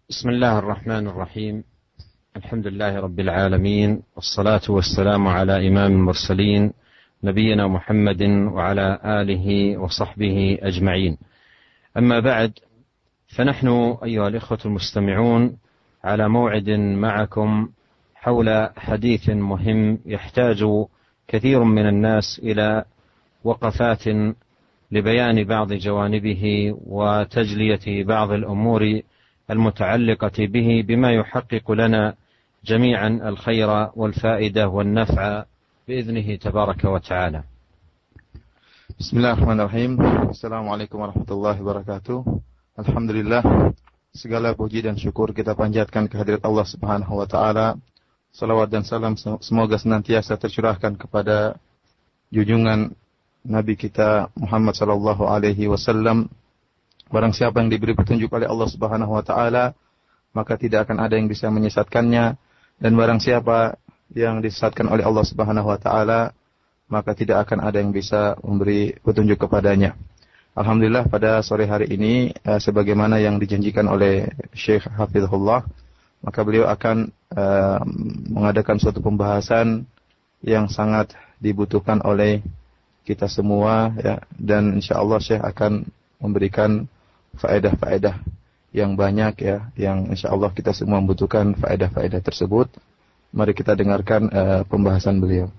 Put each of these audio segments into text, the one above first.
بسم الله الرحمن الرحيم. الحمد لله رب العالمين، والصلاة والسلام على إمام المرسلين نبينا محمد وعلى آله وصحبه أجمعين. أما بعد، فنحن أيها الإخوة المستمعون على موعد معكم حول حديث مهم يحتاج كثير من الناس إلى وقفات لبيان بعض جوانبه وتجلية بعض الأمور المتعلقة به بما يحقق لنا جميعا الخير والفائدة والنفع بإذنه تبارك وتعالى. Bismillahirrahmanirrahim. Assalamualaikum warahmatullahi wabarakatuh. Alhamdulillah, segala puji dan syukur kita panjatkan kehadirat Allah Subhanahu wa taala. Salawat dan salam semoga senantiasa tercurahkan kepada junjungan Nabi kita Muhammad sallallahu alaihi wasallam. Barang siapa yang diberi petunjuk oleh Allah Subhanahu wa taala, maka tidak akan ada yang bisa menyesatkannya, dan barang siapa yang disesatkan oleh Allah Subhanahu wa taala, maka tidak akan ada yang bisa memberi petunjuk kepadanya. Alhamdulillah, pada sore hari ini sebagaimana yang dijanjikan oleh Syekh Hafizahullah, maka beliau akan mengadakan suatu pembahasan yang sangat dibutuhkan oleh kita semua, ya, dan insyaallah Syekh akan memberikan faedah-faedah yang banyak, ya, yang insyaallah kita semua membutuhkan faedah-faedah tersebut. Mari kita dengarkan pembahasan beliau.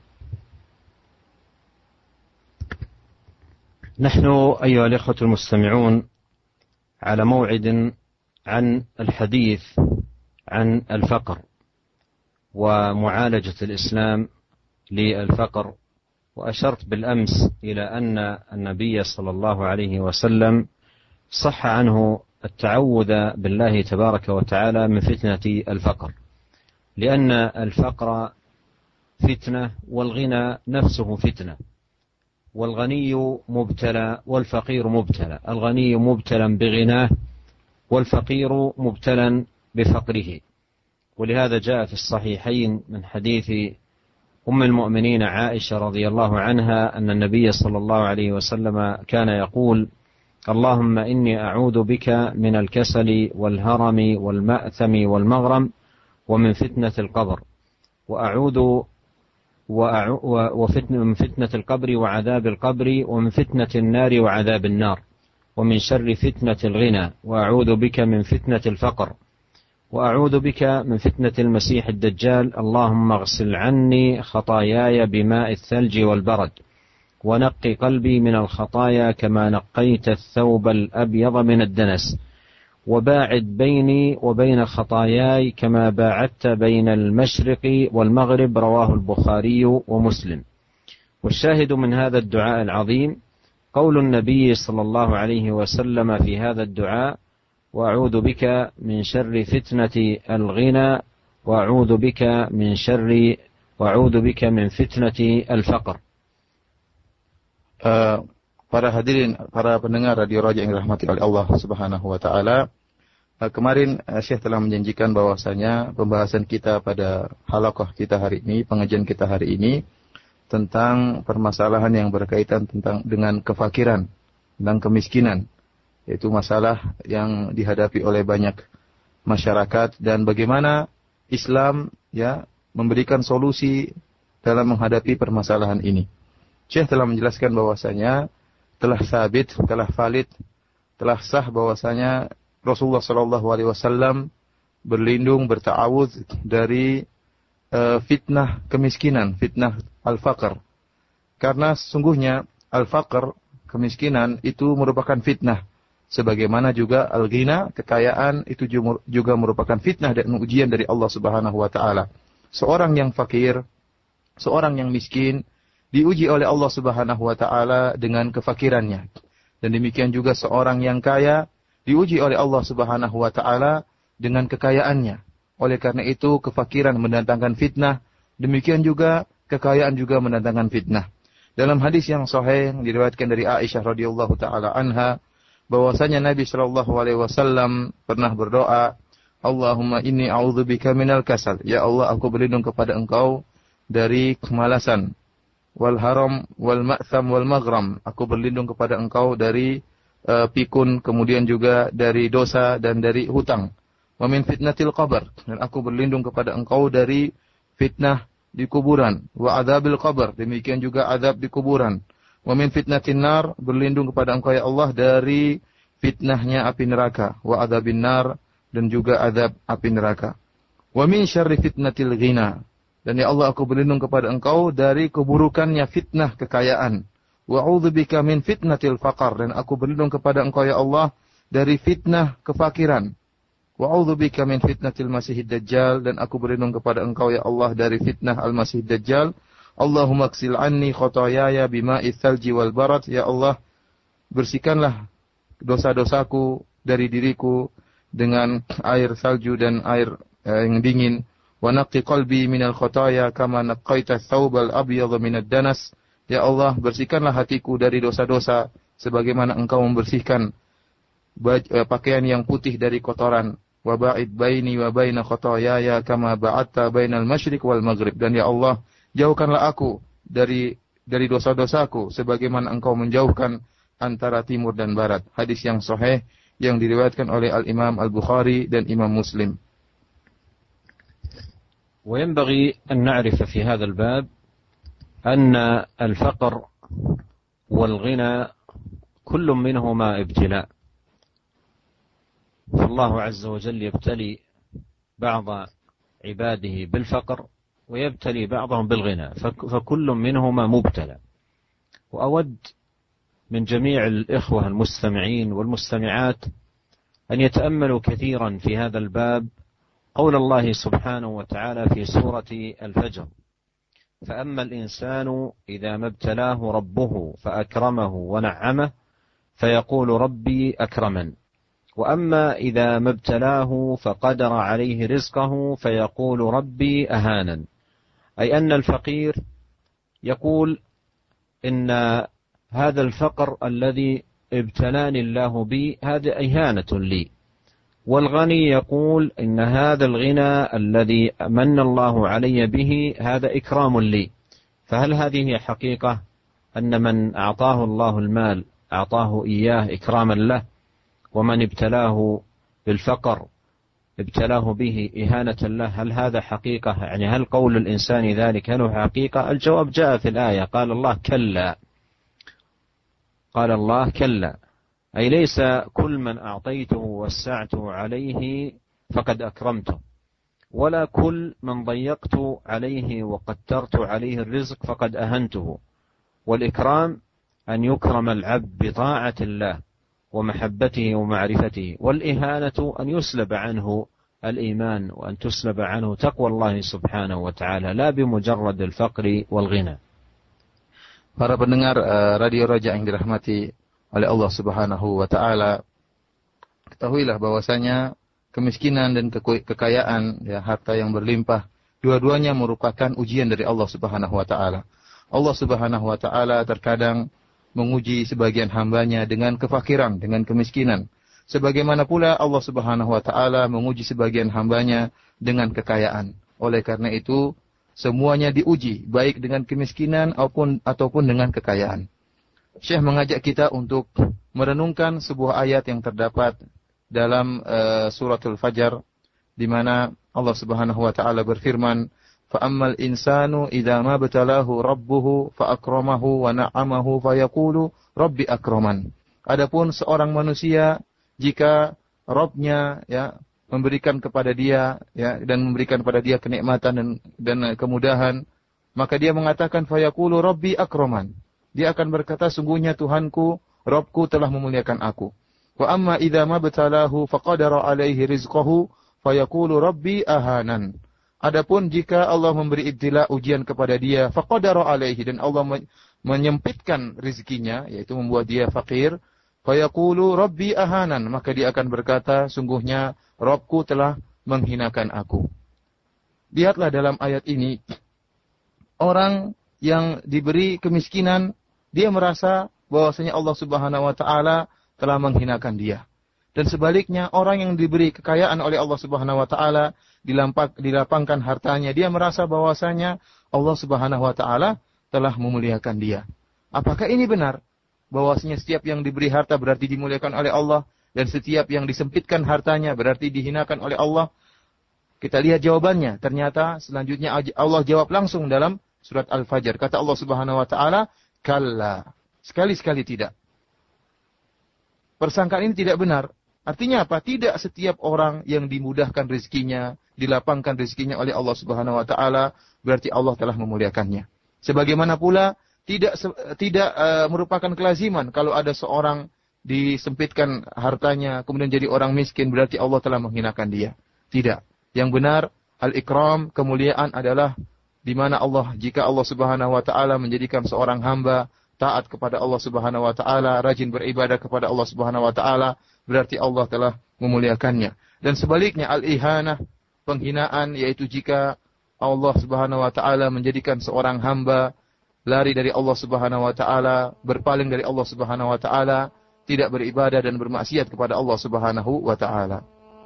نحن أيها الإخوة المستمعون على موعد عن الحديث عن الفقر ومعالجة الإسلام للفقر، وأشرت بالأمس إلى أن النبي صلى الله عليه وسلم صح عنه التعوذ بالله تبارك وتعالى من فتنة الفقر، لأن الفقر فتنة والغنى نفسه فتنة، والغني مبتلى والفقير مبتلى، الغني مبتلى بغناه والفقير مبتلى بفقره. ولهذا جاء في الصحيحين من حديث أم المؤمنين عائشة رضي الله عنها أن النبي صلى الله عليه وسلم كان يقول: اللهم إني أعوذ بك من الكسل والهرم والمأثم والمغرم ومن فتنة القبر، من فتنة القبر وعذاب القبر، ومن فتنة النار وعذاب النار، ومن شر فتنة الغنى، وأعوذ بك من فتنة الفقر، وأعوذ بك من فتنة المسيح الدجال. اللهم اغسل عني خطاياي بماء الثلج والبرد، ونقي قلبي من الخطايا كما نقيت الثوب الأبيض من الدنس، وباعد بيني وبين خطاياي كما باعدت بين المشرق والمغرب. رواه البخاري ومسلم. والشاهد من هذا الدعاء العظيم قول النبي صلى الله عليه وسلم في هذا الدعاء: وأعوذ بك من شر فتنة الغنى، وأعوذ بك من فتنة الفقر. Para hadirin, para pendengar Radio Raja yang dirahmati oleh Allah Subhanahu wa taala, kemarin Syekh telah menjanjikan bahwasanya pembahasan kita pada halaqah kita hari ini, pengajian kita hari ini, tentang permasalahan yang berkaitan dengan kefakiran dan kemiskinan, yaitu masalah yang dihadapi oleh banyak masyarakat dan bagaimana Islam, ya, memberikan solusi dalam menghadapi permasalahan ini. Syekh telah menjelaskan bahwasanya telah sabit, telah valid, telah sah bahwasanya Rasulullah sallallahu alaihi wasallam berlindung, berta'awudz dari fitnah kemiskinan, fitnah al-faqr. Karena sesungguhnya al-faqr, kemiskinan, itu merupakan fitnah. Sebagaimana juga al-ghina, kekayaan, itu juga merupakan fitnah dan ujian dari Allah Subhanahu wa taala. Seorang yang fakir, seorang yang miskin diuji oleh Allah Subhanahu wa taala dengan kefakirannya. Dan demikian juga seorang yang kaya diuji oleh Allah Subhanahu wa taala dengan kekayaannya. Oleh karena itu kefakiran mendatangkan fitnah, demikian juga kekayaan juga mendatangkan fitnah. Dalam hadis yang sahih yang diriwayatkan dari Aisyah radhiyallahu taala anha, bahwasanya Nabi sallallahu alaihi wasallam pernah berdoa, Allahumma inni a'udzubika minal kasal. Ya Allah, aku berlindung kepada Engkau dari kemalasan. Wal haram wal ma'tham wal maghram. Aku berlindung kepada Engkau dari pikun, kemudian juga dari dosa dan dari hutang. Wa min fitnatil qabr, dan aku berlindung kepada Engkau dari fitnah di kuburan. Wa adzabil qabr, demikian juga azab di kuburan. Wa min fitnatin nar, berlindung kepada Engkau ya Allah dari fitnahnya api neraka. Wa adzabin nar, dan juga azab api neraka. Wa min syarri fitnatil ghina, dan ya Allah aku berlindung kepada Engkau dari keburukannya fitnah kekayaan. Wa a'udzubika min fitnatil faqr, dan aku berlindung kepada Engkau ya Allah dari fitnah kefakiran. Wa a'udzubika min fitnatil masiihid dajjal, dan aku berlindung kepada Engkau ya Allah dari fitnah al-masihid dajjal. Allahumma ghsil anni khotoyaya bima'its tsalji wal barad, ya Allah bersihkanlah dosa-dosaku dari diriku dengan air salju dan air yang dingin. Wa naqqi qalbi minal khotoya kama naqqaita tsawbal abyadha minad danas, ya Allah bersihkanlah hatiku dari dosa-dosa sebagaimana Engkau membersihkan pakaian yang putih dari kotoran. Wa ba'id baini wa baina khotoyaya kama ba'adta bainal masyriq wal maghrib, dan ya Allah jauhkanlah aku dari dosa-dosaku sebagaimana Engkau menjauhkan antara timur dan barat. Hadis yang sahih yang diriwayatkan oleh Al-Imam Al-Bukhari dan Imam Muslim. وينبغي أن نعرف في هذا الباب أن الفقر والغنى كل منهما ابتلاء، فالله عز وجل يبتلي بعض عباده بالفقر ويبتلي بعضهم بالغنى، فكل منهما مبتلى. وأود من جميع الإخوة المستمعين والمستمعات أن يتأملوا كثيرا في هذا الباب قول الله سبحانه وتعالى في سورة الفجر: فأما الإنسان إذا ما ابتلاه ربه فأكرمه ونعمه فيقول ربي أكرمن، وأما إذا ما ابتلاه فقدر عليه رزقه فيقول ربي أهانن. أي أن الفقير يقول إن هذا الفقر الذي ابتلاني الله به هذا إهانة لي، والغني يقول إن هذا الغنى الذي من الله علي به هذا إكرام لي. فهل هذه حقيقة أن من أعطاه الله المال أعطاه إياه إكراما له، ومن ابتلاه بالفقر ابتلاه به إهانة له؟ هل هذا حقيقة؟ يعني هل قول الإنسان ذلك هل هو حقيقة؟ الجواب جاء في الآية، قال الله كلا، قال الله كلا، أي ليس كل من أعطيته ووسعته عليه فقد أكرمته، ولا كل من ضيقت عليه وقدرت عليه الرزق فقد أهنته. والإكرام أن يكرم العبد بطاعة الله ومحبته ومعرفته، والإهانة أن يسلب عنه الإيمان وأن تسلب عنه تقوى الله سبحانه وتعالى لا بمجرد الفقر والغنى. Para pendengar Radio Raja yang dirahmati oleh Allah Subhanahu wa taala, ketahuilah bahwasanya kemiskinan dan kekayaan, ya, harta yang berlimpah, dua-duanya merupakan ujian dari Allah Subhanahu wa taala. Allah Subhanahu wa taala terkadang menguji sebagian hambanya dengan kefakiran, dengan kemiskinan. Sebagaimana pula Allah Subhanahu wa taala menguji sebagian hambanya dengan kekayaan. Oleh karena itu, semuanya diuji, baik dengan kemiskinan ataupun dengan kekayaan. Syekh mengajak kita untuk merenungkan sebuah ayat yang terdapat dalam suratul Fajar, di mana Allah Subhanahu wa taala berfirman, "Fa'ammal insanu idza ma batalahu rabbuhu fa'akramahu wa na'amahu fayaqulu rabbi akraman." Adapun seorang manusia jika Rabb-nya, ya, memberikan kepada dia, ya, dan memberikan kepada dia kenikmatan dan kemudahan, maka dia mengatakan fayaqulu rabbi akraman. Dia akan berkata, sungguhnya Tuhanku, Rabbku telah memuliakan aku. Wa amma idza ma batalahu faqadara alaihi rizqahu fayaqulu rabbi ahanan. Adapun jika Allah memberi ibtila, ujian kepada dia, faqadara alaihi, dan Allah menyempitkan rezekinya, yaitu membuat dia fakir, fayaqulu rabbi ahanan, maka dia akan berkata, sungguhnya Rabbku telah menghinakan aku. Lihatlah dalam ayat ini, orang yang diberi kemiskinan, dia merasa bahwasanya Allah Subhanahu wa taala telah menghinakan dia. Dan sebaliknya, orang yang diberi kekayaan oleh Allah Subhanahu wa taala, dilapangkan hartanya, dia merasa bahwasanya Allah Subhanahu wa taala telah memuliakan dia. Apakah ini benar? Bahwasanya setiap yang diberi harta berarti dimuliakan oleh Allah, Dan setiap yang disempitkan hartanya berarti dihinakan oleh Allah. Kita lihat jawabannya. Ternyata selanjutnya Allah jawab langsung dalam surat Al-Fajr. Kata Allah Subhanahu wa taala, "Kalla." Sekali-sekali tidak. Persangkaan ini tidak benar. Artinya apa? Tidak setiap orang yang dimudahkan rezekinya, dilapangkan rezekinya oleh Allah Subhanahu wa taala, berarti Allah telah memuliakannya. Sebagaimana pula tidak merupakan kelaziman kalau ada seorang disempitkan hartanya kemudian jadi orang miskin berarti Allah telah menghinakan dia. Tidak. Yang benar al-ikram, kemuliaan adalah di mana jika Allah Subhanahu wa taala menjadikan seorang hamba taat kepada Allah Subhanahu wa taala, rajin beribadah kepada Allah Subhanahu wa taala, berarti Allah telah memuliakannya. Dan sebaliknya al-ihanah, penghinaan, yaitu jika Allah Subhanahu wa taala menjadikan seorang hamba lari dari Allah Subhanahu wa taala, berpaling dari Allah Subhanahu wa taala, tidak beribadah dan bermaksiat kepada Allah Subhanahu wa taala.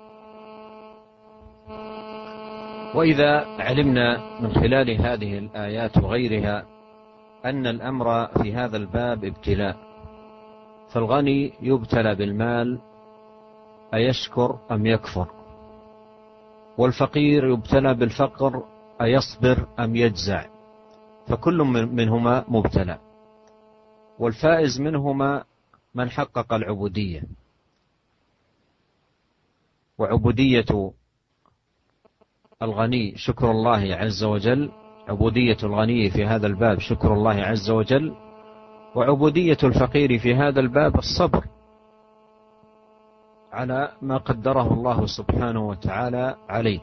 وإذا علمنا من خلال هذه الآيات وغيرها أن الأمر في هذا الباب ابتلاء، فالغني يبتلى بالمال أيشكر أم يكفر، والفقير يبتلى بالفقر أيصبر أم يجزع، فكل منهما مبتلى، والفائز منهما من حقق العبودية. وعبودية الغني شكر الله عز وجل، عبودية الغني في هذا الباب شكر الله عز وجل، وعبودية الفقير في هذا الباب الصبر على ما قدره الله سبحانه وتعالى عليه.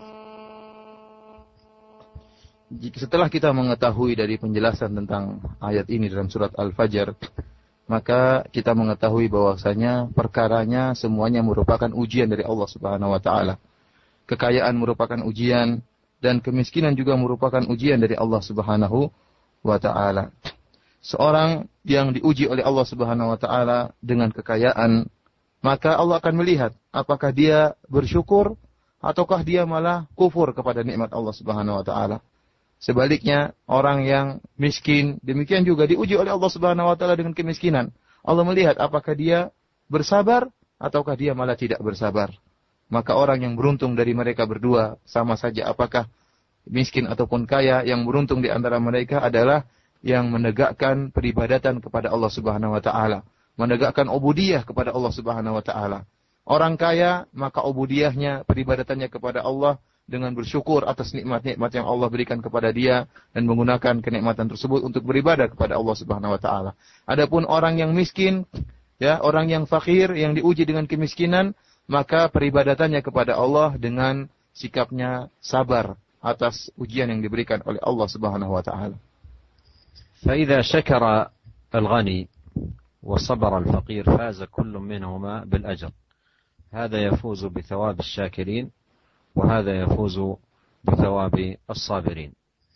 Setelah kita mengetahui dari penjelasan tentang ayat ini dalam surat Al-Fajr, maka kita mengetahui bahwasanya perkaranya semuanya merupakan ujian dari Allah Subhanahu wa taala. Kekayaan merupakan ujian dan kemiskinan juga merupakan ujian dari Allah Subhanahu wa taala. Seorang yang diuji oleh Allah Subhanahu wa taala dengan kekayaan, maka Allah akan melihat apakah dia bersyukur ataukah dia malah kufur kepada nikmat Allah Subhanahu wa taala. Sebaliknya, orang yang miskin demikian juga diuji oleh Allah Subhanahu wa taala dengan kemiskinan. Allah melihat apakah dia bersabar ataukah dia malah tidak bersabar. Maka orang yang beruntung dari mereka berdua, sama saja apakah miskin ataupun kaya, yang beruntung di antara mereka adalah yang menegakkan peribadatan kepada Allah Subhanahu wa taala, menegakkan ubudiyah kepada Allah Subhanahu wa taala. Orang kaya, maka ubudiyahnya, peribadatannya kepada Allah dengan bersyukur atas nikmat-nikmat yang Allah berikan kepada dia dan menggunakan kenikmatan tersebut untuk beribadah kepada Allah Subhanahu wa taala. Adapun orang yang miskin, orang yang fakir yang diuji dengan kemiskinan, maka peribadatannya kepada Allah dengan sikapnya sabar atas ujian yang diberikan oleh Allah Subhanahu wa taala. فإذا شكر الغني وصبر الفقير فاز كل منهما بالأجر. هذا يفوز بثواب الشاكرين وهذا يفوز بثواب الصابرين.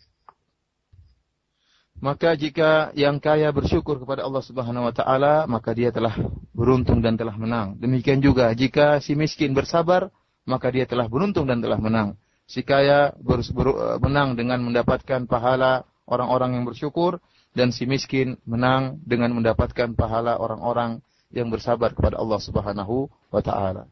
Maka jika yang kaya bersyukur kepada Allah Subhanahu wa taala, maka dia telah beruntung dan telah menang. Demikian juga jika si miskin bersabar, maka dia telah beruntung dan telah menang. Si kaya menang dengan mendapatkan pahala orang-orang yang bersyukur, dan si miskin menang dengan mendapatkan pahala orang-orang yang bersabar kepada Allah Subhanahu wa taala.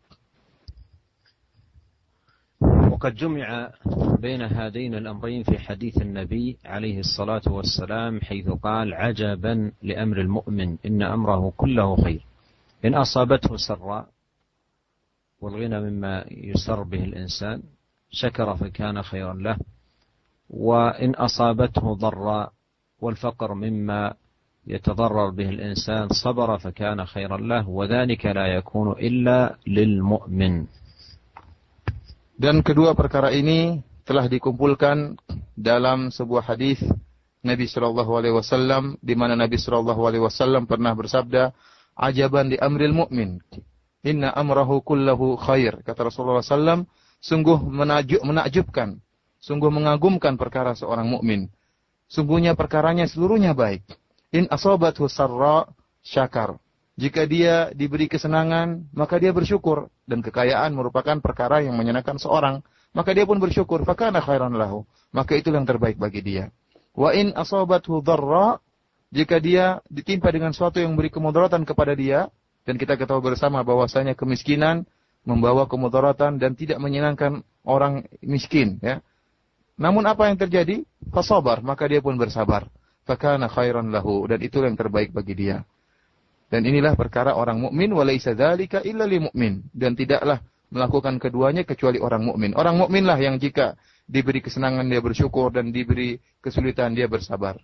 وقد جمع بين هذين الأمرين في حديث النبي عليه الصلاة والسلام حيث قال عجبا لأمر المؤمن إن أمره كله خير إن أصابته سراء والغنى مما يسر به الإنسان شكر فكان خيرا له وإن أصابته ضراء والفقر مما يتضرر به الإنسان صبر فكان خيرا له وذلك لا يكون إلا للمؤمن. Dan kedua perkara ini telah dikumpulkan dalam sebuah hadis Nabi sallallahu alaihi wasallam, di mana Nabi sallallahu alaihi wasallam pernah bersabda, "Ajaban li amril mu'min, inna amrahu kullahu khair." Kata Rasulullah sallam, sungguh menakjubkan, sungguh mengagumkan perkara seorang mukmin. Sungguhnya perkaranya seluruhnya baik. In asabathu sarra syakar. Jika dia diberi kesenangan, maka dia bersyukur. Dan kekayaan merupakan perkara yang menyenangkan seorang. Maka dia pun bersyukur. Fakana khairan lahu. Maka itu yang terbaik bagi dia. Wa in asabathu dharra. Jika dia ditimpa dengan sesuatu yang memberi kemudaratan kepada dia, Dan kita ketahui bersama bahwasanya kemiskinan membawa kemudaratan dan tidak menyenangkan orang miskin, ya. Namun apa yang terjadi? Fasabar, maka dia pun bersabar. Fakana khairan lahu, dan itulah yang terbaik bagi dia. Dan inilah perkara orang mukmin, walaisa dzalika illa lil mukmin, dan tidaklah melakukan keduanya kecuali orang mukmin. Orang mukminlah yang jika diberi kesenangan dia bersyukur dan diberi kesulitan dia bersabar.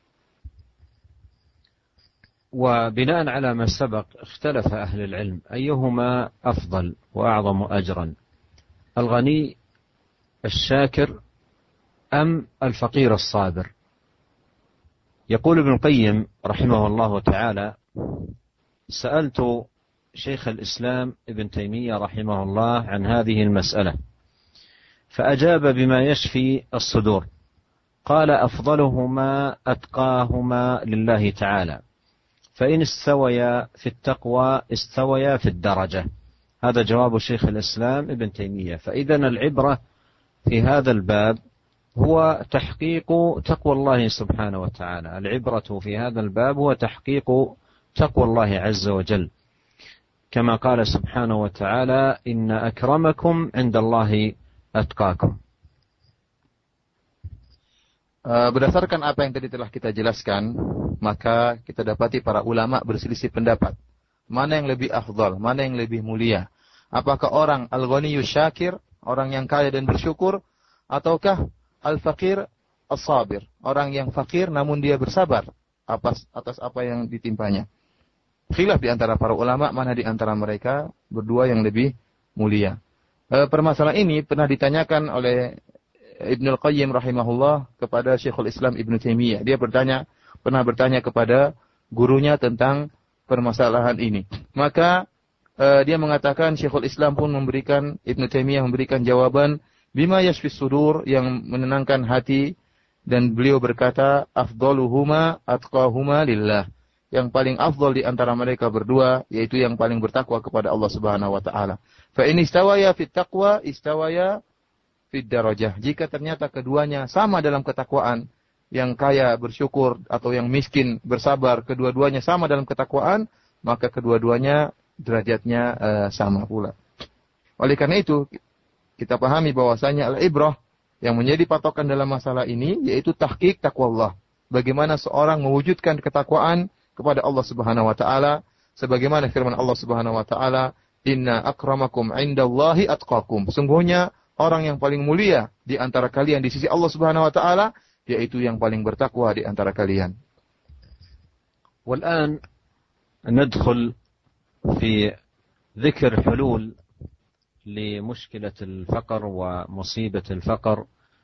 وبناء على ما سبق اختلف أهل العلم أيهما أفضل وأعظم أجرا الغني الشاكر أم الفقير الصابر. يقول ابن القيم رحمه الله تعالى: سألت شيخ الإسلام ابن تيمية رحمه الله عن هذه المسألة فأجاب بما يشفي الصدور، قال: أفضلهما أتقاهما لله تعالى، فإن استويا في التقوى استويا في الدرجة. هذا جواب شيخ الإسلام ابن تيمية. فإذا العبرة في هذا الباب هو تحقيق تقوى الله سبحانه وتعالى. العبرة في هذا الباب هو تحقيق تقوى الله عز وجل، كما قال سبحانه وتعالى: إن أكرمكم عند الله أتقاكم. Berdasarkan apa yang tadi telah kita jelaskan, maka kita dapati para ulama berselisih pendapat. Mana yang lebih afdal, mana yang lebih mulia? Apakah orang al-ghaniyyu syakir, orang yang kaya dan bersyukur, ataukah al-faqir as-sabir, orang yang fakir namun dia bersabar atas apa yang ditimpanya? Khilaf di antara para ulama mana di antara mereka berdua yang lebih mulia. Permasalahan ini pernah ditanyakan oleh Ibnu Qayyim rahimahullah kepada Syekhul Islam Ibnu Taimiyah. Dia pernah bertanya kepada gurunya tentang permasalahan ini. Maka dia mengatakan, Syekhul Islam pun memberikan, Ibnu Taimiyah memberikan jawaban bima yashfis sudur, yang menenangkan hati, dan beliau berkata, afdaluhuma atqahuma lillah. Yang paling afdal di antara mereka berdua yaitu yang paling bertakwa kepada Allah Subhanahu wa taala. Fa in istawaya fit taqwa istawaya fid darajah. Jika ternyata keduanya sama dalam ketakwaan, yang kaya bersyukur atau yang miskin bersabar, kedua-duanya sama dalam ketakwaan, maka kedua-duanya derajatnya sama pula. Oleh karena itu, kita pahami bahwasanya al-ibrah yang menjadi patokan dalam masalah ini yaitu tahqiq taqwallah. Bagaimana seorang mewujudkan ketakwaan kepada Allah Subhanahu wa taala, sebagaimana firman Allah Subhanahu wa taala, "Inna akramakum 'indallahi atqakum." Sungguhnya orang yang paling mulia di antara kalian di sisi Allah Subhanahu wa taala yaitu yang paling bertakwa di antara kalian. والآن ندخل في ذكر حلول لمشكلة الفقر ومصيبة الفقر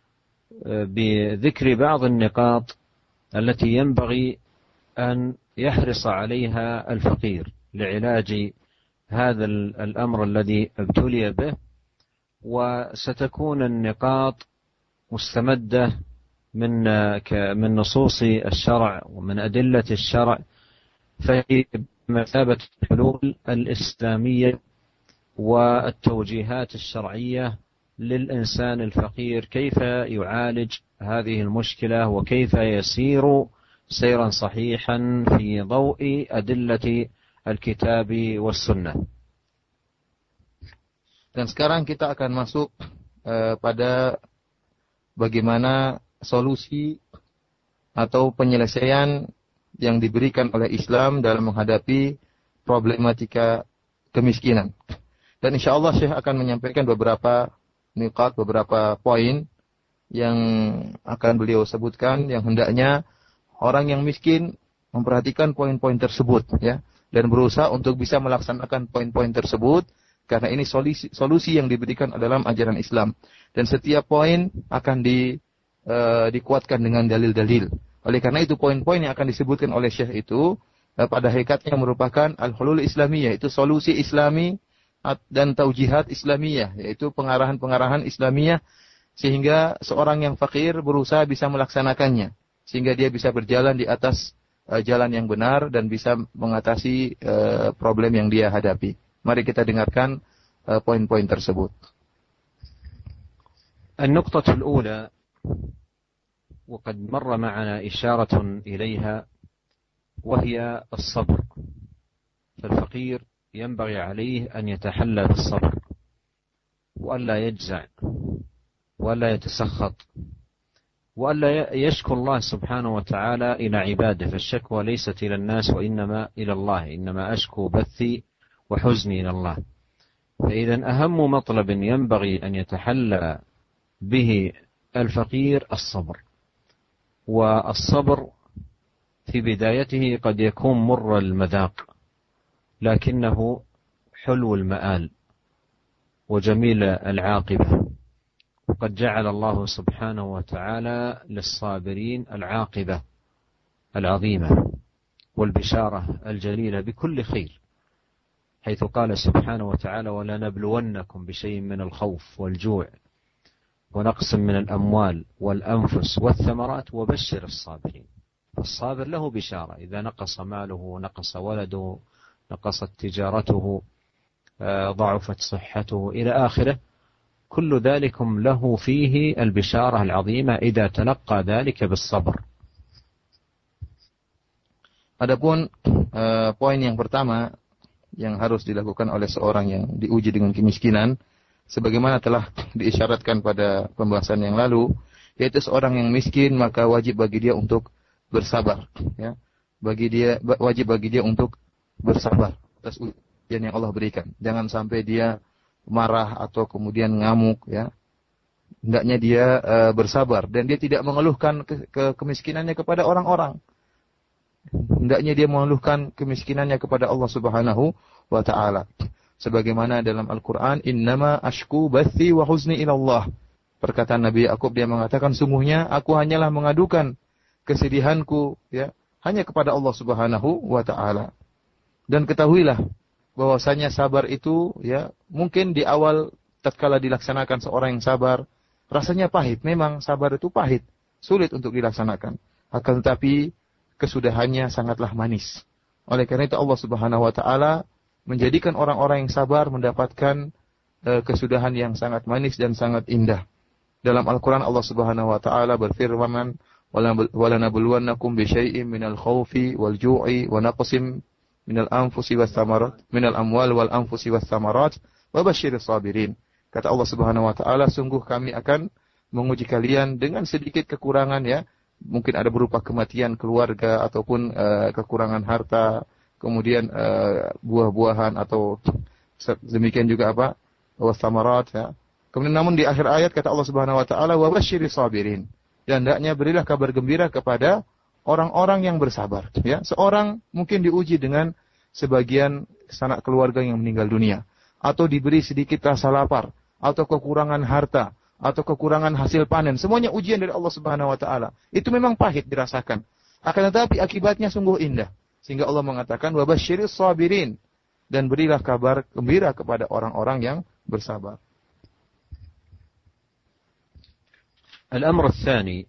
بذكر بعض النقاط التي ينبغي أن يحرص عليها الفقير لعلاج هذا الأمر الذي ابتلي به. وستكون النقاط مستمدة من نصوص الشرع ومن أدلة الشرع، فهي بمثابة الحلول الإسلامية والتوجيهات الشرعية للإنسان الفقير، كيف يعالج هذه المشكلة وكيف يسير سيرا صحيحا في ضوء أدلة الكتاب والسنة. Dan sekarang kita akan masuk pada bagaimana solusi atau penyelesaian yang diberikan oleh Islam dalam menghadapi problematika kemiskinan. Dan insyaallah Syekh akan menyampaikan beberapa niqat, beberapa poin yang akan beliau sebutkan, yang hendaknya orang yang miskin memperhatikan poin-poin tersebut, ya, dan berusaha untuk bisa melaksanakan poin-poin tersebut. Karena ini solusi yang diberikan dalam ajaran Islam. Dan setiap poin akan dikuatkan dengan dalil-dalil. Oleh karena itu poin-poin yang akan disebutkan oleh Syekh itu pada hakikatnya merupakan al-hulul islamiyah, yaitu solusi islami dan taujihat islamiyah, yaitu pengarahan-pengarahan islamiyah sehingga seorang yang fakir berusaha bisa melaksanakannya. Sehingga dia bisa berjalan di atas jalan yang benar dan bisa mengatasi problem yang dia hadapi. Mari kita dengarkan poin-poin tersebut. النقطة الأولى وقد مر معنا إشارة إليها وهي الصبر. فالفقير ينبغي عليه أن يتحلى بالصبر وألا يجزع وألا يتسخط وألا يشكو الله سبحانه وتعالى إلى عباده، فالشكوى ليست إلى الناس وإنما إلى الله، إنما أشكو بثي وحزني إلى الله. فإذا أهم مطلب ينبغي أن يتحلى به الفقير الصبر، والصبر في بدايته قد يكون مر المذاق لكنه حلو المآل وجميل العاقبة، وقد جعل الله سبحانه وتعالى للصابرين العاقبة العظيمة والبشارة الجليلة بكل خير، حيث قال سبحانه وتعالى: ولنبلونكم بشيء من الخوف والجوع ونقص من الأموال والأنفس والثمرات وبشر الصابرين. فالصابر له بشارة، إذا نقص ماله، نقص ولده، نقصت تجارته، ضعفت صحته إلى آخره، كل ذلكم له فيه البشارة العظيمة إذا تلقى ذلك بالصبر. Adapun poin yang pertama yang harus dilakukan oleh seorang yang diuji dengan kemiskinan, sebagaimana telah diisyaratkan pada pembahasan yang lalu, yaitu seorang yang miskin maka wajib bagi dia untuk bersabar, ya. Wajib bagi dia untuk bersabar atas ujian yang Allah berikan. Jangan sampai dia marah atau kemudian ngamuk, ya. Hendaknya dia bersabar dan dia tidak mengeluhkan kemiskinannya kepada orang-orang. Hendaknya dia mengeluhkan kemiskinannya kepada Allah Subhanahu wa taala. Sebagaimana dalam Al-Qur'an, "Innama ashku bathi wa huzni ila Allah." Perkataan Nabi Yakub, dia mengatakan, sungguhnya aku hanyalah mengadukan kesedihanku, ya, hanya kepada Allah Subhanahu wa taala. Dan ketahuilah bahwasanya sabar itu, ya, mungkin di awal tatkala dilaksanakan seorang yang sabar rasanya pahit. Memang sabar itu pahit, sulit untuk dilaksanakan. Akan tetapi kesudahannya sangatlah manis. Oleh karena itu Allah Subhanahu wa taala menjadikan orang-orang yang sabar mendapatkan kesudahan yang sangat manis dan sangat indah. Dalam Al-Qur'an Allah Subhanahu wa taala berfirman, "Walanabluwannakum bisyai'in minal khaufi wal ju'i wa naqsim minal anfusi was thamarat, minal amwal wal anfusi was thamarat, wa basyiris sabirin." Kata Allah Subhanahu wa taala, sungguh kami akan menguji kalian dengan sedikit kekurangan, ya. Mungkin ada berupa kematian keluarga ataupun kekurangan harta, kemudian buah-buahan atau demikian juga apa? Was thamarat, ya. Kemudian namun di akhir ayat kata Allah Subhanahu wa taala, wa basyiris sabirin. Dan hendaknya berilah kabar gembira kepada orang-orang yang bersabar, ya. Seorang mungkin diuji dengan sebagian sanak keluarga yang meninggal dunia, atau diberi sedikit rasa lapar, atau kekurangan harta, atau kekurangan hasil panen. Semuanya ujian dari Allah Subhanahu wa taala. Itu memang pahit dirasakan. Akan tetapi akibatnya sungguh indah. Sehingga Allah mengatakan wa basyiris sabirin, dan berilah kabar gembira kepada orang-orang yang bersabar. الأمر الثاني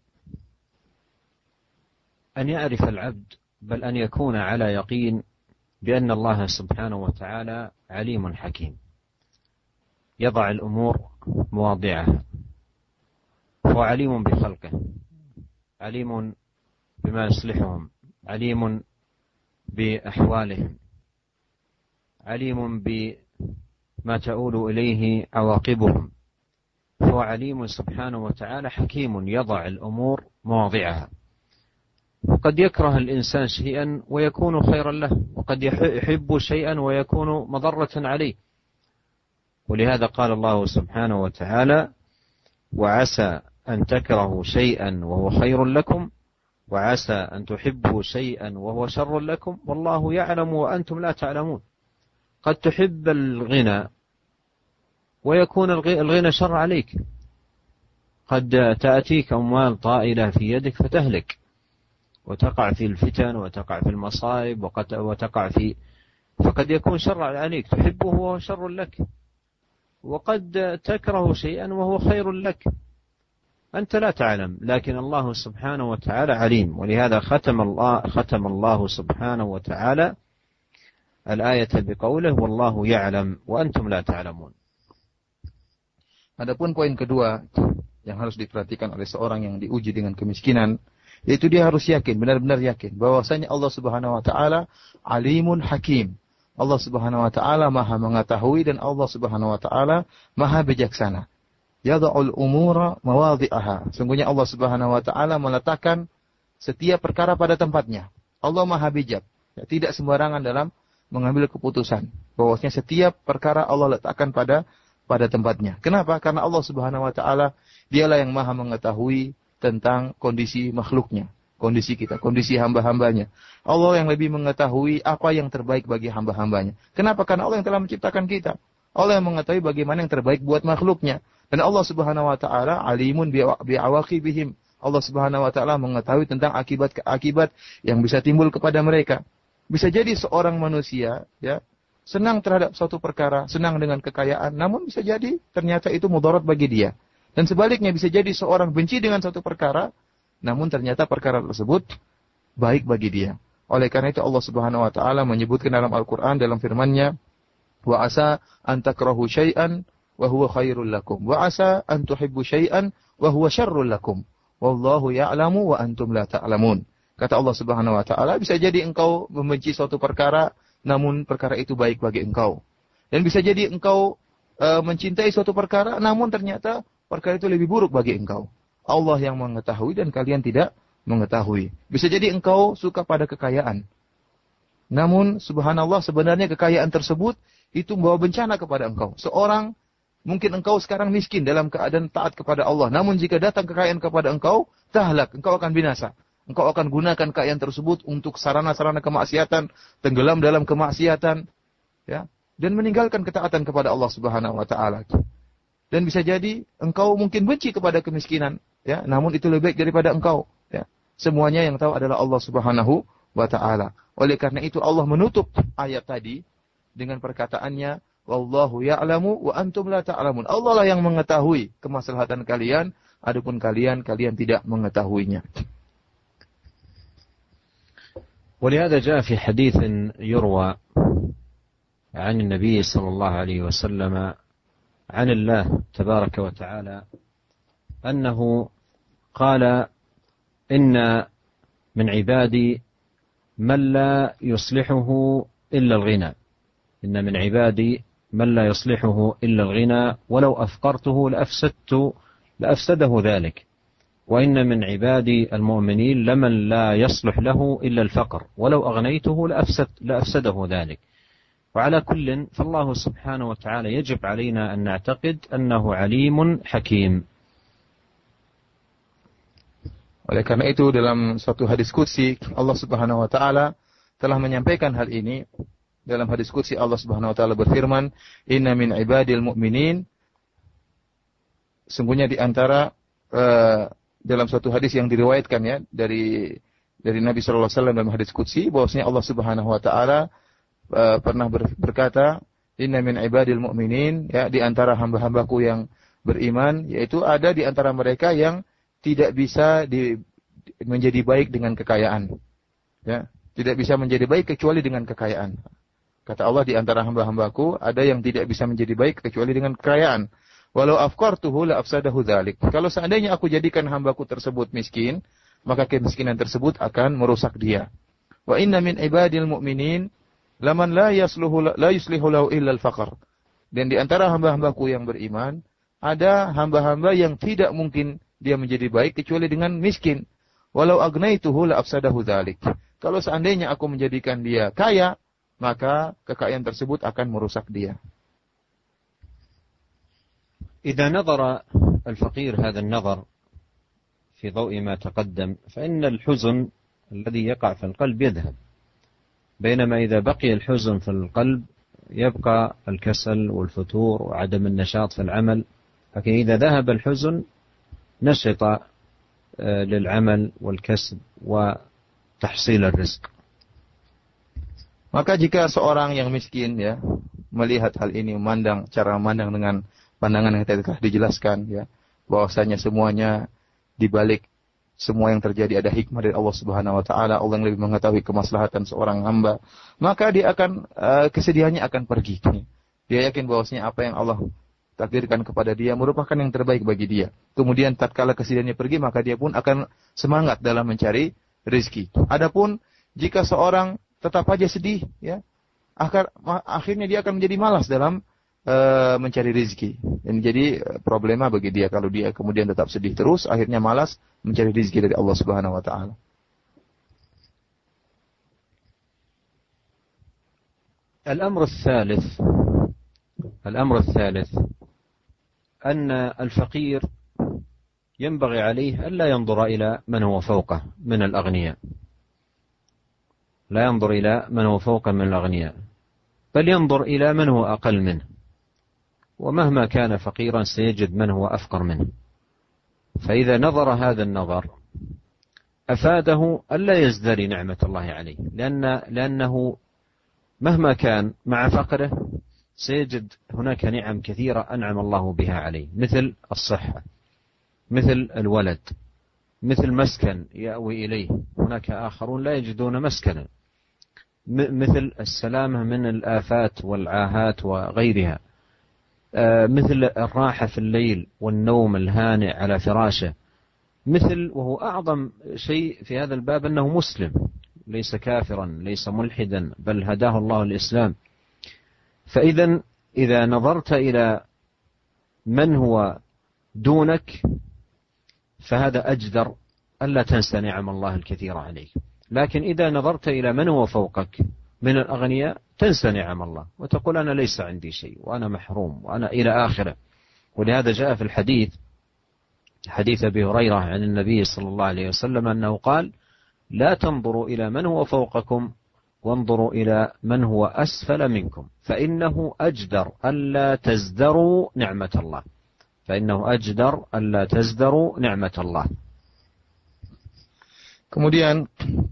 أن يعرف العبد بل أن يكون على يقين بأن الله سبحانه وتعالى عليم حكيم يضع الأمور مواضعها، هو عليم بخلقه، عليم بما يصلحهم، عليم بأحوالهم، عليم بما تؤول إليه عواقبهم، هو عليم سبحانه وتعالى حكيم يضع الأمور مواضعها. وقد يكره الإنسان شيئا ويكون خيرا له، وقد يحب شيئا ويكون مضرة عليه. ولهذا قال الله سبحانه وتعالى: وعسى أن تكرهوا شيئا وهو خير لكم وعسى أن تحبوا شيئا وهو شر لكم والله يعلم وأنتم لا تعلمون. قد تحب الغنى ويكون الغنى شر عليك، قد تأتيك أموال طائلة في يدك فتهلك وتقع في الفتن وتقع في المصائب وتقع في، فقد يكون شر عليك، تحبه وهو شر لك، وقد تكره شيئا وهو خير لك، أنت لا تعلم، لكن الله سبحانه وتعالى عليم. ولهذا ختم الله سبحانه وتعالى الآية بقوله: والله يعلم وأنتم لا تعلمون. Adapun poin kedua yang harus diperhatikan oleh seorang yang diuji dengan kemiskinan, yaitu dia harus yakin, benar-benar yakin bahwasanya Allah Subhanahu wa taala alimun hakim. Allah Subhanahu wa taala Maha mengetahui dan Allah Subhanahu wa taala Maha bijaksana. Yad'ul umura mawadhi'aha. Sungguhnya Allah Subhanahu wa taala meletakkan setiap perkara pada tempatnya. Allah Maha bijak. Ya, tidak sembarangan dalam mengambil keputusan. Bahwasanya setiap perkara Allah letakkan pada tempatnya. Kenapa? Karena Allah Subhanahu wa taala dialah yang Maha mengetahui tentang kondisi makhluknya, kondisi kita, kondisi hamba-hambanya. Allah yang lebih mengetahui apa yang terbaik bagi hamba-hambanya. Kenapa? Karena Allah yang telah menciptakan kita. Allah yang mengetahui bagaimana yang terbaik buat makhluknya. Dan Allah Subhanahu wa taala alimun bi'awaqibihim. Allah Subhanahu wa taala mengetahui tentang akibat-akibat yang bisa timbul kepada mereka. Bisa jadi seorang manusia ya senang terhadap suatu perkara, senang dengan kekayaan, namun bisa jadi ternyata itu mudarat bagi dia. Dan sebaliknya bisa jadi seorang benci dengan suatu perkara, namun ternyata perkara tersebut baik bagi dia. Oleh karena itu Allah Subhanahu wa taala menyebutkan dalam Al-Qur'an dalam firman-Nya, "Wa asa an takrahu syai'an wa huwa khairul lakum, wa asa an tuhibbu syai'an wa huwa syarrul lakum. Wallahu ya'lamu wa antum la ta'lamun." Kata Allah Subhanahu wa taala, bisa jadi engkau membenci suatu perkara, namun perkara itu baik bagi engkau. Dan bisa jadi engkau mencintai suatu perkara, namun ternyata perkara itu lebih buruk bagi engkau. Allah yang mengetahui dan kalian tidak mengetahui. Bisa jadi engkau suka pada kekayaan. Namun subhanallah sebenarnya kekayaan tersebut itu membawa bencana kepada engkau. Mungkin engkau sekarang miskin dalam keadaan taat kepada Allah. Namun jika datang kekayaan kepada engkau, tahlak, engkau akan binasa. Engkau akan gunakan kekayaan tersebut untuk sarana-sarana kemaksiatan, tenggelam dalam kemaksiatan, ya, dan meninggalkan ketaatan kepada Allah Subhanahu wa taala. Dan bisa jadi engkau mungkin benci kepada kemiskinan, ya, namun itu lebih baik daripada engkau, ya. Semuanya yang tahu adalah Allah Subhanahu wa taala. Oleh karena itu Allah menutup ayat tadi dengan perkataannya, "Wallahu ya'lamu wa antum la ta'lamun." Allah lah yang mengetahui kemaslahatan kalian, adapun kalian tidak mengetahuinya. ولهذا جاء في حديث يروى عن النبي صلى الله عليه وسلم عن الله تبارك وتعالى أنه قال: إن من عبادي من لا يصلحه إلا الغنى، إن من عبادي من لا يصلحه إلا الغنى ولو أفقرته لأفسده ذلك، وإن من عبادي المؤمنين لمن لا يصلح له إلا الفقر ولو أغنيته لأفسده ذلك. وعلى كل فالله سبحانه وتعالى يجب علينا أن نعتقد أنه عليم حكيم. Oleh karena itu dalam suatu hadis qudsi Allah Subhanahu wa taala telah menyampaikan hal ini. Dalam hadis qudsi Allah Subhanahu wa taala berfirman, "Inna min ibadil mu'minin", sungguhnya di antara dalam suatu hadis yang diriwayatkan ya dari Nabi sallallahu alaihi wasallam dalam hadis qudsi bahwasanya Allah Subhanahu wa taala pernah berkata, "Inna min ibadil mu'minin", ya, di antara hamba-hambaku yang beriman, yaitu ada di antara mereka yang tidak bisa menjadi baik dengan kekayaan. Ya, tidak bisa menjadi baik kecuali dengan kekayaan. Kata Allah, di antara hamba-hambaku ada yang tidak bisa menjadi baik kecuali dengan kekayaan. Walau afqartuhu la afsadahu dzalik. Kalau seandainya aku jadikan hambaku tersebut miskin, maka kemiskinan tersebut akan merusak dia. Wa inna min ibadil mu'minin laman la yuslihu lahu illa al-faqr. Dan di antara hamba-hambaku yang beriman, ada hamba-hamba yang tidak mungkin dia menjadi baik kecuali dengan miskin. Walau agnaituhu la afsadahu dzalik. Kalau seandainya aku menjadikan dia kaya, maka kekayaan tersebut akan merusak dia. إذا نظر الفقير هذا النظر في ضوء ما تقدم فإن الحزن الذي يقع في القلب يذهب، بينما إذا بقي الحزن في القلب يبقى الكسل والفتور وعدم النشاط في العمل. لكن إذا ذهب الحزن نشط للعمل والكسب وتحصيل الرزق. Maka jika seorang yang miskin ya melihat hal ini, cara memandang dengan pandangan yang tadi telah dijelaskan ya, bahwasanya semuanya di balik semua yang terjadi ada hikmah dari Allah Subhanahu wa taala, Allah yang lebih mengetahui kemaslahatan seorang hamba, maka dia akan kesedihannya akan pergi. Dia yakin bahwasanya apa yang Allah takdirkan kepada dia merupakan yang terbaik bagi dia. Kemudian tatkala kesedihannya pergi, maka dia pun akan semangat dalam mencari rezeki. Adapun jika seorang tetap aja sedih ya, akhirnya dia akan menjadi malas dalam mencari rezeki. Dan jadi problema bagi dia kalau dia kemudian tetap sedih terus, akhirnya malas mencari rezeki dari Allah Subhanahu wa taala. الأمر الثالث أن الفقير ينبغي عليه ألا ينظر إلى من هو فوقه من الأغنياء، لا ينظر إلى من هو فوقه من الأغنياء، بل ينظر إلى من هو أقل منه، ومهما كان فقيرا سيجد من هو أفقر منه. فإذا نظر هذا النظر أفاده ألا يزدري نعمة الله عليه، لأنه مهما كان مع فقره سيجد هناك نعم كثيرة أنعم الله بها عليه، مثل الصحة، مثل الولد، مثل مسكن يأوي إليه، هناك آخرون لا يجدون مسكنا، مثل السلامة من الآفات والعاهات وغيرها، مثل الراحة في الليل والنوم الهانئ على فراشه، مثل وهو أعظم شيء في هذا الباب أنه مسلم، ليس كافرا ليس ملحدا، بل هداه الله الإسلام. إذا نظرت إلى من هو دونك فهذا أجدر ألا تنسى نعم الله الكثيرة عليك. لكن إذا نظرت إلى من هو فوقك من الأغنياء تنسى نعم الله وتقول أنا ليس عندي شيء وأنا محروم وأنا إلى آخره. ولهذا جاء في الحديث حديث أبي هريرة عن النبي صلى الله عليه وسلم أنه قال لا تنظروا إلى من هو فوقكم وانظروا إلى من هو أسفل منكم فإنه أجدر ألا تزدروا نعمة الله، فإنه أجدر ألا تزدروا نعمة الله. Kemudian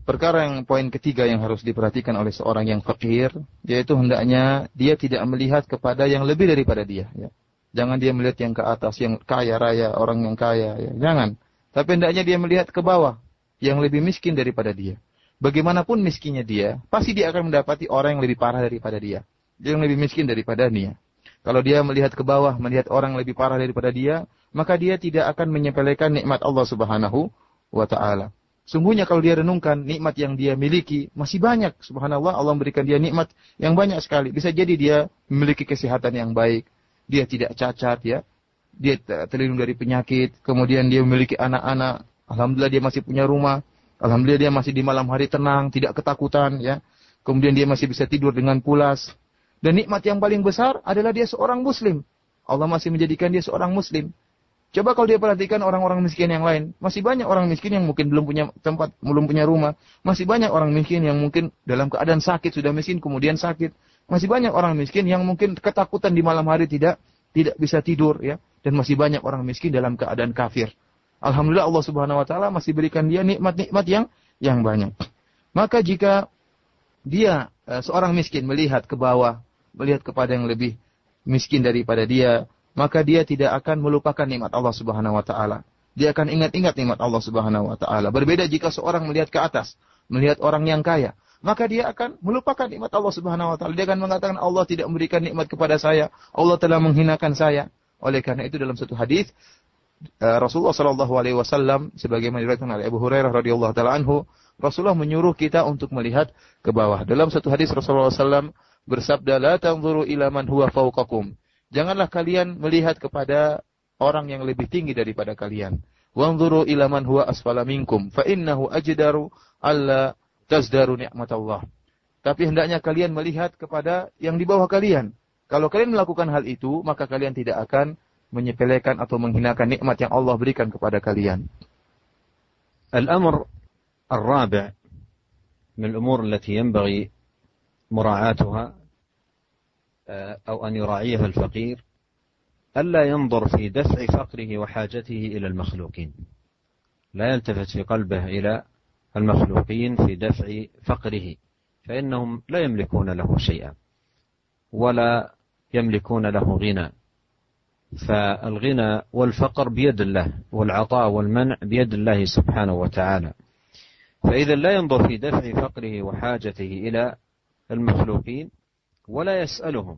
poin ketiga yang harus diperhatikan oleh seorang yang fakir, yaitu hendaknya dia tidak melihat kepada yang lebih daripada dia. Ya. Jangan dia melihat yang ke atas, yang kaya raya, orang yang kaya. Ya. Jangan. Tapi hendaknya dia melihat ke bawah, yang lebih miskin daripada dia. Bagaimanapun miskinnya dia, pasti dia akan mendapati orang yang lebih parah daripada dia. Dia yang lebih miskin daripada dia. Kalau dia melihat ke bawah, melihat orang yang lebih parah daripada dia, maka dia tidak akan menyepelekan nikmat Allah Subhanahu wa Ta'ala. Sungguhnya kalau dia renungkan nikmat yang dia miliki masih banyak. Subhanallah, Allah memberikan dia nikmat yang banyak sekali. Bisa jadi dia memiliki kesehatan yang baik, dia tidak cacat, ya, dia terlindung dari penyakit. Kemudian dia memiliki anak-anak. Alhamdulillah dia masih punya rumah. Alhamdulillah dia masih di malam hari tenang, tidak ketakutan, ya. Kemudian dia masih bisa tidur dengan pulas. Dan nikmat yang paling besar adalah dia seorang Muslim. Allah masih menjadikan dia seorang Muslim. Coba kalau dia perhatikan orang-orang miskin yang lain. Masih banyak orang miskin yang mungkin belum punya tempat, belum punya rumah. Masih banyak orang miskin yang mungkin dalam keadaan sakit, sudah miskin kemudian sakit. Masih banyak orang miskin yang mungkin ketakutan di malam hari tidak bisa tidur, ya. Dan masih banyak orang miskin dalam keadaan kafir. Alhamdulillah Allah Subhanahu wa Ta'ala masih berikan dia nikmat-nikmat yang banyak. Maka jika dia seorang miskin melihat ke bawah, melihat kepada yang lebih miskin daripada dia, maka dia tidak akan melupakan nikmat Allah Subhanahu wa Ta'ala. Dia akan ingat-ingat nikmat Allah Subhanahu wa Ta'ala. Berbeda jika seorang melihat ke atas, melihat orang yang kaya, maka dia akan melupakan nikmat Allah Subhanahu wa Ta'ala. Dia akan mengatakan Allah tidak memberikan nikmat kepada saya, Allah telah menghinakan saya. Oleh karena itu dalam satu hadis Rasulullah sallallahu alaihi wasallam sebagaimana diriwayatkan oleh Abu Hurairah radhiyallahu taala anhu, Rasulullah menyuruh kita untuk melihat ke bawah. Dalam satu hadis Rasulullah sallallahu bersabda, "La tanzuru ila man huwa fawqakum." Janganlah kalian melihat kepada orang yang lebih tinggi daripada kalian. "Wanzuru ila man huwa asfala minkum, fa innahu ajdaru alla tazdaru ni'matallah." Tapi hendaknya kalian melihat kepada yang di bawah kalian. Kalau kalian melakukan hal itu, maka kalian tidak akan menyepelekan atau menghinakan nikmat yang Allah berikan kepada kalian. الأمر الرابع من الأمور التي ينبغي مراعاتها أو أن يراعيها الفقير ألا ينظر في دفع فقره وحاجته إلى المخلوقين، لا يلتفت في قلبه إلى المخلوقين في دفع فقره، فإنهم لا يملكون له شيئا ولا يملكون له غنى. فالغنى والفقر بيد الله، والعطاء والمنع بيد الله سبحانه وتعالى. فإذا لا ينظر في دفع فقره وحاجته إلى المخلوقين ولا يسألهم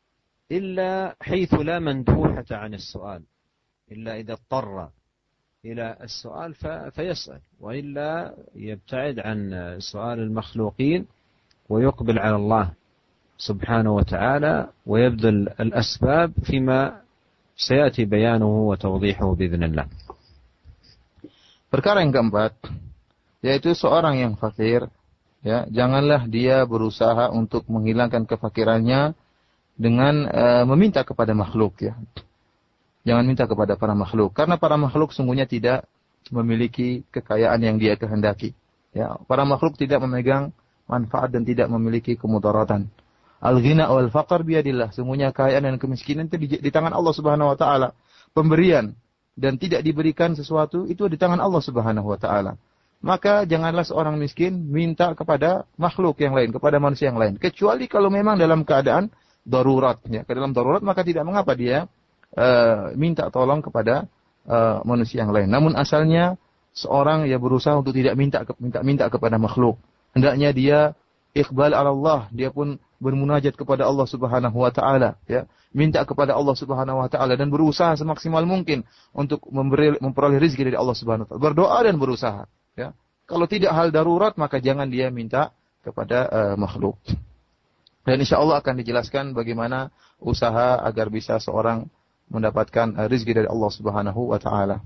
إلا حيث لا مندوحة عن السؤال، إلا إذا اضطر إلى السؤال فيسأل، وإلا يبتعد عن سؤال المخلوقين ويقبل على الله سبحانه وتعالى ويبذل الأسباب فيما سيأتي بيانه وتوضيحه بإذن الله. Perkara yang keempat, yaitu seorang yang fakir, ya, janganlah dia berusaha untuk menghilangkan kefakirannya dengan meminta kepada makhluk, ya. Jangan minta kepada para makhluk, karena para makhluk sungguhnya tidak memiliki kekayaan yang dia kehendaki. Ya, para makhluk tidak memegang manfaat dan tidak memiliki kemudaratan. Al-ghina wal faqr biyadillah, sungguhnya kekayaan dan kemiskinan itu di tangan Allah Subhanahu wa taala. Pemberian dan tidak diberikan sesuatu itu di tangan Allah Subhanahu wa taala. Maka janganlah seorang miskin minta kepada makhluk yang lain, kepada manusia yang lain, kecuali kalau memang dalam keadaan darurat, ya. Dalam darurat maka tidak mengapa dia minta tolong kepada manusia yang lain. Namun asalnya seorang yang berusaha untuk tidak minta kepada makhluk. Hendaknya dia iqbal ala Allah, dia pun bermunajat kepada Allah Subhanahu wa taala, ya. Minta kepada Allah Subhanahu wa taala dan berusaha semaksimal mungkin untuk memperoleh rezeki dari Allah Subhanahu wa taala. Berdoa dan berusaha, ya. Kalau tidak hal darurat maka jangan dia minta kepada makhluk. Dan insyaallah akan dijelaskan bagaimana usaha agar bisa seorang mendapatkan rezeki dari Allah Subhanahu wa taala.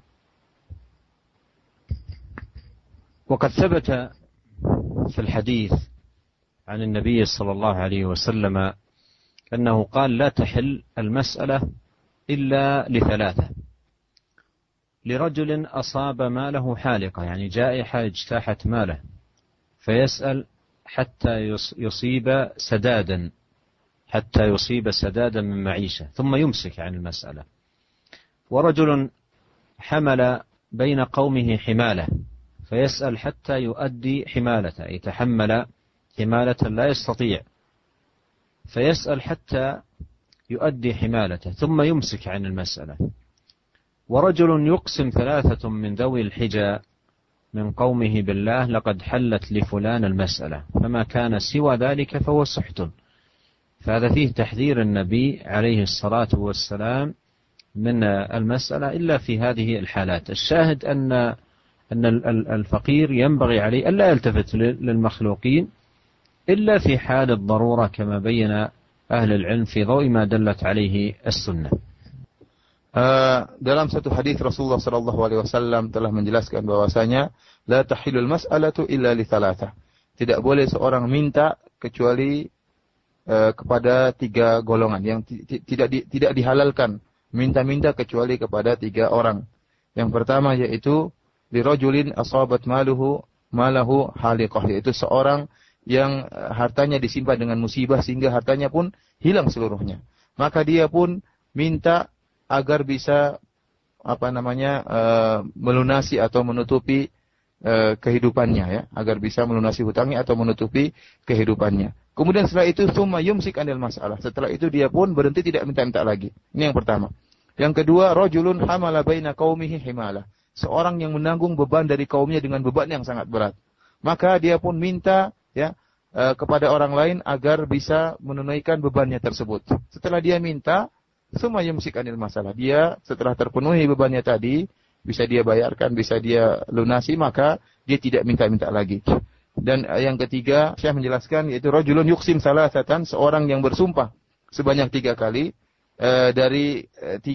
وقد ثبت في الحديث عن النبي صلى الله عليه وسلم أنه قال لا تحل المسألة إلا لثلاثة: لرجل أصاب ماله حالقة، يعني جائحة اجتاحت ماله فيسأل حتى يصيب سدادا من معيشة ثم يمسك عن المسألة. ورجل حمل بين قومه حمالة فيسأل حتى يؤدي حمالته، يتحمل حمالة لا يستطيع فيسأل حتى يؤدي حمالته ثم يمسك عن المسألة. ورجل يقسم ثلاثة من ذوي الحجى من قومه بالله لقد حلت لفلان المسألة فما كان سوى ذلك فهو سحت. فهذا فيه تحذير النبي عليه الصلاة والسلام من المسألة إلا في هذه الحالات. الشاهد أن الفقير ينبغي عليه ألا يلتفت للمخلوقين إلا في حال الضرورة كما بين أهل العلم في ضوء ما دلت عليه السنة. Dalam satu hadis Rasulullah sallallahu alaihi wasallam telah menjelaskan bahwasanya la tahilul mas'alatu illa li thalathah. Tidak boleh seorang minta kecuali kepada tiga golongan yang tidak dihalalkan minta-minta kecuali kepada tiga orang. Yang pertama yaitu lirajulin asabat malahu haliqah, yaitu seorang yang hartanya disimpan dengan musibah sehingga hartanya pun hilang seluruhnya. Maka dia pun minta agar bisa melunasi atau menutupi kehidupannya, ya, agar bisa melunasi hutangnya atau menutupi kehidupannya. Kemudian setelah itu tsumma yumsik anil masalah. Setelah itu dia pun berhenti tidak minta-minta lagi. Ini yang pertama. Yang kedua, rajulun hamala baina qaumihi himalah. Seorang yang menanggung beban dari kaumnya dengan beban yang sangat berat. Maka dia pun minta, ya, kepada orang lain agar bisa menunaikan bebannya tersebut. Setelah dia minta, tsumma yumsik anil masalah. Dia setelah terpenuhi bebannya tadi, bisa dia bayarkan, bisa dia lunasi, maka dia tidak minta-minta lagi. Dan yang ketiga, Syekh menjelaskan yaitu rajulun yuqsim salasatan, seorang yang bersumpah sebanyak 3 kali dari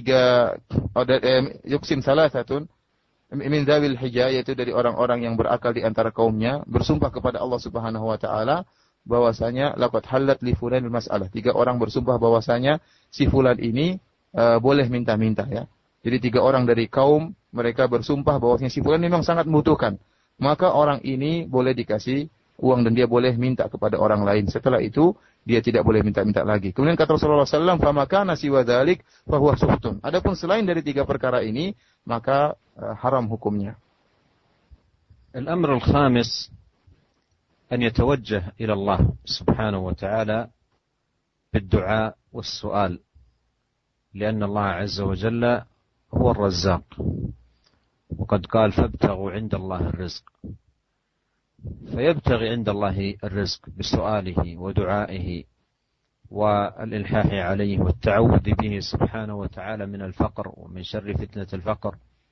yuqsim salasatun min dzawil hijah, yaitu dari orang-orang yang berakal di antara kaumnya, bersumpah kepada Allah Subhanahu wa taala bahwasanya laqad halat li fulanil mas'alah. 3 orang bersumpah bahwasanya si fulan ini boleh minta-minta, ya. Jadi 3 orang dari kaum mereka bersumpah bahwasanya si fulan memang sangat membutuhkan. Maka orang ini boleh dikasih uang dan dia boleh minta kepada orang lain. Setelah itu dia tidak boleh minta-minta lagi. Kemudian kata Rasulullah SAW, "Fa makana siwa dzalik fa huwa suhtun." Adapun selain dari 3 perkara ini, maka haram hukumnya. الأمر الخامس أن يتوجه إلى الله سبحانه وتعالى بالدعاء والسؤال، لأن الله عز وجل هو الرزاق، وقد قال فابتغوا عند الله الرزق، فيبتغي عند الله الرزق بسؤاله ودعائه والإلحاح عليه والتعوذ به سبحانه وتعالى من الفقر ومن شر فتنة الفقر.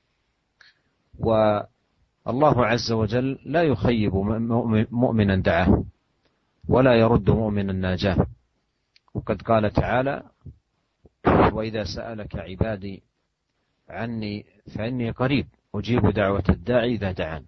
والله عز وجل لا يخيب مؤمنا دعاه ولا يرد مؤمنا ناجاه، وقد قال تعالى: وإذا سألك عبادي عني فإني قريب أجيب دعوة الداعي إذا دعان.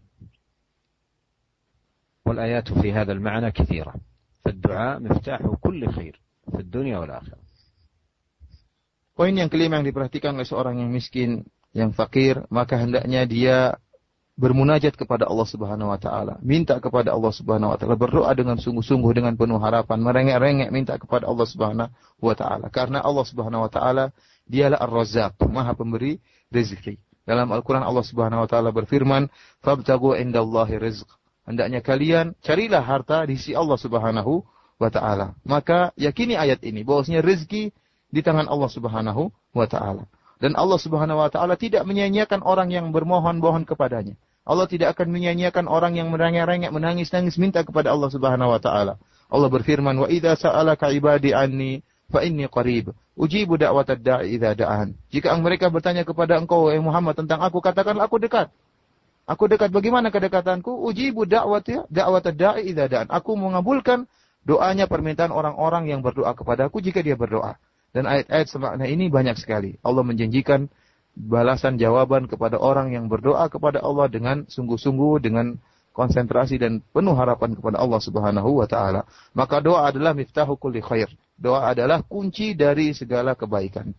والآيات في هذا المعنى كثيرة، فالدعاء مفتاح كل خير في الدنيا والآخرة. Poin yang kelima yang diperhatikan oleh seorang yang miskin, yang fakir, maka hendaknya dia bermunajat kepada Allah Subhanahu wa taala, minta kepada Allah Subhanahu wa taala, berdoa dengan sungguh-sungguh dengan penuh harapan, merengek-rengek minta kepada Allah Subhanahu wa taala. Karena Allah Subhanahu wa taala dialah Ar-Razzaq, Maha pemberi rezeki. Dalam Al-Qur'an Allah Subhanahu wa taala berfirman, "Fabtaghu indallahi rizq." Hendaknya kalian carilah harta di sisi Allah Subhanahu wa taala. Maka yakini ayat ini bahwasanya rezeki di tangan Allah Subhanahu wa taala. Dan Allah Subhanahu wa taala tidak menyia-nyiakan orang yang bermohon-mohon kepadanya. Allah tidak akan menyia-nyiakan orang yang merengek-rengek, menangis-nangis minta kepada Allah Subhanahu wa taala. Allah berfirman, "Wa idza sa'alaka 'ibadi anni fa inni qarib, ujibu da'watad da'i idza da'an." Jika mereka bertanya kepada engkau, wahai Muhammad, tentang aku, katakanlah aku dekat. Aku dekat. Bagaimana kedekatanku? Ujibu da'watad da'i idza da'an. Aku mengabulkan doanya, permintaan orang-orang yang berdoa kepadaku jika dia berdoa. Dan ayat-ayat semakna ini banyak sekali. Allah menjanjikan balasan jawaban kepada orang yang berdoa kepada Allah dengan sungguh-sungguh, dengan konsentrasi dan penuh harapan kepada Allah Subhanahu wa taala. Maka doa adalah miftahu kulli khair. Doa adalah kunci dari segala kebaikan.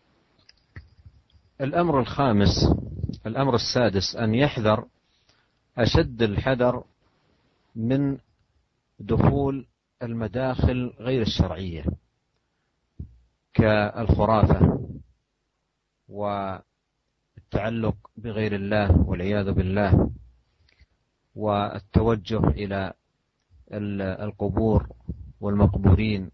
الأمر السادس أن يحذر أشد الحذر من دخول المداخل غير الشرعية كالخرافة والتعلق بغير الله والعياذ بالله، والتوجه إلى القبور والمقبورين،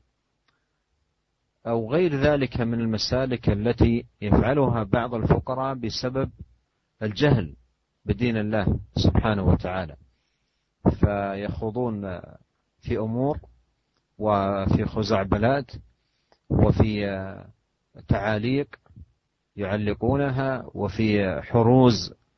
أو غير ذلك من المسالك التي يفعلها بعض الفقراء بسبب الجهل بدين الله سبحانه وتعالى، فيخوضون في أمور وفي خزعبلات وفي تعاليق يعلقونها وفي حروز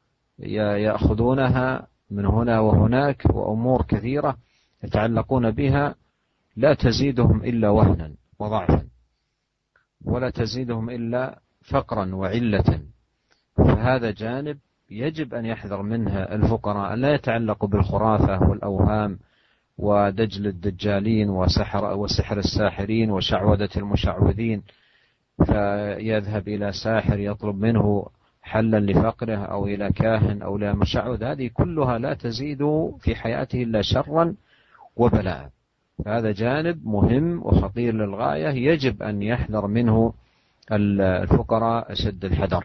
يأخذونها من هنا وهناك، وأمور كثيرة يتعلقون بها لا تزيدهم إلا وهنا وضعفا، ولا تزيدهم إلا فقرا وعلة. فهذا جانب يجب أن يحذر منها الفقراء، أن لا يتعلقوا بالخرافة والأوهام ودجل الدجالين وسحر الساحرين وشعوذة المشعوذين، فيذهب إلى ساحر يطلب منه حلا لفقره، أو إلى كاهن أو إلى مشعوذ. هذه كلها لا تزيد في حياته إلا شرا وبلاء. هذا جانب مهم وخطير للغاية، يجب أن يحذر منه الفقراء أشد الحذر.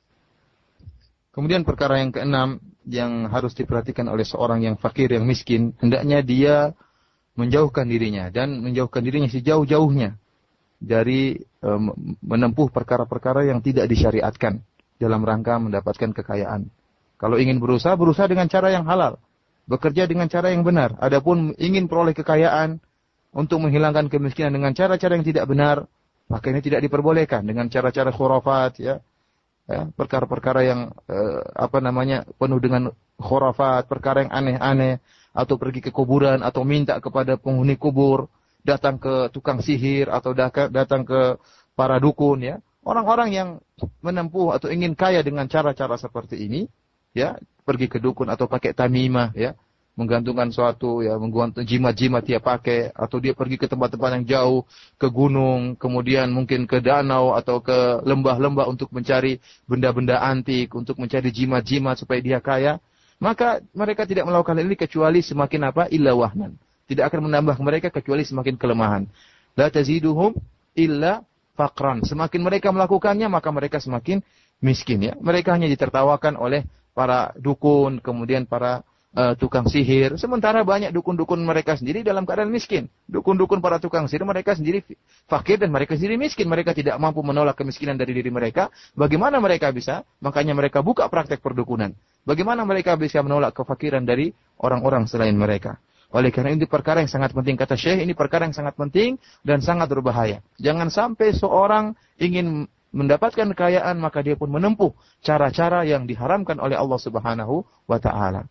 Kemudian perkara yang keenam yang harus diperhatikan oleh seorang yang fakir, yang miskin, hendaknya dia menjauhkan dirinya dan menjauhkan dirinya sejauh-jauhnya dari menempuh perkara-perkara yang tidak disyariatkan dalam rangka mendapatkan kekayaan. Kalau ingin berusaha dengan cara yang halal, bekerja dengan cara yang benar. Adapun ingin peroleh kekayaan untuk menghilangkan kemiskinan dengan cara-cara yang tidak benar, maka ini tidak diperbolehkan, dengan cara-cara khurafat, ya, perkara-perkara yang penuh dengan khurafat, perkara yang aneh-aneh, atau pergi ke kuburan, atau minta kepada penghuni kubur, datang ke tukang sihir, atau datang ke para dukun, ya. Orang-orang yang menempuh atau ingin kaya dengan cara-cara seperti ini, ya, pergi ke dukun atau pakai tamimah, ya, menggantungkan suatu, ya, menggantung jimat-jimat dia pakai, atau dia pergi ke tempat-tempat yang jauh, ke gunung, kemudian mungkin ke danau atau ke lembah-lembah untuk mencari benda-benda antik, untuk mencari jimat-jimat supaya dia kaya, maka mereka tidak melakukan ini kecuali semakin illa wahnan. Tidak akan menambah mereka kecuali semakin kelemahan. La taziduhum illa faqran. Semakin mereka melakukannya, maka mereka semakin miskin, ya. Mereka hanya ditertawakan oleh para dukun, kemudian para tukang sihir. Sementara banyak dukun-dukun mereka sendiri dalam keadaan miskin. Dukun-dukun para tukang sihir mereka sendiri fakir dan mereka sendiri miskin. Mereka tidak mampu menolak kemiskinan dari diri mereka. Bagaimana mereka bisa? Makanya mereka buka praktek perdukunan. Bagaimana mereka bisa menolak kefakiran dari orang-orang selain mereka? Oleh karena ini perkara yang sangat penting, kata Syekh, ini perkara yang sangat penting dan sangat berbahaya. Jangan sampai seorang ingin mendapatkan kekayaan maka dia pun menempuh cara-cara yang diharamkan oleh Allah Subhanahu wa taala.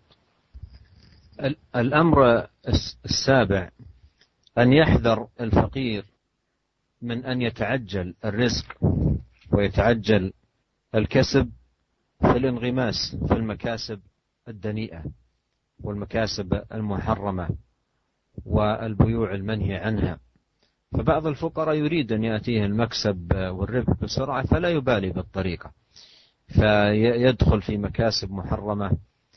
الأمر السابع أن يحذر الفقير من أن يتعجل الرزق ويتعجل الكسب في الانغماس في المكاسب الدنيئة والمكاسب المحرمة والبيوع المنهي عنها. فبعض الفقراء يريد أن يأتيه المكسب والربح بسرعة فلا يبالي بالطريقة، فيدخل في مكاسب محرمة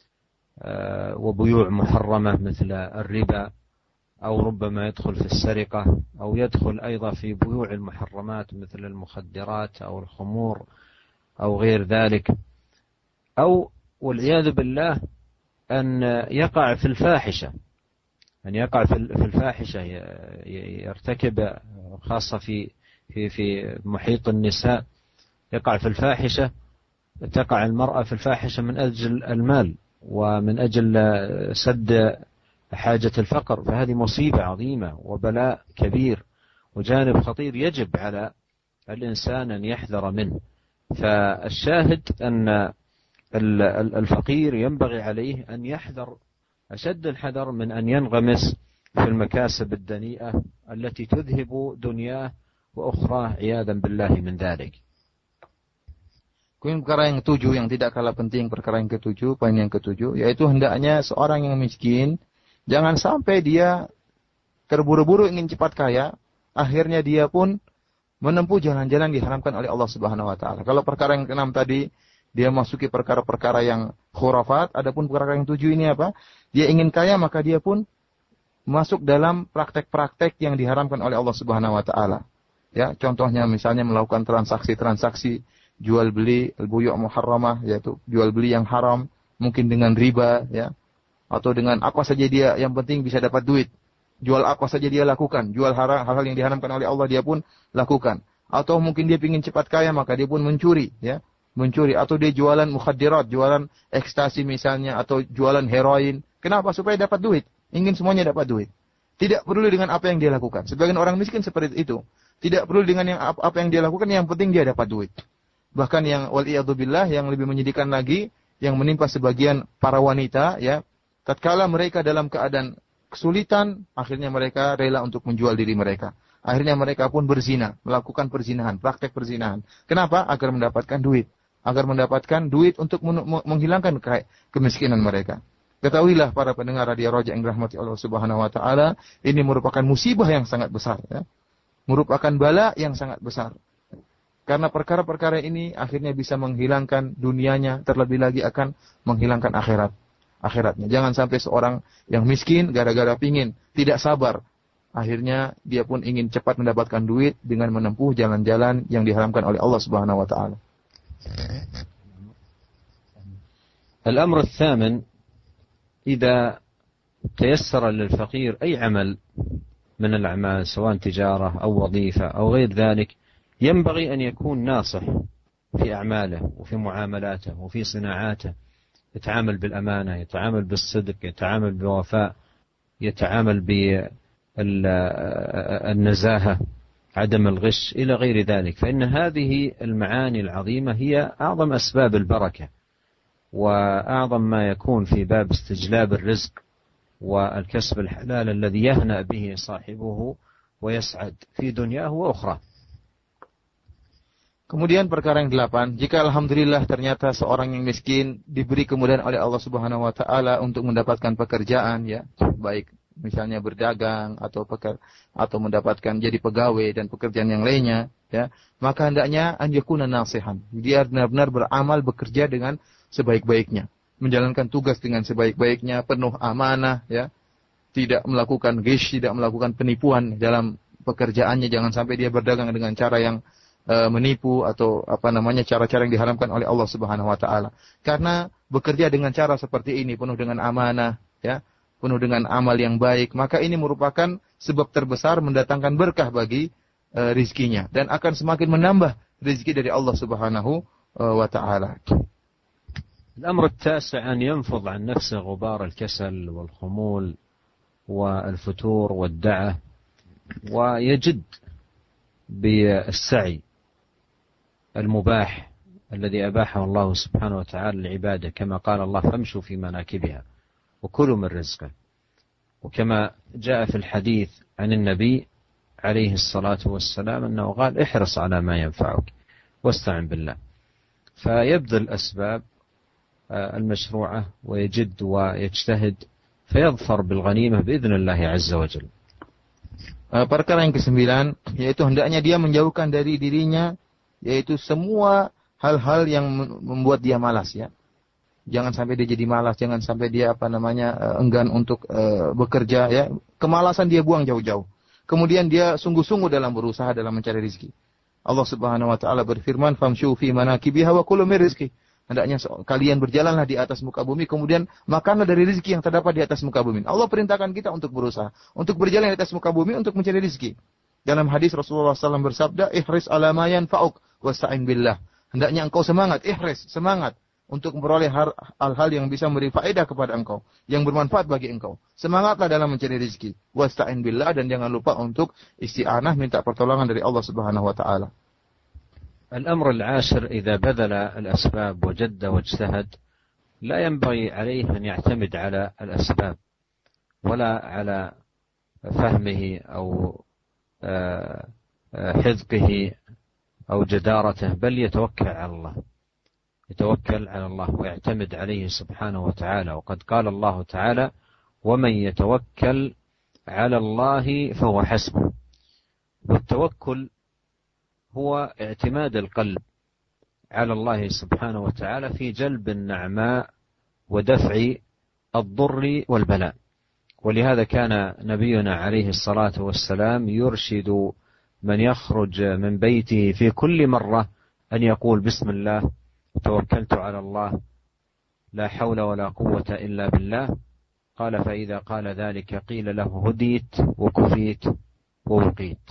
وبيوع محرمة مثل الربا، أو ربما يدخل في السرقة، أو يدخل أيضا في بيوع المحرمات مثل المخدرات أو الخمور أو غير ذلك، أو والعياذ بالله أن يقع في الفاحشة، أن يقع في الفاحشة، يرتكب خاصة في محيط النساء، يقع في الفاحشة، تقع المرأة في الفاحشة من أجل المال ومن أجل سد حاجة الفقر. فهذه مصيبة عظيمة وبلاء كبير وجانب خطير يجب على الإنسان أن يحذر منه. فالشاهد أن الفقير ينبغي عليه أن يحذر أشد الحذر من أن ينغمس في المكاسب الدنيئة التي تذهب دنياه وأخراه عياذا بالله من ذلك. Kemudian perkara yang ketujuh yang tidak kalah penting, perkara yang ketujuh, poin yang ketujuh, yaitu hendaknya seorang yang miskin jangan sampai dia terburu-buru ingin cepat kaya, akhirnya dia pun menempuh jalan-jalan diharamkan oleh Allah Subhanahu wa taala. Kalau perkara yang keenam tadi dia masuki perkara-perkara yang khurafat, adapun perkara yang tujuh ini apa? Dia ingin kaya maka dia pun masuk dalam praktek-praktek yang diharamkan oleh Allah Subhanahu wa taala. Ya, contohnya misalnya melakukan transaksi-transaksi jual beli al-buyu' muharramah, yaitu jual beli yang haram, mungkin dengan riba, ya, atau dengan apa saja dia, yang penting bisa dapat duit. Jual apa saja dia lakukan, jual hal-hal yang diharamkan oleh Allah dia pun lakukan. Atau mungkin dia ingin cepat kaya maka dia pun mencuri, ya, mencuri. Atau dia jualan mukhadirat, jualan ekstasi misalnya, atau jualan heroin. Kenapa? Supaya dapat duit. Ingin semuanya dapat duit. Tidak peduli dengan apa yang dia lakukan. Sebagian orang miskin seperti itu. Tidak peduli dengan apa yang dia lakukan, yang penting dia dapat duit. Bahkan yang wal'iyadzubillah, yang lebih menyedihkan lagi, yang menimpa sebagian para wanita, ya, tatkala mereka dalam keadaan kesulitan, akhirnya mereka rela untuk menjual diri mereka. Akhirnya mereka pun berzina, melakukan perzinahan, praktek perzinahan. Kenapa? Agar mendapatkan duit. Agar mendapatkan duit untuk menghilangkan kemiskinan mereka. Ketahuilah para pendengar Radio Raja yang dirahmati Allah Subhanahu wa taala, ini merupakan musibah yang sangat besar, ya. Merupakan bala yang sangat besar. Karena perkara-perkara ini akhirnya bisa menghilangkan dunianya, terlebih lagi akan menghilangkan akhiratnya. Jangan sampai seorang yang miskin gara-gara pingin, tidak sabar, akhirnya dia pun ingin cepat mendapatkan duit dengan menempuh jalan-jalan yang diharamkan oleh Allah Subhanahu wa taala. الأمر الثامن إذا تيسر للفقير أي عمل من الأعمال سواء تجارة أو وظيفة أو غير ذلك، ينبغي أن يكون ناصح في أعماله وفي معاملاته وفي صناعاته، يتعامل بالأمانة، يتعامل بالصدق، يتعامل بوفاء، يتعامل بالنزاهة، عدم الغش إلى غير ذلك. فإن هذه المعاني العظيمة هي أعظم أسباب البركة وأعظم ما يكون في باب استجلاب الرزق والكسب الحلال الذي يهنأ به صاحبه ويسعد في دنياه وأخرى. Kemudian perkara yang 8, jika alhamdulillah ternyata seorang yang miskin diberi kemudahan oleh Allah Subhanahu wa taala untuk mendapatkan pekerjaan, ya, baik misalnya berdagang atau mendapatkan jadi pegawai dan pekerjaan yang lainnya, ya, maka hendaknya an yakuna nasihan. Dia benar-benar beramal, bekerja dengan sebaik-baiknya, menjalankan tugas dengan sebaik-baiknya, penuh amanah, ya, tidak melakukan ghish, tidak melakukan penipuan dalam pekerjaannya. Jangan sampai dia berdagang dengan cara yang menipu atau cara-cara yang diharamkan oleh Allah Subhanahu wa taala. Karena bekerja dengan cara seperti ini penuh dengan amanah, ya, penuh dengan amal yang baik, maka ini merupakan sebab terbesar mendatangkan berkah bagi rizkinya dan akan semakin menambah rizki dari Allah Subhanahu wa taala. الأمر التاسع أن ينفض عن نفسه غبار الكسل والخمول والفتور والدعة ويجد بالسعي المباح الذي أباحه الله سبحانه وتعالى للعبادة، كما قال الله فامشوا في مناكبها وكلوا من رزقه. وكما جاء في الحديث عن النبي عليه الصلاة والسلام أنه قال احرص على ما ينفعك واستعن بالله، فيبذل الأسباب المشروعة ويجد ويجتهد فيظفر بالغنيمة بإذن الله عز وجل. Perkara yang ke-9 yaitu hendaknya dia menjauhkan dari dirinya yaitu semua hal-hal yang membuat dia malas ya. Jangan sampai dia jadi malas, jangan sampai dia enggan untuk bekerja ya. Kemalasan dia buang jauh-jauh. Kemudian dia sungguh-sungguh dalam berusaha dalam mencari rezeki. Allah Subhanahu wa taala berfirman, "Famshu fi manakibiha wa kulu min rizqi." Hendaknya kalian berjalanlah di atas muka bumi, kemudian makanlah dari rezeki yang terdapat di atas muka bumi. Allah perintahkan kita untuk berusaha, untuk berjalan di atas muka bumi, untuk mencari rezeki. Dalam hadis Rasulullah SAW bersabda, ihris ala ma yanfa'uk wasta'in billah. Hendaknya engkau semangat, semangat untuk memperoleh hal-hal yang bisa memberi faedah kepada engkau, yang bermanfaat bagi engkau. Semangatlah dalam mencari rezeki. Wasta'in billah, dan jangan lupa untuk isti'anah, minta pertolongan dari Allah Subhanahu wa taala. الأمر العاشر إذا بذل الأسباب وجد واجتهد لا ينبغي عليه أن يعتمد على الأسباب ولا على فهمه أو حذقه أو جدارته، بل يتوكل على الله ويعتمد عليه سبحانه وتعالى. وقد قال الله تعالى ومن يتوكل على الله فهو حسبه. والتوكل هو اعتماد القلب على الله سبحانه وتعالى في جلب النعماء ودفع الضر والبلاء. ولهذا كان نبينا عليه الصلاة والسلام يرشد من يخرج من بيته في كل مرة أن يقول بسم الله توكلت على الله لا حول ولا قوة إلا بالله. قال فإذا قال ذلك قيل له هديت وكفيت ووقيت.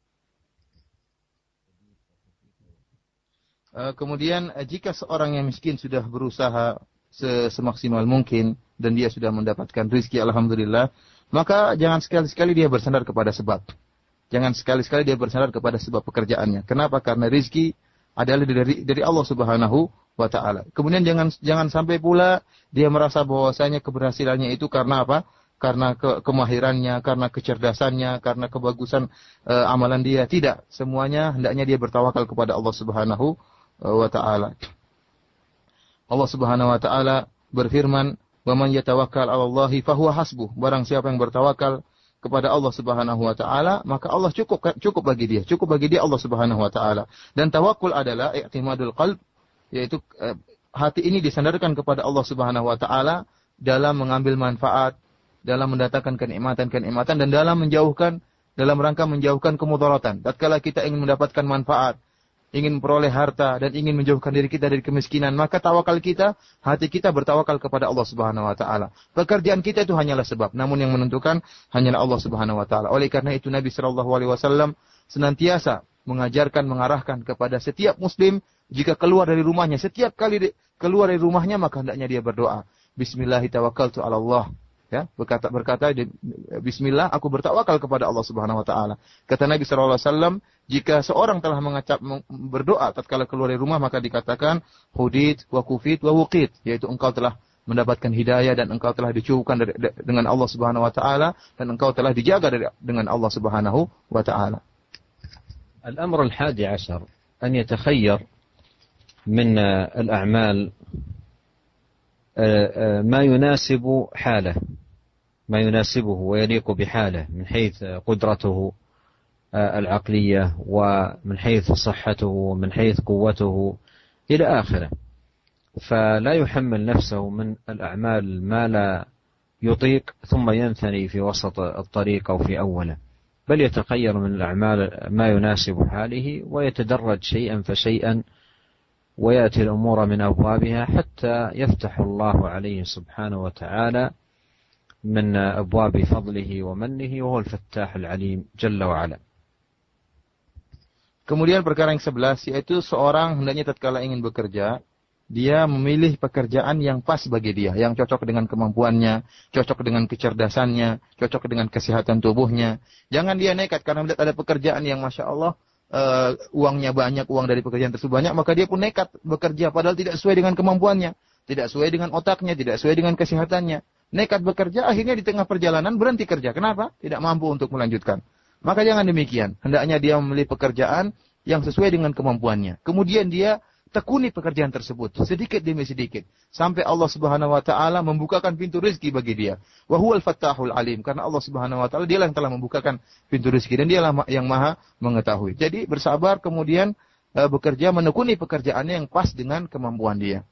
Kemudian jika seorang yang miskin sudah berusaha semaksimal mungkin dan dia sudah mendapatkan rezeki alhamdulillah, maka jangan sekali-sekali dia bersandar kepada sebab. Jangan sekali-sekali dia bersandar kepada sebab pekerjaannya. Kenapa? Karena rezeki adalah dari Allah Subhanahu wa taala. Kemudian jangan sampai pula dia merasa bahwasanya keberhasilannya itu karena apa? Karena kemahirannya, karena kecerdasannya, karena kebagusan amalan dia. Tidak, semuanya hendaknya dia bertawakal kepada Allah Subhanahu wa ta'ala. Allah Subhanahu wa ta'ala berfirman, "Wa man yatawakkal 'ala Allahi fahuwa hasbuh." Barang siapa yang bertawakal kepada Allah Subhanahu wa ta'ala, maka Allah cukup bagi dia. Cukup bagi dia Allah Subhanahu wa ta'ala. Dan tawakkul adalah i'timadul qalb, yaitu hati ini disandarkan kepada Allah Subhanahu wa ta'ala dalam mengambil manfaat, dalam mendatangkan kenikmatan dan dalam rangka menjauhkan kemudaratan. Tatkala kita ingin mendapatkan manfaat, ingin memperoleh harta dan ingin menjauhkan diri kita dari kemiskinan, maka tawakal kita, hati kita bertawakal kepada Allah Subhanahu wa taala. Pekerjaan kita itu hanyalah sebab, namun yang menentukan hanyalah Allah Subhanahu wa taala. Oleh karena itu Nabi sallallahu alaihi wasallam senantiasa mengarahkan kepada setiap muslim jika keluar dari rumahnya, setiap kali keluar dari rumahnya maka hendaknya dia berdoa, bismillah tawakkaltu 'ala Allah. Ya, berkata bismillah, aku bertawakal kepada Allah Subhanahu wa taala. Kata Nabi sallallahu alaihi wasallam, jika seorang telah berdoa tatkala keluar dari rumah maka dikatakan hudit wa kufit wa wuqit, yaitu engkau telah mendapatkan hidayah dan engkau telah dicukupkan dengan Allah Subhanahu wa taala dan engkau telah dijaga dengan Allah Subhanahu wa taala. الأمر 11 أن يتخير من الأعمال ما يناسب حاله، ما يناسبه ويليق بحاله من حيث قدرته العقلية ومن حيث صحته ومن حيث قوته إلى آخره. فلا يحمل نفسه من الأعمال ما لا يطيق ثم ينثني في وسط الطريق أو في أوله، بل يتخير من الأعمال ما يناسب حاله ويتدرج شيئا فشيئا ويأتي الأمور من أبوابها حتى يفتح الله عليه سبحانه وتعالى من أبواب فضله ومنه وهو الفتاح العليم جل وعلا. Kemudian perkara yang 11 yaitu seorang hendaknya tatkala ingin bekerja, dia memilih pekerjaan yang pas bagi dia, yang cocok dengan kemampuannya, cocok dengan kecerdasannya, cocok dengan kesehatan tubuhnya. Jangan dia nekat karena melihat ada pekerjaan yang Masya Allah uangnya banyak, uang dari pekerjaan tersebut banyak, maka dia pun nekat bekerja padahal tidak sesuai dengan kemampuannya, tidak sesuai dengan otaknya, tidak sesuai dengan kesehatannya. Nekat bekerja, akhirnya di tengah perjalanan berhenti kerja. Kenapa? Tidak mampu untuk melanjutkan. Maka jangan demikian. Hendaknya dia memilih pekerjaan yang sesuai dengan kemampuannya. Kemudian dia tekuni pekerjaan tersebut sedikit demi sedikit sampai Allah Subhanahu wa taala membukakan pintu rezeki bagi dia. Wa huwal fattahul alim, karena Allah Subhanahu wa taala dialah yang telah membukakan pintu rezeki dan dialah yang Maha mengetahui. Jadi bersabar kemudian bekerja menekuni pekerjaannya yang pas dengan kemampuan dia.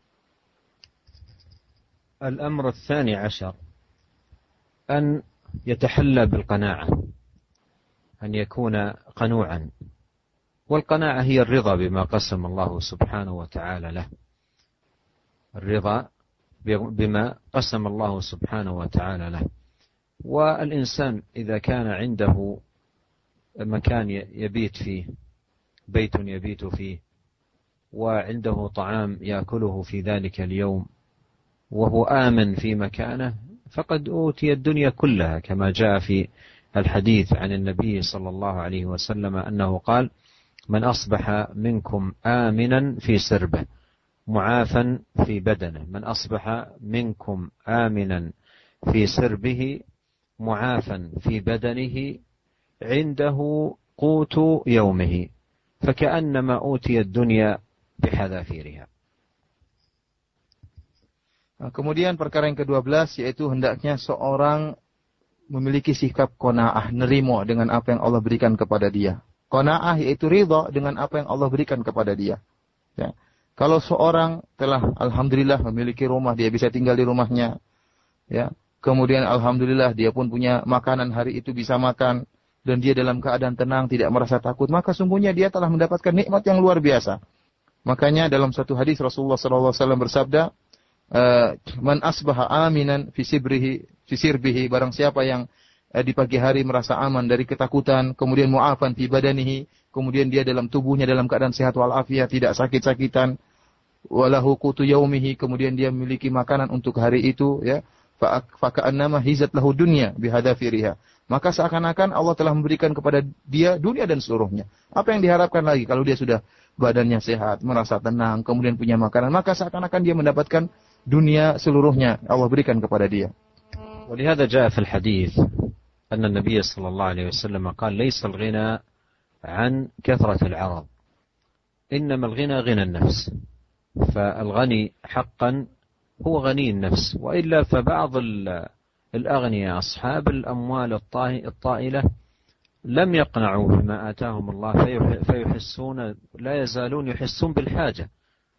الأمر الثاني عشر أن يتحلى بالقناعة، أن يكون قنوعا، والقناعة هي الرضا بما قسم الله سبحانه وتعالى له، الرضا بما قسم الله سبحانه وتعالى له. والإنسان إذا كان عنده مكان يبيت فيه، بيت يبيت فيه، وعنده طعام يأكله في ذلك اليوم، وهو آمن في مكانه، فقد أوتي الدنيا كلها، كما جاء في الحديث عن النبي صلى الله عليه وسلم أنه قال: من أصبح منكم آمنا في سربه معافا في بدنه، من أصبح منكم آمنا في سربه معافا في بدنه عنده قوت يومه فكأنما أوتي الدنيا بحذافيرها. Kemudian perkara yang ke-12 yaitu hendaknya seorang memiliki sikap qanaah, nerimo dengan apa yang Allah berikan kepada dia. Qanaah yaitu ridha dengan apa yang Allah berikan kepada dia. Ya. Kalau seorang telah alhamdulillah memiliki rumah, dia bisa tinggal di rumahnya. Ya. Kemudian alhamdulillah dia pun punya makanan hari itu bisa makan dan dia dalam keadaan tenang, tidak merasa takut, maka sungguhnya dia telah mendapatkan nikmat yang luar biasa. Makanya dalam satu hadis Rasulullah sallallahu alaihi wasallam bersabda, man asbaha aminan fi sirbihi, barang siapa yang di pagi hari merasa aman dari ketakutan, kemudian mu'afan fi badanihi, kemudian dia dalam tubuhnya dalam keadaan sehat walafiat, tidak sakit-sakitan, walahu qutu yaumihi, kemudian dia memiliki makanan untuk hari itu, ya, fa ka'annama hizat lahu dunya bihadafiriha, maka seakan-akan Allah telah memberikan kepada dia dunia dan seluruhnya. Apa yang diharapkan lagi kalau dia sudah badannya sehat, merasa tenang, kemudian punya makanan, maka seakan-akan dia mendapatkan dunia seluruhnya Allah berikan kepada dia. ولهذا جاء في الحديث أن النبي صلى الله عليه وسلم قال: ليس الغنى عن كثرة العرض، إنما الغنى غنى النفس. فالغني حقا هو غني النفس، وإلا فبعض الأغنياء أصحاب الأموال الطائلة لم يقنعوا بما آتاهم الله فيحسون، لا يزالون يحسون بالحاجة،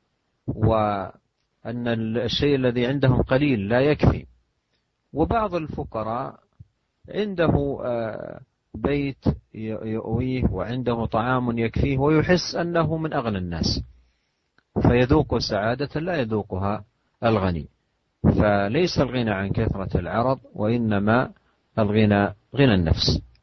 وأن الشيء الذي عندهم قليل لا يكفي. وبعض الفقراء عنده بيت يؤويه وعنده طعام يكفيه ويحس أنه من أغنى الناس، فيذوق سعادة لا يذوقها الغني. فليس الغنى عن كثرة العرض، وإنما الغنى غنى النفس.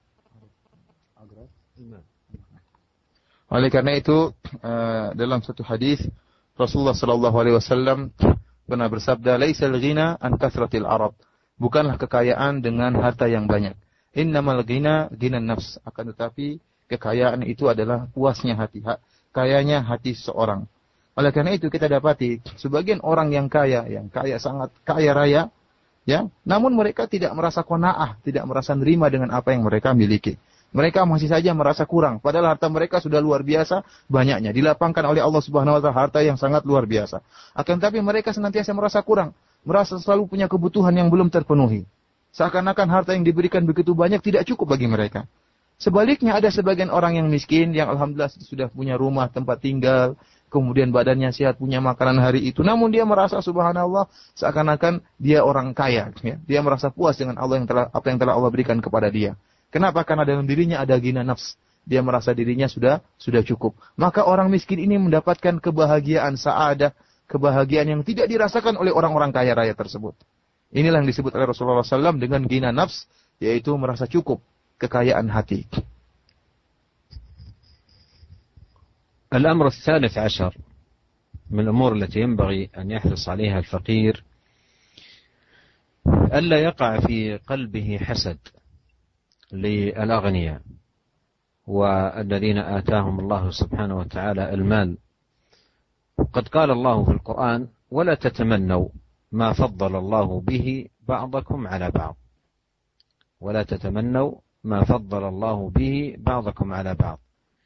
Oleh karena itu dalam satu hadis Rasulullah sallallahu alaihi wasallam pernah bersabda, "Laisal ghina an kathratil arad." Bukanlah kekayaan dengan harta yang banyak. Innamal ghina ghinan nafs. Akan tetapi kekayaan itu adalah puasnya hati, kayanya hati seseorang. Oleh karena itu kita dapati sebagian orang yang kaya sangat kaya raya, ya, namun mereka tidak merasa qanaah, tidak merasa nerima dengan apa yang mereka miliki. Mereka masih saja merasa kurang, padahal harta mereka sudah luar biasa banyaknya, dilapangkan oleh Allah Subhanahu wa taala harta yang sangat luar biasa. Akan tetapi mereka senantiasa merasa kurang, merasa selalu punya kebutuhan yang belum terpenuhi. Seakan-akan harta yang diberikan begitu banyak tidak cukup bagi mereka. Sebaliknya ada sebagian orang yang miskin yang alhamdulillah sudah punya rumah, tempat tinggal, kemudian badannya sehat, punya makanan hari itu, namun dia merasa subhanallah seakan-akan dia orang kaya, ya. Dia merasa puas dengan apa yang telah Allah berikan kepada dia. Kenapa? Karena dalam dirinya ada ghina nafs. Dia merasa dirinya sudah cukup. Maka orang miskin ini mendapatkan kebahagiaan sa'adah, kebahagiaan yang tidak dirasakan oleh orang-orang kaya raya tersebut. Inilah yang disebut oleh Rasulullah SAW dengan ghina nafs, yaitu merasa cukup, kekayaan hati. الأمر الثالث عشر من الأمور التي ينبغي أن يحرص عليها الفقير ألا يقع في قلبه حسد للأغنياء والذين آتاهم الله سبحانه وتعالى المال. قد قال الله في القرآن: ولا تتمنوا ما فضل الله به بعضكم على بعض، ولا تتمنوا ما فضل الله به بعضكم على بعض.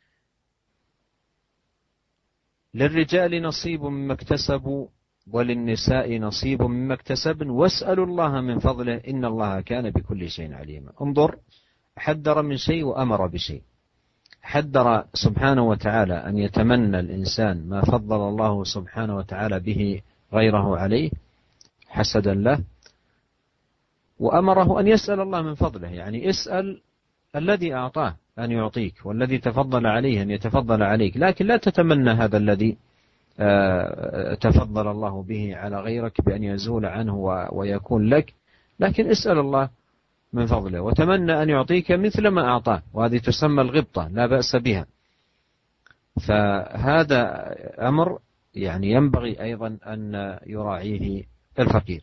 للرجال نصيب مما اكتسبوا وللنساء نصيب مما اكتسبن واسألوا الله من فضله إن الله كان بكل شيء عليما. انظر، حذر من شيء وأمر بشيء. حذر سبحانه وتعالى أن يتمنى الإنسان ما فضل الله سبحانه وتعالى به غيره عليه حسدا له، وأمره أن يسأل الله من فضله، يعني اسأل الذي أعطاه أن يعطيك، والذي تفضل عليه أن يتفضل عليك، لكن لا تتمنى هذا الذي تفضل الله به على غيرك بأن يزول عنه ويكون لك، لكن اسأل الله من فضله وتمنى أن يعطيك مثل ما أعطاه، وهذه تسمى الغبطة لا بأس بها. فهذا أمر يعني ينبغي أيضا أن يراعيه الفقير.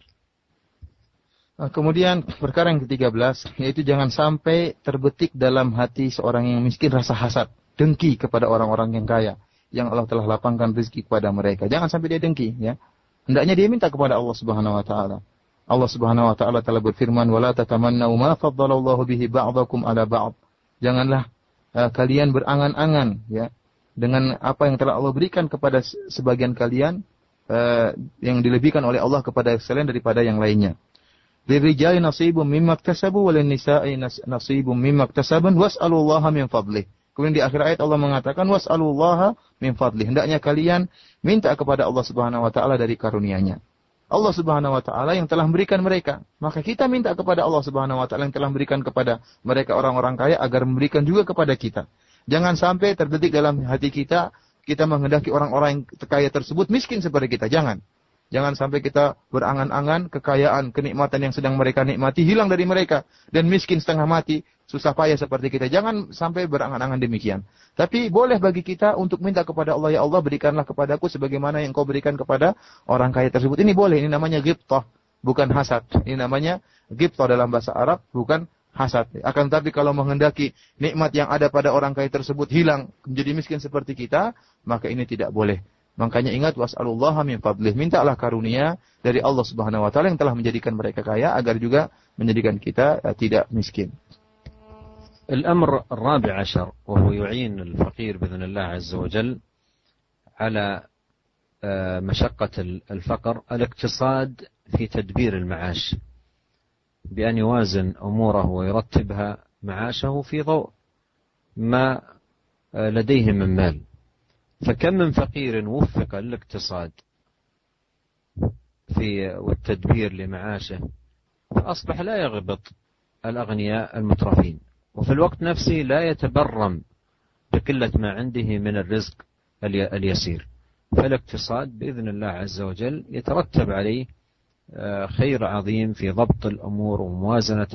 Kemudian perkara yang ke-13, yaitu jangan sampai terbetik dalam hati seorang yang miskin rasa hasad, dengki kepada orang-orang yang kaya, yang Allah telah lapangkan rezeki kepada mereka. Jangan sampai dia dengki, ya. Hendaknya dia minta kepada Allah Subhanahu wa taala. Allah Subhanahu wa taala telah berfirman, "Wala tatamannau ma faddalallahu bihi ba'dakum 'ala ba'd." Janganlah kalian berangan-angan, ya, dengan apa yang telah Allah berikan kepada sebagian kalian, yang dilebihkan oleh Allah kepada selain daripada yang lainnya. Lirijali nasibum mimma iktasabu walin nisa'i nasibum mimma iktasabun was'alullaha min fadlih. Kemudian di akhir ayat Allah mengatakan was'alullaha min fadlih. Hendaknya kalian minta kepada Allah Subhanahu wa taala dari karunia-Nya. Allah Subhanahu wa taala yang telah memberikan mereka, maka kita minta kepada Allah Subhanahu wa taala yang telah memberikan kepada mereka orang-orang kaya agar memberikan juga kepada kita. Jangan sampai terbetik dalam hati kita menghendaki orang-orang yang kaya tersebut miskin seperti kita. Jangan sampai kita berangan-angan kekayaan, kenikmatan yang sedang mereka nikmati hilang dari mereka dan miskin setengah mati, susah payah seperti kita. Jangan sampai berangan-angan demikian. Tapi boleh bagi kita untuk minta kepada Allah, ya Allah berikanlah kepadaku sebagaimana yang Kau berikan kepada orang kaya tersebut. Ini boleh, ini namanya ghibthah, bukan hasad. Ini namanya ghibthah dalam bahasa Arab, bukan hasad. Akan tetapi kalau menghendaki nikmat yang ada pada orang kaya tersebut hilang, menjadi miskin seperti kita, maka ini tidak boleh. Makanya ingat was'alullaha min fadlih. Mintalah karunia dari Allah Subhanahu wa taala yang telah menjadikan mereka kaya agar juga menjadikan kita tidak miskin. الأمر الرابع عشر وهو يعين الفقير بإذن الله عز وجل على مشقة الفقر الاقتصاد في تدبير المعاش بأن يوازن أموره ويرتبها معاشه في ضوء ما لديه من مال. فكم من فقير وفق الاقتصاد والتدبير لمعاشه فأصبح لا يغبط الأغنياء المترفين، وفي الوقت نفسه لا يتبرم بقلة ما عنده من الرزق اليسير. فالاقتصاد بإذن الله عز وجل يترتب عليه خير عظيم في ضبط الأمور وموازنة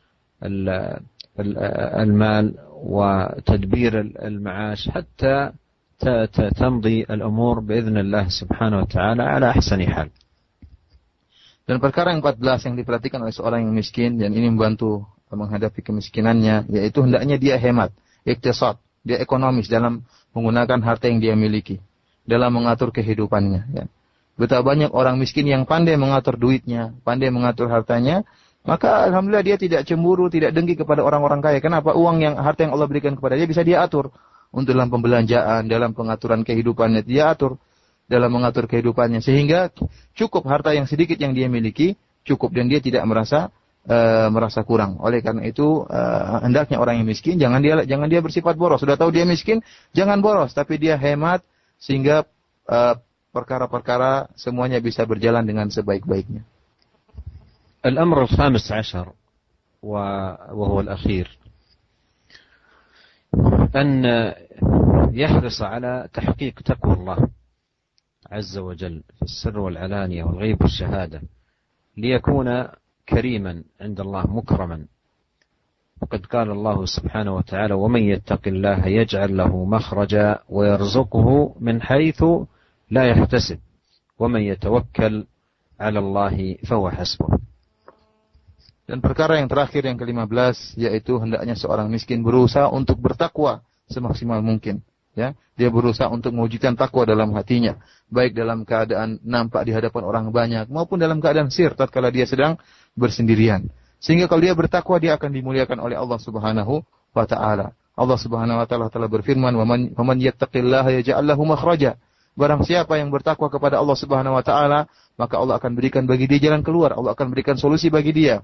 المال وتدبير المعاش حتى تمضي الأمور بإذن الله سبحانه وتعالى على أحسن حال. Dan perkara yang 14 yang diperhatikan oleh seorang yang miskin dan ini membantu menghadapi kemiskinannya, yaitu hendaknya dia hemat, iktisad, dia ekonomis dalam menggunakan harta yang dia miliki, dalam mengatur kehidupannya. Ya. Betapa banyak orang miskin yang pandai mengatur duitnya, pandai mengatur hartanya, maka alhamdulillah dia tidak cemburu, tidak dengki kepada orang-orang kaya. Kenapa? Harta yang Allah berikan kepada dia bisa dia atur. Untuk dalam pembelanjaan, dalam pengaturan kehidupannya, dia atur dalam mengatur kehidupannya. Sehingga cukup harta yang sedikit yang dia miliki, cukup dan dia tidak merasa kurang. Oleh karena itu, hendaknya orang yang miskin, jangan dia bersifat boros. Sudah tahu dia miskin, jangan boros. Tapi dia hemat, sehingga perkara-perkara semuanya bisa berjalan dengan sebaik-baiknya. Al-amr al-khamis ashar, وهو الأخير أن يحرص على تحقيق تقوى الله عز وجل في السر والعلانية والغيب والشهادة ليكون كريما عند الله مكرما. وقد قال الله سبحانه وتعالى ومن يتق الله يجعل له مخرجا ويرزقه من حيث لا يحتسب ومن يتوكل على الله فهو حسبه. Dan perkara yang terakhir yang ke-15 yaitu hendaknya seorang miskin berusaha untuk bertakwa semaksimal mungkin, ya. Dia berusaha untuk mewujudkan takwa dalam hatinya, baik dalam keadaan nampak di hadapan orang banyak maupun dalam keadaan sir tatkala dia sedang bersendirian. Sehingga kalau dia bertakwa, dia akan dimuliakan oleh Allah Subhanahu wa taala. Allah Subhanahu wa taala telah berfirman, "Wa man yattaqillaha yaj'al lahu makhraja." Barang siapa yang bertakwa kepada Allah Subhanahu wa taala, maka Allah akan berikan bagi dia jalan keluar, Allah akan berikan solusi bagi dia.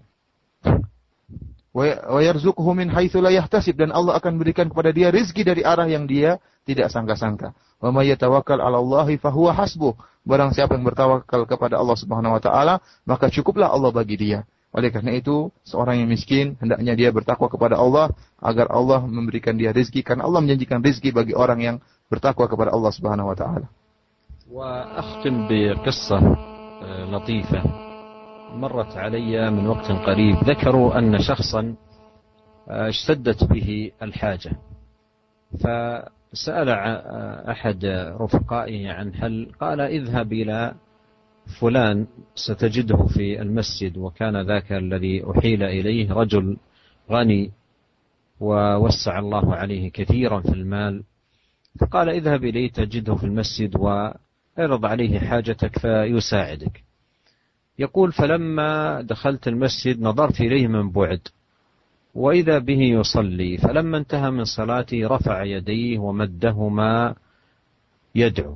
Wa yarzuquhu min haitsu la yahtasib, dan Allah akan berikan kepada dia rezeki dari arah yang dia tidak sangka-sangka. Wa may yatawakkal 'ala Allahi fahuwa hasbuh. Barang siapa yang bertawakal kepada Allah Subhanahu wa taala, maka cukuplah Allah bagi dia. Oleh karena itu, seorang yang miskin hendaknya dia bertakwa kepada Allah agar Allah memberikan dia rezeki, karena Allah menjanjikan rezeki bagi orang yang bertakwa kepada Allah Subhanahu wa taala. Wa akhtim bi qissah latifah مرت علي من وقت قريب. ذكروا أن شخصا اشتدت به الحاجة، فسأل أحد رفقائه عن حل، قال اذهب إلى فلان ستجده في المسجد، وكان ذاك الذي أحيل إليه رجل غني ووسع الله عليه كثيرا في المال، فقال اذهب إليه تجده في المسجد واعرض عليه حاجتك فيساعدك. يقول فلما دخلت المسجد نظرت إليه من بعد وإذا به يصلي، فلما انتهى من صلاته رفع يديه ومدهما يدعو،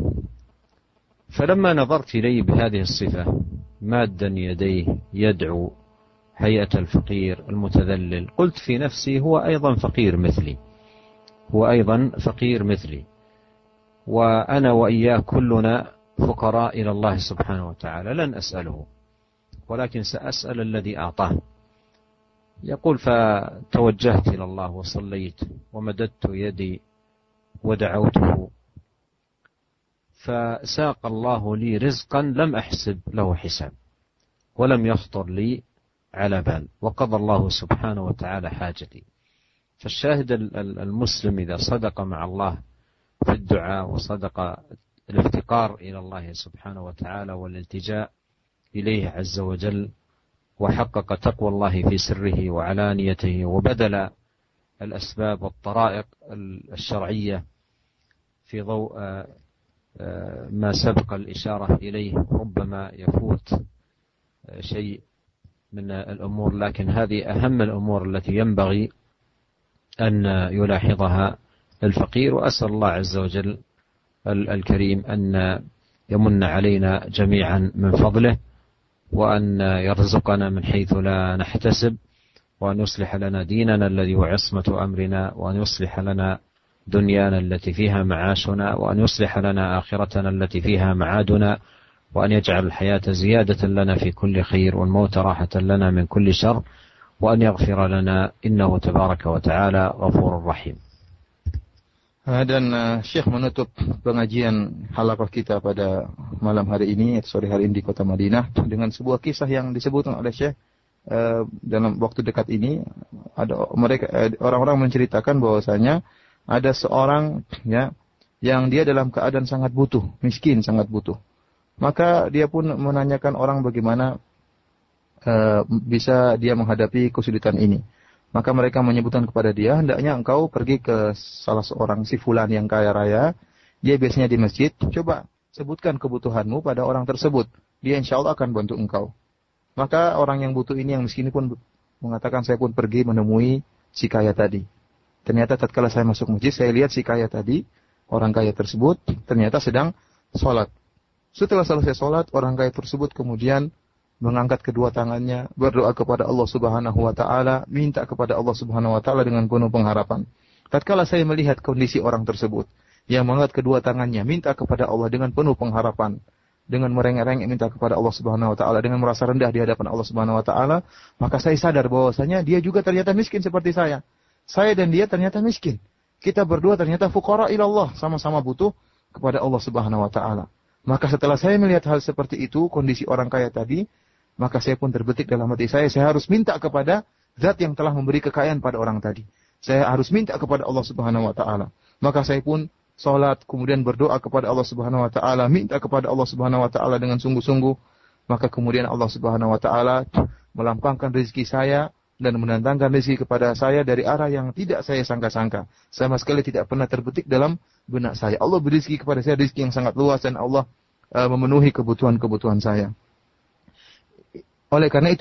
فلما نظرت إليه بهذه الصفة مادا يديه يدعو هيئة الفقير المتذلل، قلت في نفسي هو أيضا فقير مثلي، هو أيضا فقير مثلي، وأنا وإياه كلنا فقراء إلى الله سبحانه وتعالى، لن أسأله ولكن سأسأل الذي أعطاه. يقول فتوجهت إلى الله وصليت ومددت يدي ودعوته، فساق الله لي رزقا لم أحسب له حساب ولم يخطر لي على بال، وقضى الله سبحانه وتعالى حاجتي. فالشاهد المسلم إذا صدق مع الله في الدعاء وصدق الافتقار إلى الله سبحانه وتعالى والالتجاء إليه عز وجل، وحقق تقوى الله في سره وعلانيته، وبذل الأسباب والطرائق الشرعية في ضوء ما سبق الإشارة إليه، ربما يفوت شيء من الأمور، لكن هذه أهم الأمور التي ينبغي أن يلاحظها الفقير. وأسأل الله عز وجل الكريم أن يمن علينا جميعا من فضله، وأن يرزقنا من حيث لا نحتسب، وأن يصلح لنا ديننا الذي هو عصمة أمرنا، وأن يصلح لنا دنيانا التي فيها معاشنا، وأن يصلح لنا آخرتنا التي فيها معادنا، وأن يجعل الحياة زيادة لنا في كل خير والموت راحة لنا من كل شر، وأن يغفر لنا إنه تبارك وتعالى غفور رحيم. Dan Syekh menutup pengajian halaqah kita pada malam hari ini, sore hari ini di kota Madinah, dengan sebuah kisah yang disebutkan oleh Syekh dalam waktu dekat ini. Ada orang-orang menceritakan bahwasanya ada seorang ya yang dia dalam keadaan sangat butuh, miskin, sangat butuh. Maka dia pun menanyakan orang bagaimana bisa dia menghadapi kesulitan ini. Maka mereka menyebutkan kepada dia, hendaknya engkau pergi ke salah seorang si fulan yang kaya raya, dia biasanya di masjid, coba sebutkan kebutuhanmu pada orang tersebut, dia insya Allah akan bantu engkau. Maka orang yang butuh ini, yang miskin ini pun mengatakan, saya pun pergi menemui si kaya tadi. Ternyata tatkala saya masuk masjid, saya lihat si kaya tadi, orang kaya tersebut, ternyata sedang sholat. Setelah selesai sholat, orang kaya tersebut kemudian mengangkat kedua tangannya, berdoa kepada Allah Subhanahu wa taala, minta kepada Allah Subhanahu wa taala dengan penuh pengharapan. Tatkala saya melihat kondisi orang tersebut yang mengangkat kedua tangannya, minta kepada Allah dengan penuh pengharapan, dengan merengek-rengek minta kepada Allah Subhanahu wa taala, dengan merasa rendah di hadapan Allah Subhanahu wa taala, maka saya sadar bahwasanya dia juga ternyata miskin seperti saya. Saya dan dia ternyata miskin. Kita berdua ternyata fuqara ila Allah, sama-sama butuh kepada Allah Subhanahu wa taala. Maka setelah saya melihat hal seperti itu, kondisi orang kaya tadi, maka saya pun terbetik dalam hati saya harus minta kepada zat yang telah memberi kekayaan pada orang tadi. Saya harus minta kepada Allah Subhanahu wa taala. Maka saya pun salat, kemudian berdoa kepada Allah Subhanahu wa taala, minta kepada Allah Subhanahu wa taala dengan sungguh-sungguh. Maka kemudian Allah Subhanahu wa taala melampangkan rezeki saya dan mendatangkan rezeki kepada saya dari arah yang tidak saya sangka-sangka. Sama sekali tidak pernah terbetik dalam benak saya. Allah beri rezeki kepada saya, rezeki yang sangat luas, dan Allah memenuhi kebutuhan-kebutuhan saya. Oleh karena itu,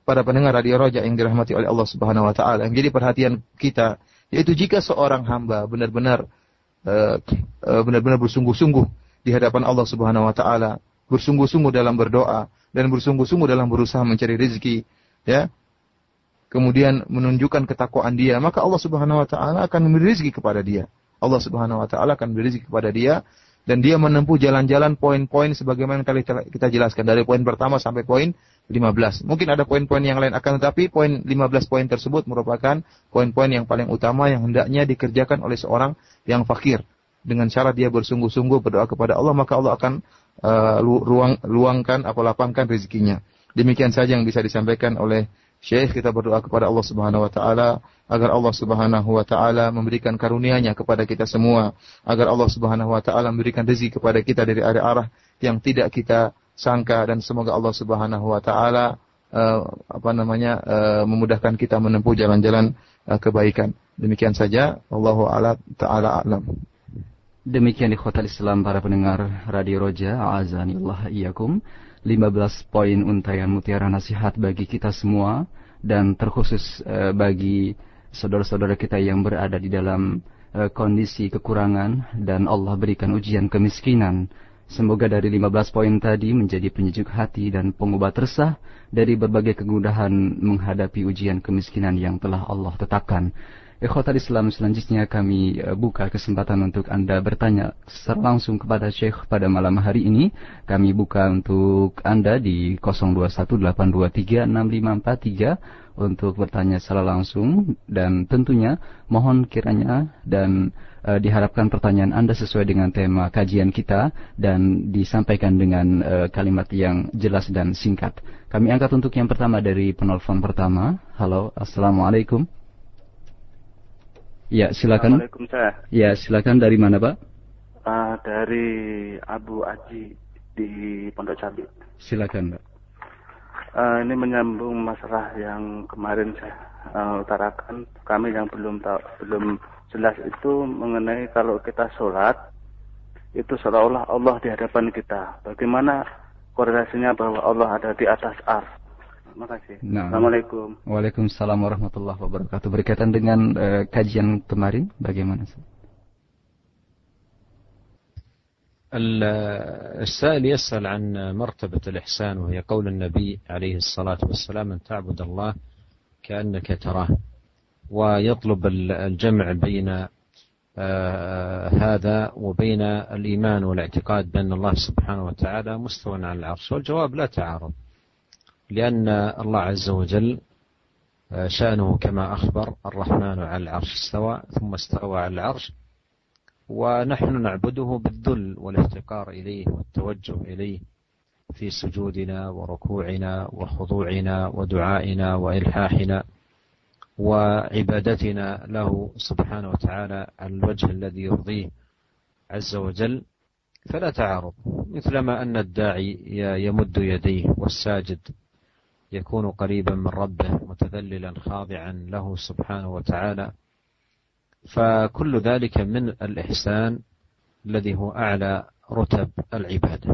para pendengar Radio Roja yang dirahmati oleh Allah Subhanahu wa taala, yang jadi perhatian kita, yaitu jika seorang hamba benar-benar bersungguh-sungguh di hadapan Allah Subhanahu wa taala, bersungguh-sungguh dalam berdoa dan bersungguh-sungguh dalam berusaha mencari rezeki, ya. Kemudian menunjukkan ketakwaan dia, maka Allah Subhanahu wa taala akan memberi rezeki kepada dia. Allah Subhanahu wa taala akan memberi rezeki kepada dia, dan dia menempuh jalan-jalan poin-poin sebagaimana kita jelaskan dari poin pertama sampai poin 15. Mungkin ada poin-poin yang lain, akan tetapi poin 15 poin tersebut merupakan poin-poin yang paling utama yang hendaknya dikerjakan oleh seorang yang fakir. Dengan cara dia bersungguh-sungguh berdoa kepada Allah, maka Allah akan luangkan atau lapangkan rezekinya. Demikian saja yang bisa disampaikan oleh Syekh. Kita berdoa kepada Allah Subhanahu wa taala agar Allah Subhanahu wa taala memberikan karunia-Nya kepada kita semua, agar Allah Subhanahu wa taala memberikan rezeki kepada kita dari arah-arah yang tidak kita sangka, dan semoga Allah Subhanahu wa taala memudahkan kita menempuh jalan-jalan kebaikan. Demikian saja, wallahu taala a'lam. Demikian ikhwatal Islam, para pendengar Radio Roja, azanillah iyyakum. 15 poin untayan mutiara nasihat bagi kita semua, dan terkhusus bagi saudara-saudara kita yang berada di dalam kondisi kekurangan dan Allah berikan ujian kemiskinan. Semoga dari 15 poin tadi menjadi penyejuk hati dan pengobat resah dari berbagai kemudahan menghadapi ujian kemiskinan yang telah Allah tetapkan. Ikhwatal Islam, selanjutnya kami buka kesempatan untuk Anda bertanya secara langsung kepada Syekh pada malam hari ini. Kami buka untuk Anda di 0218236543 untuk bertanya secara langsung, dan tentunya mohon kiranya dan diharapkan pertanyaan Anda sesuai dengan tema kajian kita dan disampaikan dengan kalimat yang jelas dan singkat. Kami angkat untuk yang pertama dari penelpon pertama. Halo, assalamualaikum. Ya, silakan. Waalaikumsalam. Ya, silakan. Dari mana, Pak? Dari Abu Aji di Pondok Cabe. Silakan, Pak. Ini menyambung masalah yang kemarin saya utarakan. Kami yang belum jelas itu mengenai kalau kita sholat itu seolah-olah Allah di hadapan kita. Bagaimana korelasinya bahwa Allah ada di atas ars? Terima kasih. Nah. Assalamualaikum. Waalaikumsalam warahmatullahi wabarakatuh. Berkaitan dengan kajian kemarin, bagaimana? السائل يسأل عن مرتبة الإحسان، وهي قول النبي عليه الصلاة والسلام أن تعبد الله كأنك تراه، ويطلب الجمع بين هذا وبين الإيمان والاعتقاد بأن الله سبحانه وتعالى مستوى على العرش. والجواب لا تعارض، لأن الله عز وجل شأنه كما أخبر الرحمن على العرش استوى ثم استوى على العرش، ونحن نعبده بالذل والافتقار إليه والتوجه إليه في سجودنا وركوعنا وخضوعنا ودعائنا وإلحاحنا وعبادتنا له سبحانه وتعالى على الوجه الذي يرضيه عز وجل. فلا تعارض، مثلما أن الداعي يمد يديه والساجد يكون قريبا من ربه متذللا خاضعا له سبحانه وتعالى، فكل ذلك من الإحسان الذي هو أعلى رتب العبادة.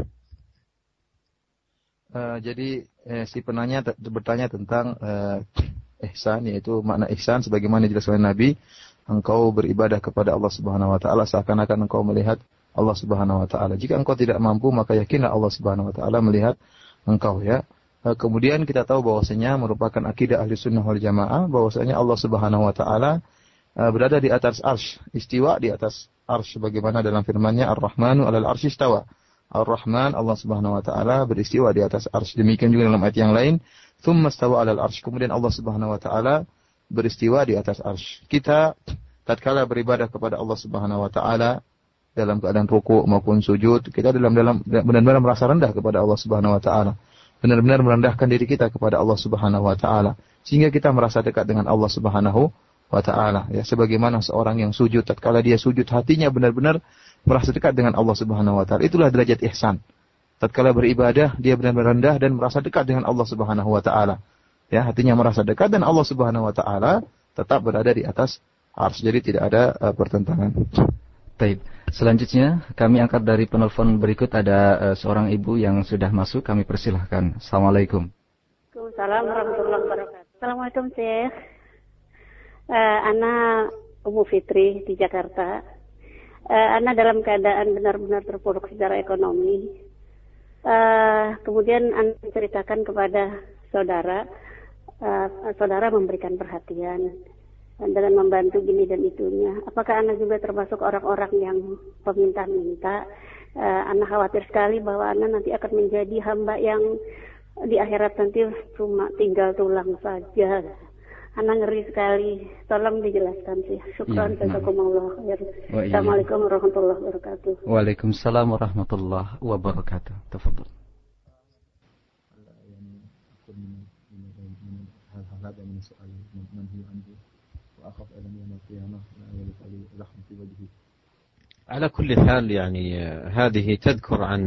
Jadi si penanya bertanya tentang ihsan, yaitu makna ihsan sebagaimana dijelaskan Nabi, engkau beribadah kepada Allah Subhanahu wa taala seakan-akan engkau melihat Allah Subhanahu wa taala. Jika engkau tidak mampu, maka yakinlah Allah Subhanahu wa taala melihat engkau, ya. Kemudian kita tahu bahwasanya merupakan akidah ahli sunnah wal jamaah bahwasanya Allah Subhanahu wa taala berada di atas arsy, istiwa di atas arsy sebagaimana dalam firman-Nya Ar-Rahmanu 'alal arsy istawa. Ar-Rahman, Allah Subhanahu wa taala beristiwa di atas arsy. Demikian juga dalam ayat yang lain, tsumma istawa 'alal arsy. Kemudian Allah Subhanahu wa taala beristiwa di atas arsy. Kita tatkala beribadah kepada Allah Subhanahu wa taala dalam keadaan ruku' maupun sujud, kita benar-benar merasa rendah kepada Allah Subhanahu wa taala. Benar-benar merendahkan diri kita kepada Allah Subhanahu wa taala sehingga kita merasa dekat dengan Allah Subhanahu wa taala, ya, sebagaimana seorang yang sujud, tatkala dia sujud hatinya benar-benar merasa dekat dengan Allah Subhanahu wa taala. Itulah derajat ihsan. Tatkala beribadah dia benar-benar rendah dan merasa dekat dengan Allah Subhanahu wa taala. Ya, hatinya merasa dekat dan Allah Subhanahu wa taala tetap berada di atas arsy. Jadi tidak ada pertentangan. Baik. Selanjutnya kami angkat dari penelpon berikut, ada seorang ibu yang sudah masuk, kami persilahkan. Assalamualaikum. Waalaikumsalam warahmatullahi wabarakatuh. Assalamualaikum Syekh. Ana Umu Fitri di Jakarta. Ana dalam keadaan benar-benar terpuruk secara ekonomi. Kemudian Ana menceritakan kepada saudara. Saudara memberikan perhatian dengan membantu gini dan itunya. Apakah Ana juga termasuk orang-orang yang peminta-minta? Ana khawatir sekali bahwa Ana nanti akan menjadi hamba yang di akhirat nanti cuma tinggal tulang saja. Ana ngeri sekali. Tolong dijelaskan sih. Syukran, jazakumullah khair. Assalamualaikum warahmatullahi wabarakatuh. Waalaikumsalam warahmatullahi wabarakatuh. Tafadhol. على كل حال يعني هذه تذكر عن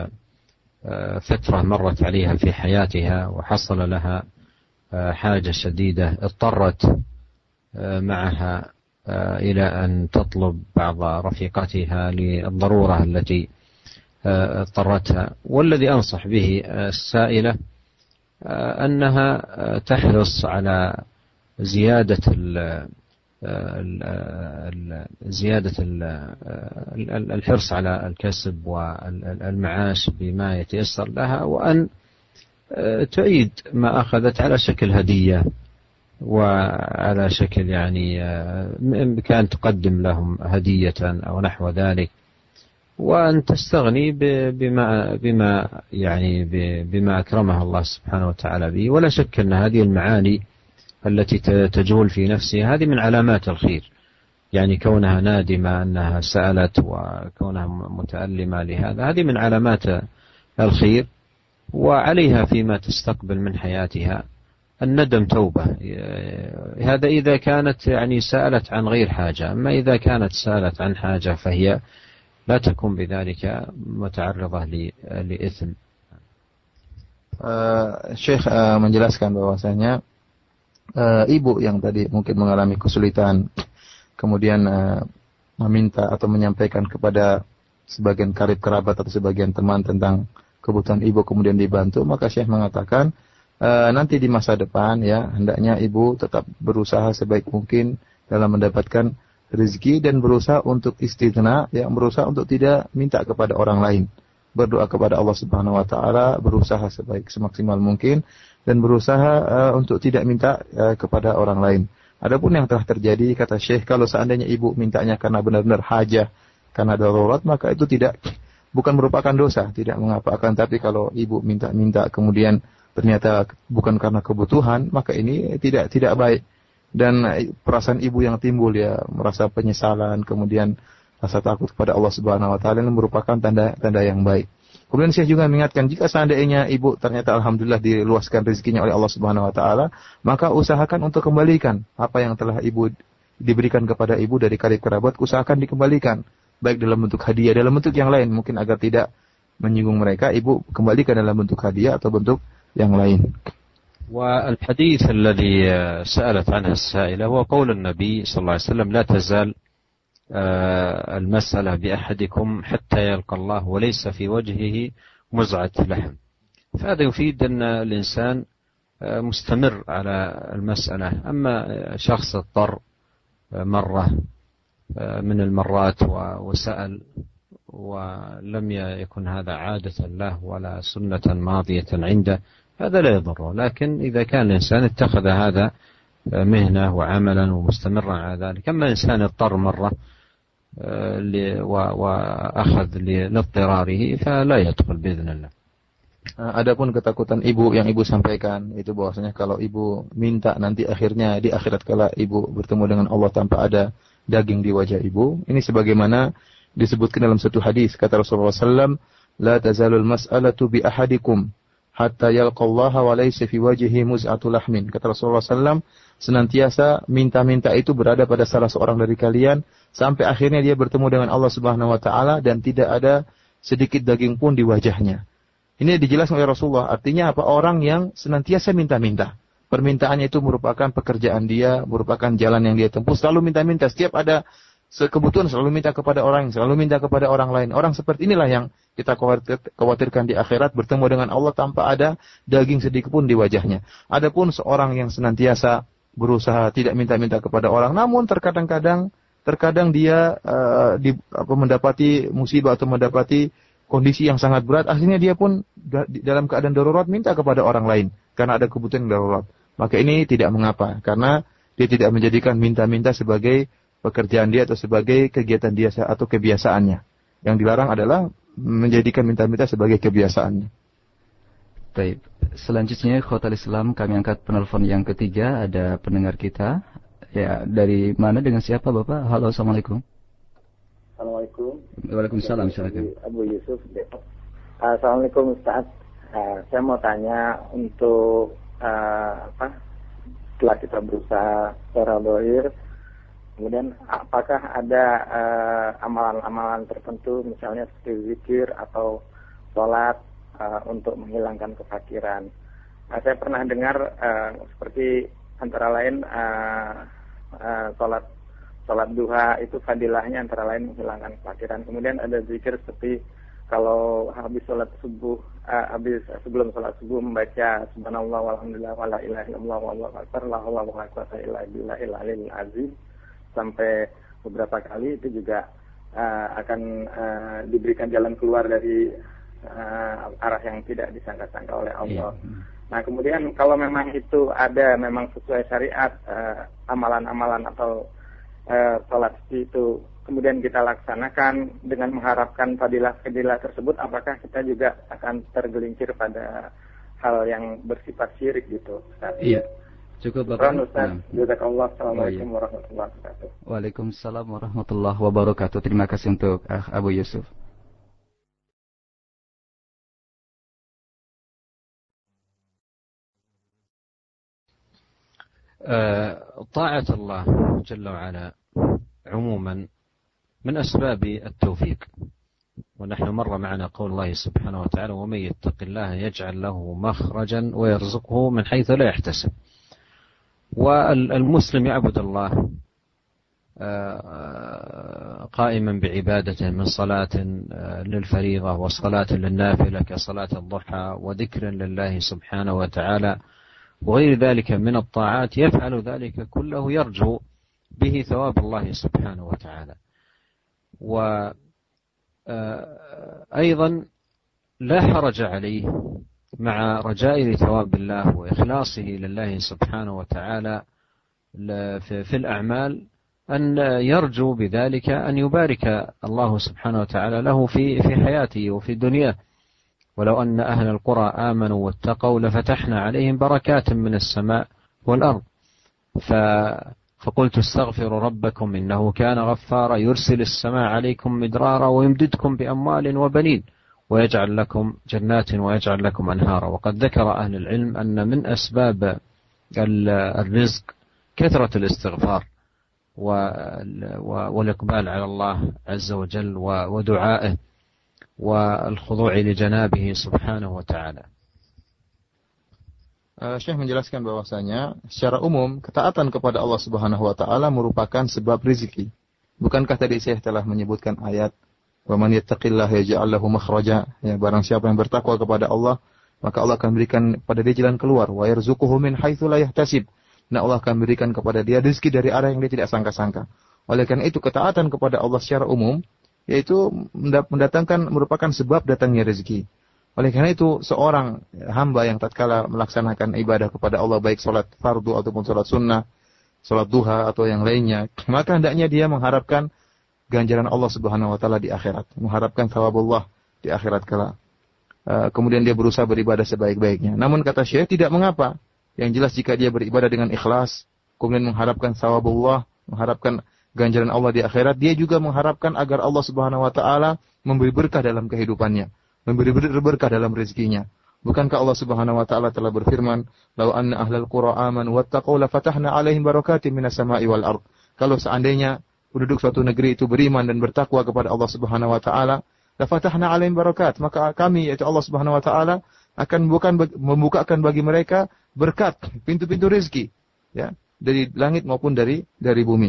فترة مرت عليها في حياتها وحصل لها حاجة شديدة اضطرت معها إلى أن تطلب بعض رفيقاتها للضرورة التي اضطرتها. والذي أنصح به السائلة أنها تحرص على زيادة الحرص على الكسب والمعاش بما يتيسر لها، وأن تعيد ما أخذت على شكل هدية وعلى شكل يعني كان تقدم لهم هدية أو نحو ذلك، وأن تستغني بما أكرمها الله سبحانه وتعالى به. ولا شك أن هذه المعاني التي تجول في نفسها هذه من علامات الخير، يعني كونها نادمة أنها سألت وكونها متألمة لهذا هذه من علامات الخير. وعليها فيما تستقبل من حياتها الندم توبة، هذا إذا كانت يعني سألت عن غير حاجة. أما إذا كانت سألت عن حاجة فهي لا تكون بذلك متعرضة لإثم. Syekh menjelaskan bahwasanya ibu yang tadi mungkin mengalami kesulitan, kemudian meminta atau menyampaikan kepada sebagian karib kerabat atau sebagian teman tentang kebutuhan ibu, kemudian dibantu, maka Syekh mengatakan nanti di masa depan ya hendaknya ibu tetap berusaha sebaik mungkin dalam mendapatkan rezeki dan berusaha untuk istighna, ya, berusaha untuk tidak minta kepada orang lain, berdoa kepada Allah Subhanahu wa taala, berusaha semaksimal mungkin dan berusaha untuk tidak minta kepada orang lain. Adapun yang telah terjadi, kata Syekh, kalau seandainya ibu mintanya karena benar-benar hajah, karena darurat, maka itu bukan merupakan dosa, tidak mengapa. Akan tapi kalau ibu minta-minta kemudian ternyata bukan karena kebutuhan, maka ini tidak baik. Dan perasaan ibu yang timbul, ya, merasa penyesalan, kemudian rasa takut kepada Allah Subhanahu wa taala, ini merupakan tanda yang baik. Kemudian saya juga mengingatkan, jika seandainya ibu ternyata alhamdulillah diluaskan rezekinya oleh Allah Subhanahu wa taala, maka usahakan untuk kembalikan apa yang telah ibu diberikan kepada ibu dari karib kerabat, usahakan dikembalikan, baik dalam bentuk hadiah, dalam bentuk yang lain, mungkin agar tidak menyinggung mereka, ibu kembalikan dalam bentuk hadiah atau bentuk yang lain. والحديث الذي سألت عنه السائلة هو قول النبي صلى الله عليه وسلم: لا تزال المسألة بأحدكم حتى يلقى الله وليس في وجهه مزعة لحم. فهذا يفيد أن الإنسان مستمر على المسألة. أما شخص اضطر مرة من المرات وسأل ولم يكن هذا عادة له ولا سنة ماضية عنده، هذا لا يضره. لكن إذا كان الإنسان اتخذ هذا مهنة وعملا ومستمرا على ذلك، أما إنسان اضطر مرة وأخذ لاضطراره فلا يدخل بإذن الله. Adapun ketakutan ibu yang ibu sampaikan itu bahwasanya kalau ibu minta nanti akhirnya di akhirat kala ibu bertemu dengan Allah tanpa ada daging di wajah ibu, ini sebagaimana disebutkan dalam satu hadis, kata Rasulullah SAW, la tazalul mas'alatu bi ahadikum hatta yalqallaha wa laysa fi wajhihi muz'atul lahmin. Kata Rasulullah SAW, senantiasa minta-minta itu berada pada salah seorang dari kalian sampai akhirnya dia bertemu dengan Allah Subhanahu wa taala dan tidak ada sedikit daging pun di wajahnya. Ini dijelaskan oleh Rasulullah, artinya apa? Orang yang senantiasa minta-minta. Permintaannya itu merupakan pekerjaan dia, merupakan jalan yang dia tempuh, selalu minta-minta. Setiap ada Kebutuhan selalu minta kepada orang, selalu minta kepada orang lain. Orang seperti inilah yang kita khawatirkan di akhirat, bertemu dengan Allah tanpa ada daging sedikit pun di wajahnya. Adapun seorang yang senantiasa berusaha tidak minta-minta kepada orang, namun terkadang dia mendapati musibah atau mendapati kondisi yang sangat berat, akhirnya dia pun dalam keadaan darurat minta kepada orang lain karena ada kebutuhan darurat. Maka ini tidak mengapa, karena dia tidak menjadikan minta-minta sebagai pekerjaan dia atau sebagai kegiatan dia atau kebiasaannya. Yang dilarang adalah menjadikan minta-minta sebagai kebiasaannya. Baik. Selanjutnya Khotal Islam, kami angkat penelpon yang ketiga. Ada pendengar kita. Ya, dari mana, dengan siapa Bapak? Halo, Assalamualaikum. Assalamualaikum. Waalaikumsalam. Silakan. Abu Yusuf. Assalamualaikum Ustaz. Saya mau tanya untuk setelah kita berusaha secara zahir, kemudian apakah ada amalan-amalan tertentu, misalnya seperti zikir atau sholat untuk menghilangkan kefakiran? Saya pernah dengar seperti antara lain sholat duha itu fadilahnya antara lain menghilangkan kefakiran. Kemudian ada zikir seperti kalau habis sholat subuh, sebelum sholat subuh membaca subhanallah walhamdulillah wala ilaha illallah wallahu akbar la haula wala quwwata illa billahil aliyyil azim sampai beberapa kali, itu juga akan diberikan jalan keluar dari arah yang tidak disangka-sangka oleh Allah. Nah, kemudian kalau memang itu ada memang sesuai syariat, amalan-amalan atau sholat itu kemudian kita laksanakan dengan mengharapkan fadilah-fadilah tersebut, apakah kita juga akan tergelincir pada hal yang bersifat syirik gitu, Ustaz? Iya. Cukup Bapak. Ustaz, jazakallah. Assalamualaikum warahmatullahi wabarakatuh. Waalaikumsalam warahmatullahi wabarakatuh. Terima kasih untuk Abu Yusuf. طاعة الله جل وعلا عموما من أسباب التوفيق، ونحن مر معنا قول الله سبحانه وتعالى ومن يتق الله يجعل له مخرجا ويرزقه من حيث لا يحتسب. والمسلم يعبد الله قائما بعبادته من صلاة للفريضة وصلاة للنافلة كصلاة الضحى وذكر لله سبحانه وتعالى وغير ذلك من الطاعات، يفعل ذلك كله يرجو به ثواب الله سبحانه وتعالى. وأيضا لا حرج عليه مع رجاء ثواب الله وإخلاصه لله سبحانه وتعالى في الأعمال أن يرجو بذلك أن يبارك الله سبحانه وتعالى له في حياته وفي دنياه. ولو أن أهل القرى آمنوا واتقوا لفتحنا عليهم بركات من السماء والأرض. فقلت استغفروا ربكم إنه كان غفارا يرسل السماء عليكم مدرارا ويمددكم بأموال وبنين ويجعل لكم جنات ويجعل لكم أنهارا. وقد ذكر أهل العلم أن من أسباب الرزق كثرة الاستغفار والإقبال على الله عز وجل ودعائه والخضوع لجنابه سبحانه وتعالى. Syekh menjelaskan bahwasanya secara umum ketaatan kepada Allah Subhanahu wa taala merupakan sebab rezeki. Bukankah tadi Syekh telah menyebutkan ayat wa man yattaqillaha yaj'al lahu makhraja, ya, barang siapa yang bertakwa kepada Allah maka Allah akan berikan pada dia jalan keluar, wa yarzuquhu min haitsu la yahtasib. Nah, Allah akan berikan kepada dia rezeki dari arah yang dia tidak sangka-sangka. Oleh karena itu ketaatan kepada Allah secara umum yaitu merupakan sebab datangnya rezeki. Oleh karena itu seorang hamba yang tatkala melaksanakan ibadah kepada Allah, baik salat fardu ataupun salat sunnah, salat duha atau yang lainnya, maka hendaknya dia mengharapkan ganjaran Allah Subhanahu wa taala di akhirat, mengharapkan thawabullah di akhirat kala. Kemudian dia berusaha beribadah sebaik-baiknya. Namun kata Syekh, tidak mengapa. Yang jelas jika dia beribadah dengan ikhlas, kemudian mengharapkan thawabullah, mengharapkan ganjaran Allah di akhirat, dia juga mengharapkan agar Allah Subhanahu wa taala memberi berkah dalam kehidupannya, memberi berkah dalam rezekinya. Bukankah Allah Subhanahu wa taala telah berfirman, "Lau anna ahlal qura amanu wattaqau la fatahna 'alaihim barakatin minas sama'i wal ard." Kalau seandainya penduduk suatu negeri itu beriman dan bertakwa kepada Allah Subhanahu wa taala, la fatahna 'alaihim barakat, maka kami yaitu Allah Subhanahu wa taala akan membukakan bagi mereka berkat, pintu-pintu rezeki, ya, dari langit maupun dari bumi.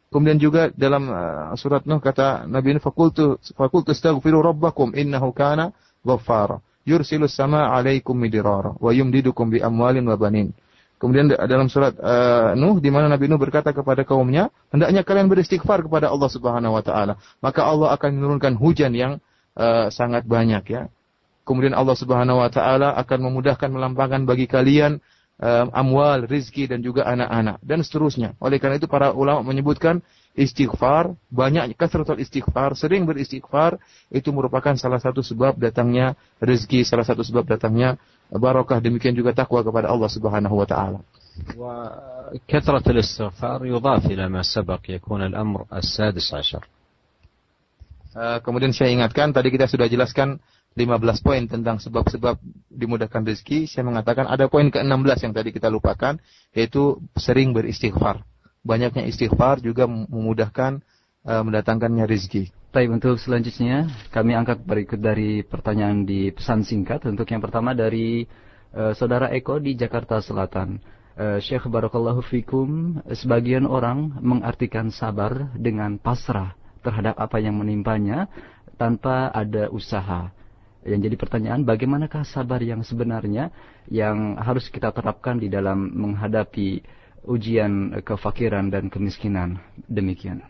Kemudian juga dalam surat Nuh kata Nabi Nuh, fakultu astaghfiru rabbakum innahu kana ghaffara yursilus samaa 'alaikum midrara wa yumdidukum bi amwalin wa banin. Kemudian dalam surat Nuh di mana Nabi Nuh berkata kepada kaumnya, hendaknya kalian beristighfar kepada Allah Subhanahu wa taala, maka Allah akan menurunkan hujan yang sangat banyak ya. Kemudian Allah Subhanahu wa taala akan memudahkan melampangkan bagi kalian amwal, rizki dan juga anak-anak dan seterusnya. Oleh karena itu para ulama menyebutkan istighfar, banyak kasratul istighfar, sering beristighfar itu merupakan salah satu sebab datangnya rezeki, salah satu sebab datangnya barakah, demikian juga takwa kepada Allah Subhanahu wa taala. وكثرة الاستغفار يضاف إلى ما سبق يكون الأمر السادس عشر. Kemudian saya ingatkan tadi kita sudah jelaskan 15 poin tentang sebab-sebab dimudahkan rezeki. Saya mengatakan ada poin ke-16 yang tadi kita lupakan, yaitu sering beristighfar. Banyaknya istighfar juga memudahkan mendatangkannya rezeki. Baik, untuk selanjutnya kami angkat berikut dari pertanyaan di pesan singkat. Untuk yang pertama dari Saudara Eko di Jakarta Selatan. Syekh Barakallahu Fikum, sebagian orang mengartikan sabar dengan pasrah terhadap apa yang menimpanya tanpa ada usaha. Yang jadi pertanyaan, bagaimanakah sabar yang sebenarnya yang harus kita terapkan di dalam menghadapi ujian kefakiran dan kemiskinan? Demikian.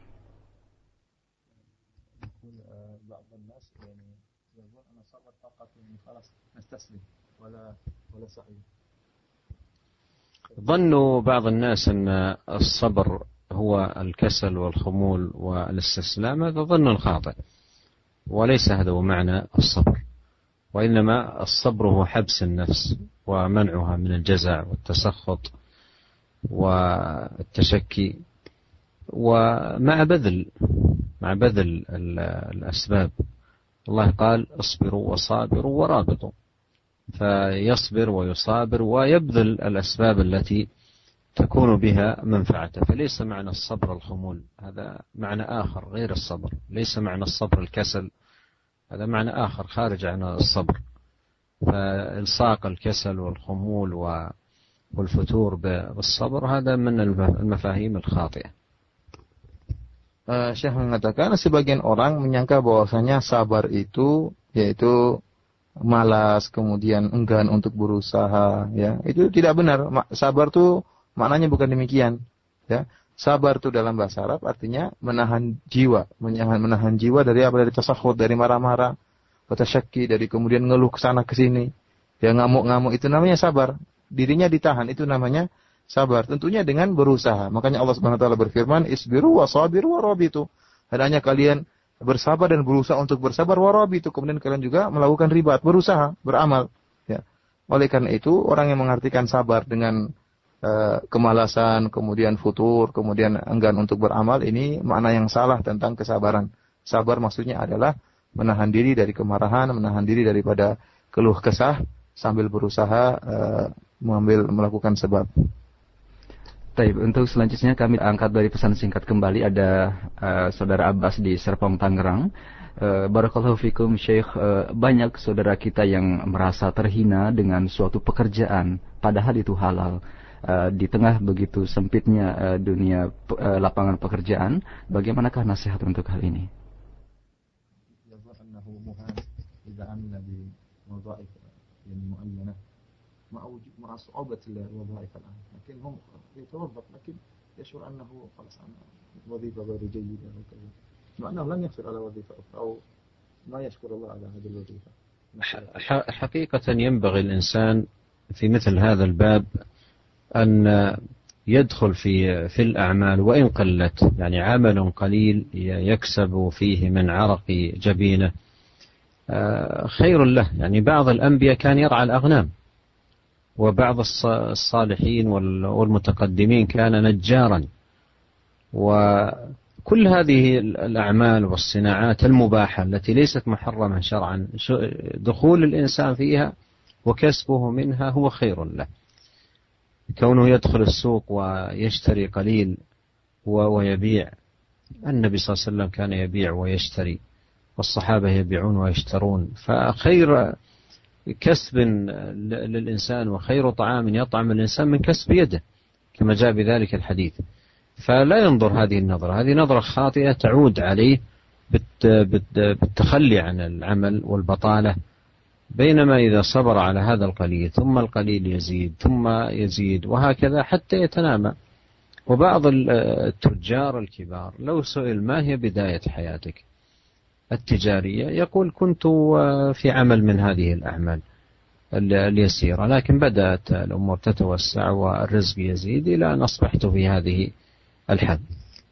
ظن بعض الناس أن الصبر هو الكسل والخمول والاستسلام. هذا ظن خاطئ، وليس هذا هو معنى الصبر، وإنما الصبر هو حبس النفس ومنعها من الجزع والتسخط والتشكي، ومع بذل الأسباب. الله قال اصبروا وصابروا ورابطوا، فيصبر ويصابر ويبذل الأسباب التي تكون بها منفعته. فليس معنى الصبر الخمول، هذا معنى آخر غير الصبر. ليس معنى الصبر الكسل، هذا معنى آخر خارج عن الصبر. فإلصاق الكسل والخمول والفتور بالصبر هذا من المفاهيم الخاطئة. Syekh mengatakan sebagian orang menyangka bahwasanya sabar itu yaitu malas, kemudian enggan untuk berusaha, ya. Itu tidak benar. Sabar itu maknanya bukan demikian, ya. Sabar itu dalam bahasa Arab artinya menahan jiwa, menahan jiwa dari apa? Dari tasakhut, dari marah-marah, watasyakki, dari kemudian ngeluh ke sana ke sini. Ya, ngamuk-ngamuk itu namanya sabar. Dirinya ditahan itu namanya sabar. Tentunya dengan berusaha. Makanya Allah Subhanahu wa taala berfirman, "Isbiru wasabiru warabitu." Hendaknya kalian bersabar dan berusaha untuk bersabar, warabitu. Kemudian kalian juga melakukan ribat, berusaha, beramal, ya. Oleh karena itu, orang yang mengartikan sabar dengan kemalasan, kemudian futur, kemudian enggan untuk beramal, ini makna yang salah tentang kesabaran. Sabar maksudnya adalah menahan diri dari kemarahan, menahan diri daripada keluh kesah sambil berusaha melakukan sebab. Baik, untuk selanjutnya kami angkat dari pesan singkat kembali. Ada Saudara Abbas di Serpong, Tangerang. Barakallahu fikum Syekh, banyak saudara kita yang merasa terhina dengan suatu pekerjaan, padahal itu halal. Di tengah begitu sempitnya dunia lapangan pekerjaan, bagaimanakah nasihat untuk hal ini? حقيقة ينبغي الإنسان في مثل هذا الباب أن يدخل في الأعمال وإن قلت، يعني عمل قليل يكسب فيه من عرق جبينه خير له. يعني بعض الأنبياء كان يرعى الأغنام، وبعض الصالحين والمتقدمين كان نجارا. وكل هذه الأعمال والصناعات المباحة التي ليست محرمة شرعا، دخول الإنسان فيها وكسبه منها هو خير له. كونه يدخل السوق ويشتري قليل ويبيع. النبي صلى الله عليه وسلم كان يبيع ويشتري، والصحابة يبيعون ويشترون. فخير كسب للإنسان وخير طعام يطعم الإنسان من كسب يده، كما جاء بذلك الحديث. فلا ينظر هذه النظرة، هذه نظرة خاطئة تعود عليه بالتخلي عن العمل والبطالة. بينما إذا صبر على هذا القليل ثم القليل يزيد ثم يزيد وهكذا حتى يتنامى. وبعض التجار الكبار لو سئل ما هي بداية حياتك التجارية يقول كنت في عمل من هذه الأعمال اليسيرة، لكن بدأت الأمور تتوسع والرزق يزيد إلى أن أصبحت في هذه الحد.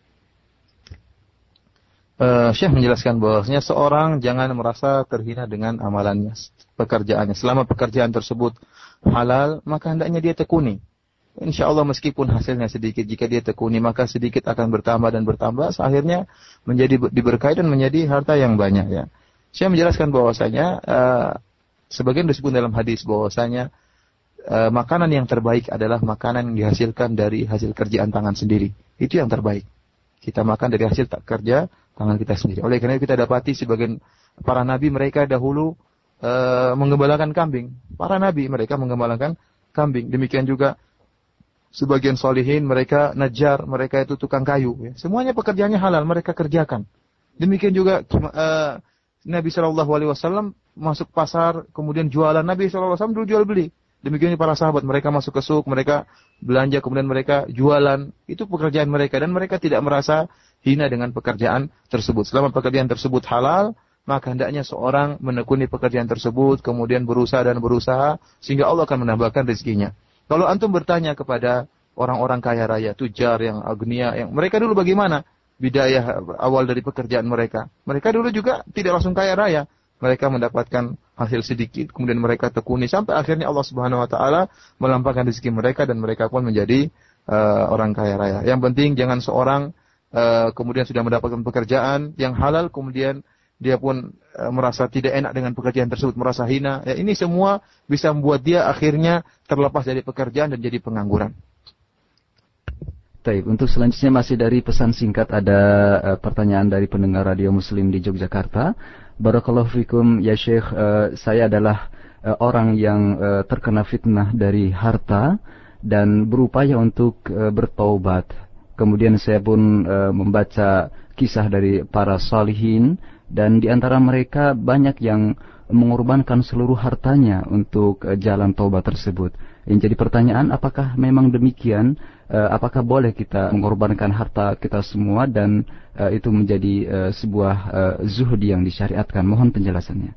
Syekh menjelaskan bahwasanya seorang jangan merasa terhina dengan amalannya, pekerjaannya. Selama pekerjaan tersebut halal, maka hendaknya dia tekuni. Insya Allah meskipun hasilnya sedikit, jika dia tekuni maka sedikit akan bertambah dan bertambah, akhirnya menjadi diberkahi dan menjadi harta yang banyak. Ya. Syekh menjelaskan bahwasanya sebagian disebut dalam hadis bahwasanya makanan yang terbaik adalah makanan yang dihasilkan dari hasil kerjaan tangan sendiri. Itu yang terbaik. Kita makan dari hasil kerja tangan kita sendiri. Oleh karena itu kita dapati sebagian para nabi mereka dahulu menggembalakan kambing. Para nabi mereka menggembalakan kambing. Demikian juga sebagian solihin mereka najjar, mereka itu tukang kayu. Ya. Semuanya pekerjaannya halal mereka kerjakan. Demikian juga Nabi SAW masuk pasar kemudian jualan. Nabi SAW dulu jual beli. Demikian para sahabat mereka masuk ke suk, mereka belanja kemudian mereka jualan. Itu pekerjaan mereka dan mereka tidak merasa hina dengan pekerjaan tersebut. Selama pekerjaan tersebut halal, maka hendaknya seorang menekuni pekerjaan tersebut kemudian berusaha dan berusaha sehingga Allah akan menambahkan rezekinya. Kalau antum bertanya kepada orang-orang kaya raya, tujar yang agnia, yang mereka dulu bagaimana bidayah awal dari pekerjaan mereka? Mereka dulu juga tidak langsung kaya raya. Mereka mendapatkan hasil sedikit, kemudian mereka tekuni sampai akhirnya Allah Subhanahu wa taala melampahkan rezeki mereka dan mereka pun menjadi orang kaya raya. Yang penting jangan seorang kemudian sudah mendapatkan pekerjaan yang halal kemudian dia pun merasa tidak enak dengan pekerjaan tersebut, merasa hina. Ya, ini semua bisa membuat dia akhirnya terlepas dari pekerjaan dan jadi pengangguran. Baik, untuk selanjutnya masih dari pesan singkat ada pertanyaan dari pendengar Radio Muslim di Yogyakarta. Barakallahu fikum ya Syekh, saya adalah orang yang terkena fitnah dari harta dan berupaya untuk bertaubat. Kemudian saya pun membaca kisah dari para salihin dan di antara mereka banyak yang mengorbankan seluruh hartanya untuk jalan taubat tersebut. Yang jadi pertanyaan, apakah memang demikian? Apakah boleh kita mengorbankan harta kita semua dan itu menjadi sebuah zuhud yang disyariatkan? Mohon penjelasannya.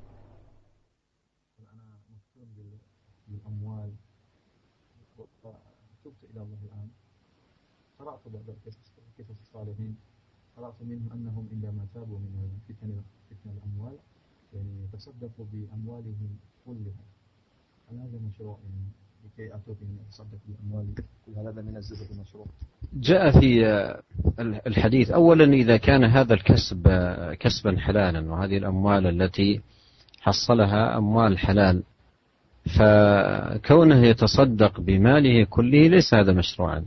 جاء في الحديث أولا إذا كان هذا الكسب كسبا حلالا وهذه الأموال التي حصلها أموال حلال فكونه يتصدق بماله كله ليس هذا مشروعا.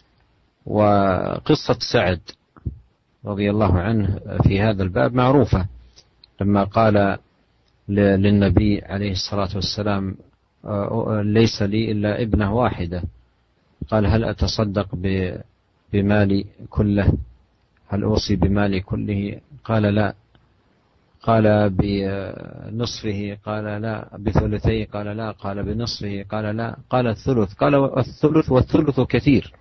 وقصة سعد رضي الله عنه في هذا الباب معروفة لما قال للنبي عليه الصلاة والسلام ليس لي إلا ابنة واحدة قال هل أتصدق بمالي كله هل أوصي بمالي كله قال لا قال بنصفه قال لا بثلثيه قال لا قال بنصفه قال لا قال الثلث قال الثلث والثلث كثير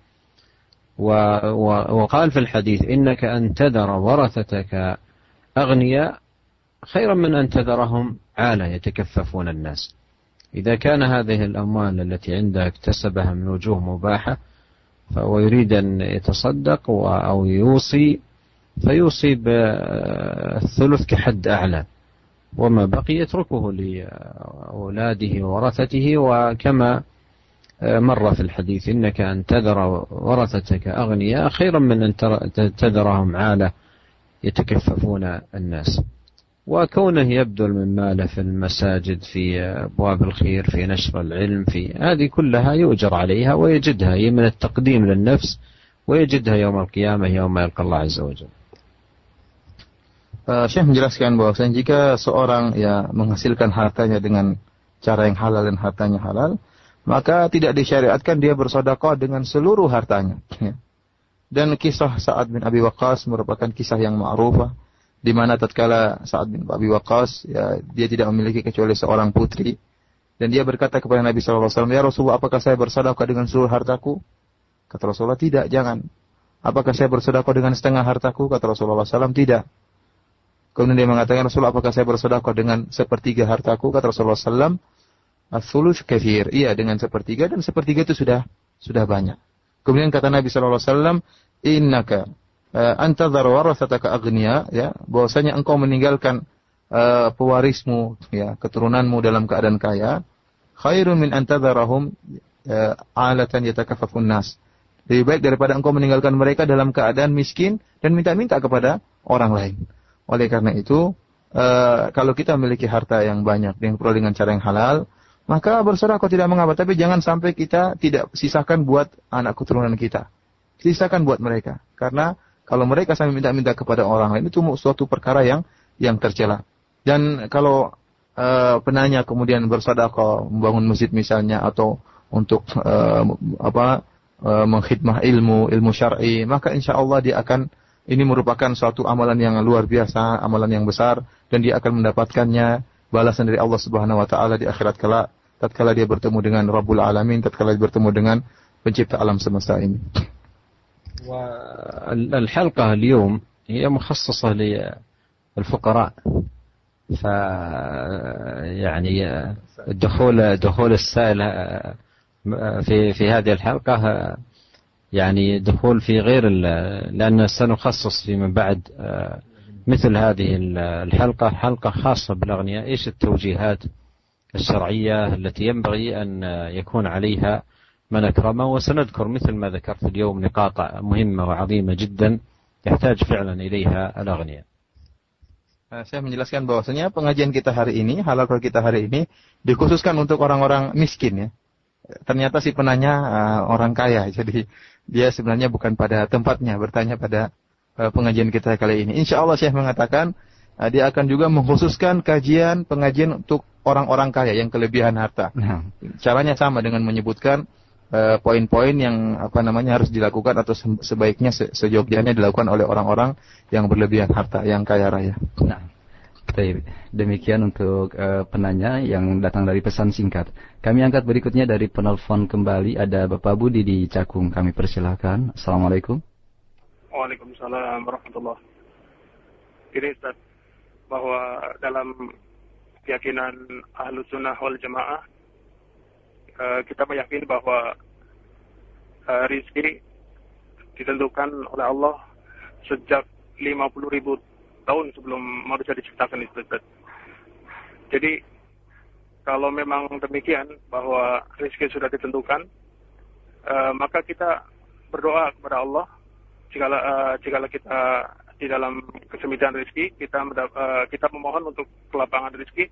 وقال في الحديث إنك أن تذر ورثتك أغنياء خيرا من أن تذرهم عالة يتكففون الناس. إذا كان هذه الأموال التي عنده اكتسبها من وجوه مباحة ويريد أن يتصدق أو يوصي فيوصي بالثلث كحد أعلى وما بقي يتركه لأولاده وورثته. وكما مر في الحديث إنك أن تذر ورثتك أغنياء خيرا من أن تذرهم عالة يتكففون الناس. وكونه يبذل من ماله في المساجد في أبواب الخير في نشر العلم في هذه كلها يؤجر عليها ويجدها هي من التقديم للنفس ويجدها يوم القيامة يوم يلقى الله عز وجل. Syekh menjelaskan bahwasanya jika seorang menghasilkan hartanya dengan cara yang halal dan hartanya halal, maka tidak disyariatkan dia bersedekah dengan seluruh hartanya. Dan kisah Sa'ad bin Abi Waqqas merupakan kisah yang ma'rufah, di mana tatkala Sa'ad bin Abi Waqqas, ya, dia tidak memiliki kecuali seorang putri, dan dia berkata kepada Nabi SAW, "Ya Rasulullah, apakah saya bersedekah dengan seluruh hartaku?" Kata Rasulullah, "Tidak, jangan." "Apakah saya bersedekah dengan setengah hartaku?" Kata Rasulullah SAW, "Tidak." Kemudian dia mengatakan, "Rasulullah, apakah saya bersedekah dengan sepertiga hartaku?" Kata Rasulullah SAW, "Ats-tsuluts katsir." Iya, dengan sepertiga, dan sepertiga itu sudah banyak. Kemudian kata Nabi SAW, "Innaka antadhar warathataka aghniya," ya, bahwasanya engkau meninggalkan pewarismu, ya, keturunanmu dalam keadaan kaya, khairun min antadharahum alatan yatakaffafun nas. Lebih baik daripada engkau meninggalkan mereka dalam keadaan miskin dan minta-minta kepada orang lain. Oleh karena itu, kalau kita memiliki harta yang banyak yang perlu dengan cara yang halal, maka bersedekah tidak mengapa, tapi jangan sampai kita tidak sisakan buat anak keturunan kita. Sisakan buat mereka. Karena kalau mereka sampai minta-minta kepada orang lain, itu suatu perkara yang tercela. Dan kalau penanya kemudian bersedekah, membangun masjid misalnya, atau untuk mengkhidmah ilmu syar'i, maka insya Allah dia akan, ini merupakan suatu amalan yang luar biasa, amalan yang besar, dan dia akan mendapatkannya balasan dari Allah Subhanahu wa taala di akhirat tatkala dia bertemu dengan Rabbul Alamin, tatkala dia bertemu dengan pencipta alam semesta ini. والحلقة اليوم هي مخصصة للفقراء، يعني دخول السائل في هذه الحلقة يعني دخول في غير لأن سنخصص فيما بعد مثل هذه الحلقة حلقة خاصة بالأغنياء. إيش التوجيهات الشرعية التي ينبغي أن يكون عليها من أكرمه، وسنذكر مثل ما ذكرت اليوم نقاط مهمة وعظيمة جدا يحتاج فعلا إليها الأغنياء. Saya menjelaskan bahwasanya pengajian kita hari ini, halaqah kita hari ini dikhususkan untuk orang-orang miskin, ya. Ternyata si penanya orang kaya, jadi dia sebenarnya bukan pada tempatnya bertanya pada pengajian kita kali ini. Insya Allah Syekh mengatakan dia akan juga mengkhususkan pengajian untuk orang-orang kaya yang kelebihan harta. Caranya sama dengan menyebutkan poin-poin yang harus dilakukan atau sebaiknya seyogyanya dilakukan oleh orang-orang yang berlebihan harta, yang kaya raya. Nah, demikian untuk penanya yang datang dari pesan singkat. Kami angkat berikutnya dari penelpon kembali, ada Bapak Budi di Cakung. Kami persilahkan. Assalamualaikum. Waalaikumsalam warahmatullahi. Ini Ustaz, bahwa dalam keyakinan Ahlus Sunnah wal Jamaah, kita meyakini bahwa rizki ditentukan oleh Allah sejak 50.000 tahun sebelum manusia diciptakan itu. Jadi kalau memang demikian bahwa rizki sudah ditentukan, maka kita berdoa kepada Allah jikalau kita di dalam kesempitan rizki, kita memohon untuk kelapangan rizki.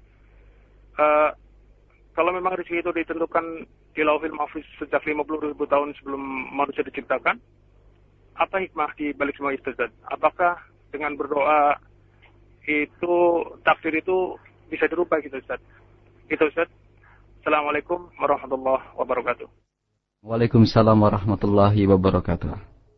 Kalau memang rezeki itu ditentukan di Lauhil Mahfuz sejak 50.000 tahun sebelum manusia diciptakan, apa hikmah di balik semua itu, Ustaz? Apakah dengan berdoa itu takdir itu bisa dirubah gitu, Ustaz? Itu, Ustaz. Assalamualaikum warahmatullahi wabarakatuh. Waalaikumsalam warahmatullahi wabarakatuh.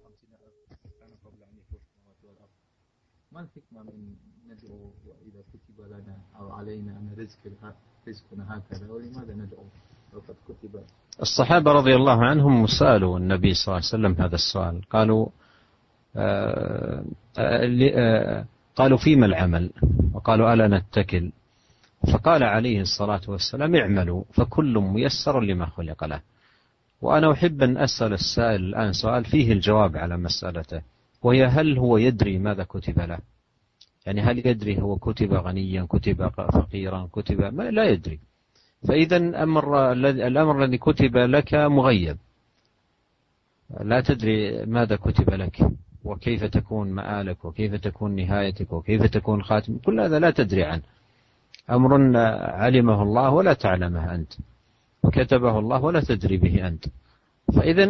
الصحابة رضي الله عنهم سألوا النبي صلى الله عليه وسلم هذا السؤال، قالوا فيما العمل، وقالوا ألا نتكل، فقال عليه الصلاة والسلام اعملوا فكل ميسر لما خلق له. وأنا أحب أن أسأل السائل الآن سؤال فيه الجواب على مسألته، وهي هل هو يدري ماذا كتب له؟ يعني هل يدري هو كتب غنيا، كتب فقيرا، كتب لا يدري. فإذا الأمر الذي كتب لك مغيب، لا تدري ماذا كتب لك وكيف تكون مآلك وكيف تكون نهايتك وكيف تكون خاتم، كل هذا لا تدري عنه، أمر علمه الله ولا تعلمه أنت، وكتبه الله ولا تدري به أنت. فإذا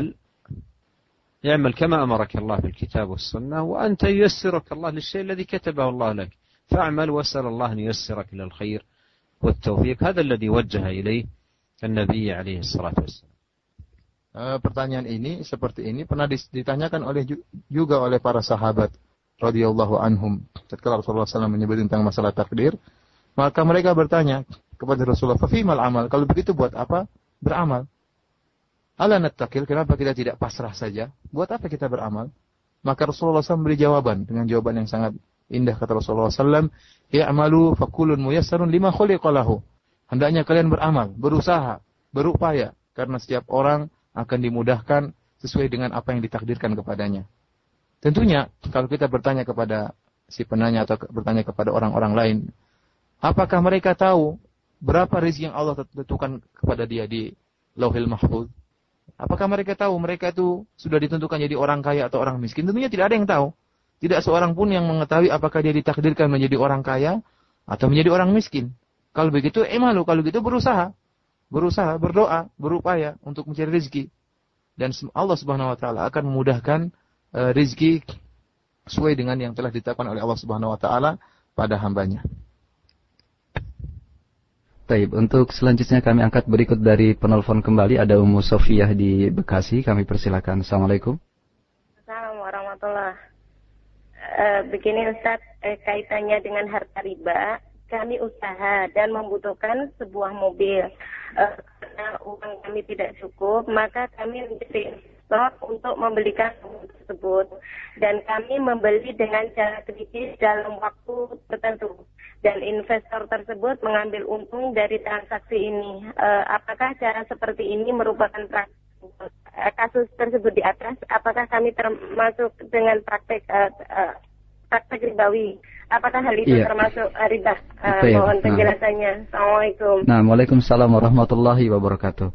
اعمل كما أمرك الله في الكتاب والسنة، وأنت ييسرك الله للشيء الذي كتبه الله لك، فاعمل واسأل الله أن ييسرك للخير والتوفيق. هذا الذي وجه إليه النبي عليه الصلاة والسلام. pertanyaan ini seperti ini pernah ditanyakan juga oleh para sahabat radhiyallahu anhum. Ketika Rasulullah SAW menyebut tentang masalah takdir, maka mereka bertanya kepada Rasulullah, "Fa fimal amal?" Kalau begitu buat apa beramal? Ala nattaqil, kenapa kita tidak pasrah saja? Buat apa kita beramal? Maka Rasulullah SAW memberi jawaban dengan jawaban yang sangat indah. Kata Rasulullah SAW, "I'malu fakulun muyassarun lima khuliqa lahu." Hendaknya kalian beramal, berusaha, berupaya, karena setiap orang akan dimudahkan sesuai dengan apa yang ditakdirkan kepadanya. Tentunya kalau kita bertanya kepada si penanya atau bertanya kepada orang-orang lain, apakah mereka tahu berapa rezeki yang Allah tentukan kepada dia di Lauhil Mahfuz? Apakah mereka tahu mereka itu sudah ditentukan jadi orang kaya atau orang miskin? Tentunya tidak ada yang tahu. Tidak seorang pun yang mengetahui apakah dia ditakdirkan menjadi orang kaya atau menjadi orang miskin. Kalau begitu, kalau begitu berusaha, berdoa, berupaya untuk mencari rezeki. Dan Allah Subhanahu wa taala akan memudahkan rezeki sesuai dengan yang telah ditetapkan oleh Allah Subhanahu wa taala pada hambanya. Baik, untuk selanjutnya kami angkat berikut dari penelpon kembali, ada Ummu Sofiyah di Bekasi. Kami persilakan. Assalamualaikum. Assalamualaikum warahmatullahi. Begini Ustaz, kaitannya dengan harta riba. Kami usaha dan membutuhkan sebuah mobil. Karena uang kami tidak cukup, maka kami menjadi investor untuk membelikan mobil tersebut. Dan kami membeli dengan cara kredit dalam waktu tertentu. Dan investor tersebut mengambil untung dari transaksi ini. Apakah cara seperti ini merupakan kasus tersebut di atas? Apakah kami termasuk dengan praktek ribawi? Apakah hal itu termasuk riba? Mohon penjelasannya. Assalamualaikum. Nah, waalaikumsalam warahmatullahi wabarakatuh.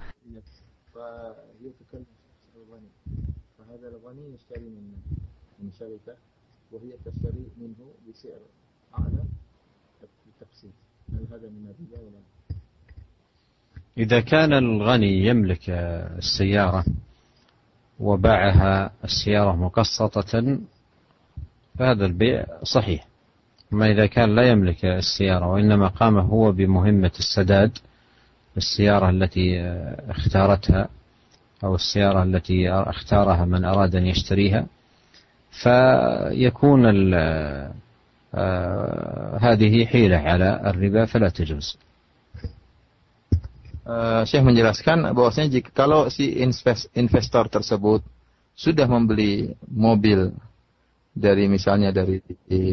إذا كان الغني يملك السيارة وباعها السيارة مقسطة فهذا البيع صحيح. أما إذا كان لا يملك السيارة وإنما قام هو بمهمة السداد السيارة التي اختارتها أو السيارة التي اختارها من أراد أن يشتريها فيكون هذه حيلة على الربا فلا تجوز. Syekh menjelaskan bahwasanya kalau si investor tersebut sudah membeli mobil dari misalnya dari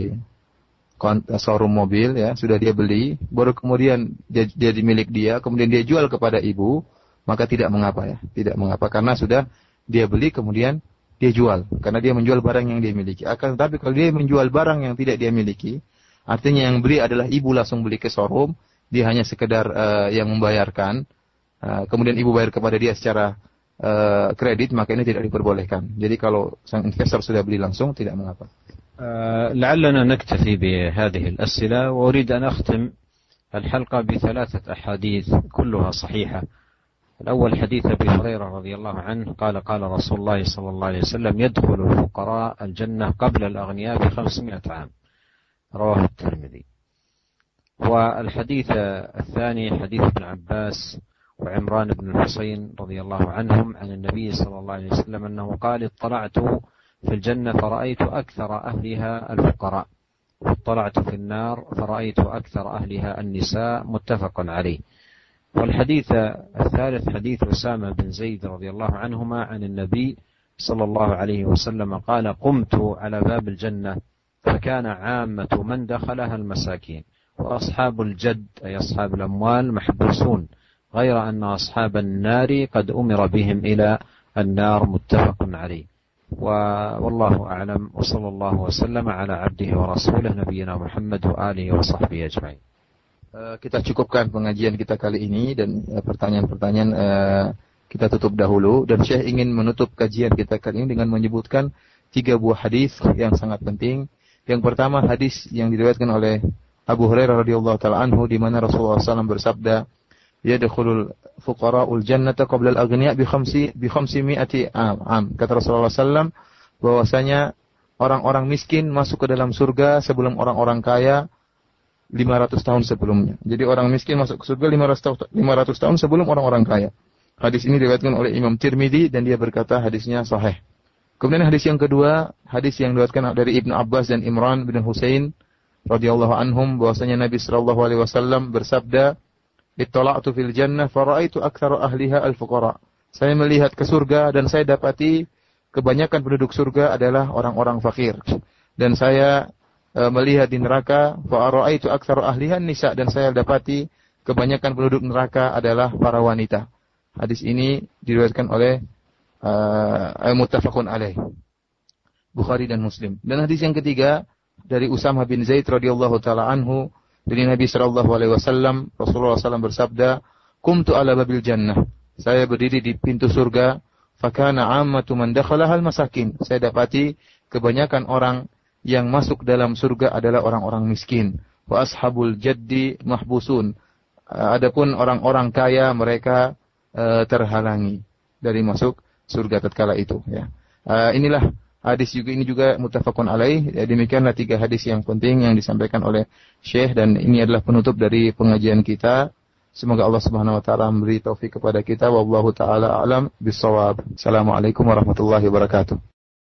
showroom mobil ya, sudah dia beli, baru kemudian dia milik dia, kemudian dia jual kepada ibu, maka tidak mengapa ya, tidak mengapa karena sudah dia beli kemudian dia jual, karena dia menjual barang yang dia miliki. Akan tetapi kalau dia menjual barang yang tidak dia miliki, artinya yang beli adalah ibu langsung beli ke showroom, dia hanya sekedar yang membayarkan, kemudian ibu bayar kepada dia secara kredit, maka ini tidak diperbolehkan. Jadi kalau sang investor sudah beli langsung tidak mengapa. لعلنا نكتفي بهذه الأسئلة وأريد أن أختم الحلقة بثلاثة أحاديث كلها صحيحة. الأول حديث أبي هريرة رضي الله عنه قال قال رسول الله صلى الله عليه وسلم يدخل الفقراء الجنة قبل الأغنياء ب500 عام رواه الترمذي. والحديث الثاني حديث ابن عباس وعمران بن الحصين رضي الله عنهم عن النبي صلى الله عليه وسلم أنه قال اطلعت في الجنة فرأيت أكثر أهلها الفقراء واطلعت في النار فرأيت أكثر أهلها النساء متفق عليه. والحديث الثالث حديث أسامة بن زيد رضي الله عنهما عن النبي صلى الله عليه وسلم قال قمت على باب الجنة فكان عامة من دخلها المساكين وأصحاب الجد أي أصحاب الأموال محبوسون غير أن أصحاب النار قد أمر بهم إلى النار متفق عليه. والله أعلم وصلى الله وسلم على عبده ورسوله نبينا محمد وآله وصحبه أجمعين. Kita cukupkan pengajian kita kali ini dan pertanyaan-pertanyaan kita tutup dahulu, dan Syekh ingin menutup kajian kita kali ini dengan menyebutkan 3 buah hadis yang sangat penting. Yang pertama hadis yang diriwayatkan oleh Abu Hurairah radhiyallahu taala anhu di mana Rasulullah SAW bersabda, "Yadkhulul fuqara'ul jannata qabla al-aghniya bi 500 am." Kata Rasulullah SAW bahwasanya orang-orang miskin masuk ke dalam surga sebelum orang-orang kaya 500 tahun sebelumnya. Jadi orang miskin masuk ke surga 500 tahun sebelum orang-orang kaya. Hadis ini diriwayatkan oleh Imam Tirmidzi dan dia berkata hadisnya sahih. Kemudian hadis yang kedua, hadis yang diriwayatkan dari Ibnu Abbas dan Imran bin Husain radhiyallahu anhum bahwasanya Nabi sallallahu alaihi wasallam bersabda, "Ittala'tu fil jannah fara'aitu aktsara ahliha al-fuqara." Saya melihat ke surga dan saya dapati kebanyakan penduduk surga adalah orang-orang fakir. Dan saya melihat di neraka fara'aitu aktsara ahliha nisa dan saya dapati kebanyakan penduduk neraka adalah para wanita. Hadis ini diriwayatkan oleh muttafaqun alaih, Bukhari dan Muslim. Dan hadis yang ketiga dari Usamah bin Zaid radhiyallahu taala anhu dari Nabi sallallahu alaihi wasallam, Rasulullah SAW bersabda, "Qumtu ala babil jannah." Saya berdiri di pintu surga, fakana 'ammatu man dakhalaha al-masakin. Saya dapati kebanyakan orang yang masuk dalam surga adalah orang-orang miskin. Wa ashabul jaddi mahbusun. Adapun orang-orang kaya mereka terhalangi dari masuk surga tatkala itu, ya. Inilah hadis ini juga muttafaqun alaih. Ya, demikianlah 3 hadis yang penting yang disampaikan oleh Syekh dan ini adalah penutup dari pengajian kita. Semoga Allah Subhanahu wa taala memberi taufik kepada kita. Wallahu taala a'lam bissawab. Assalamualaikum warahmatullahi wabarakatuh.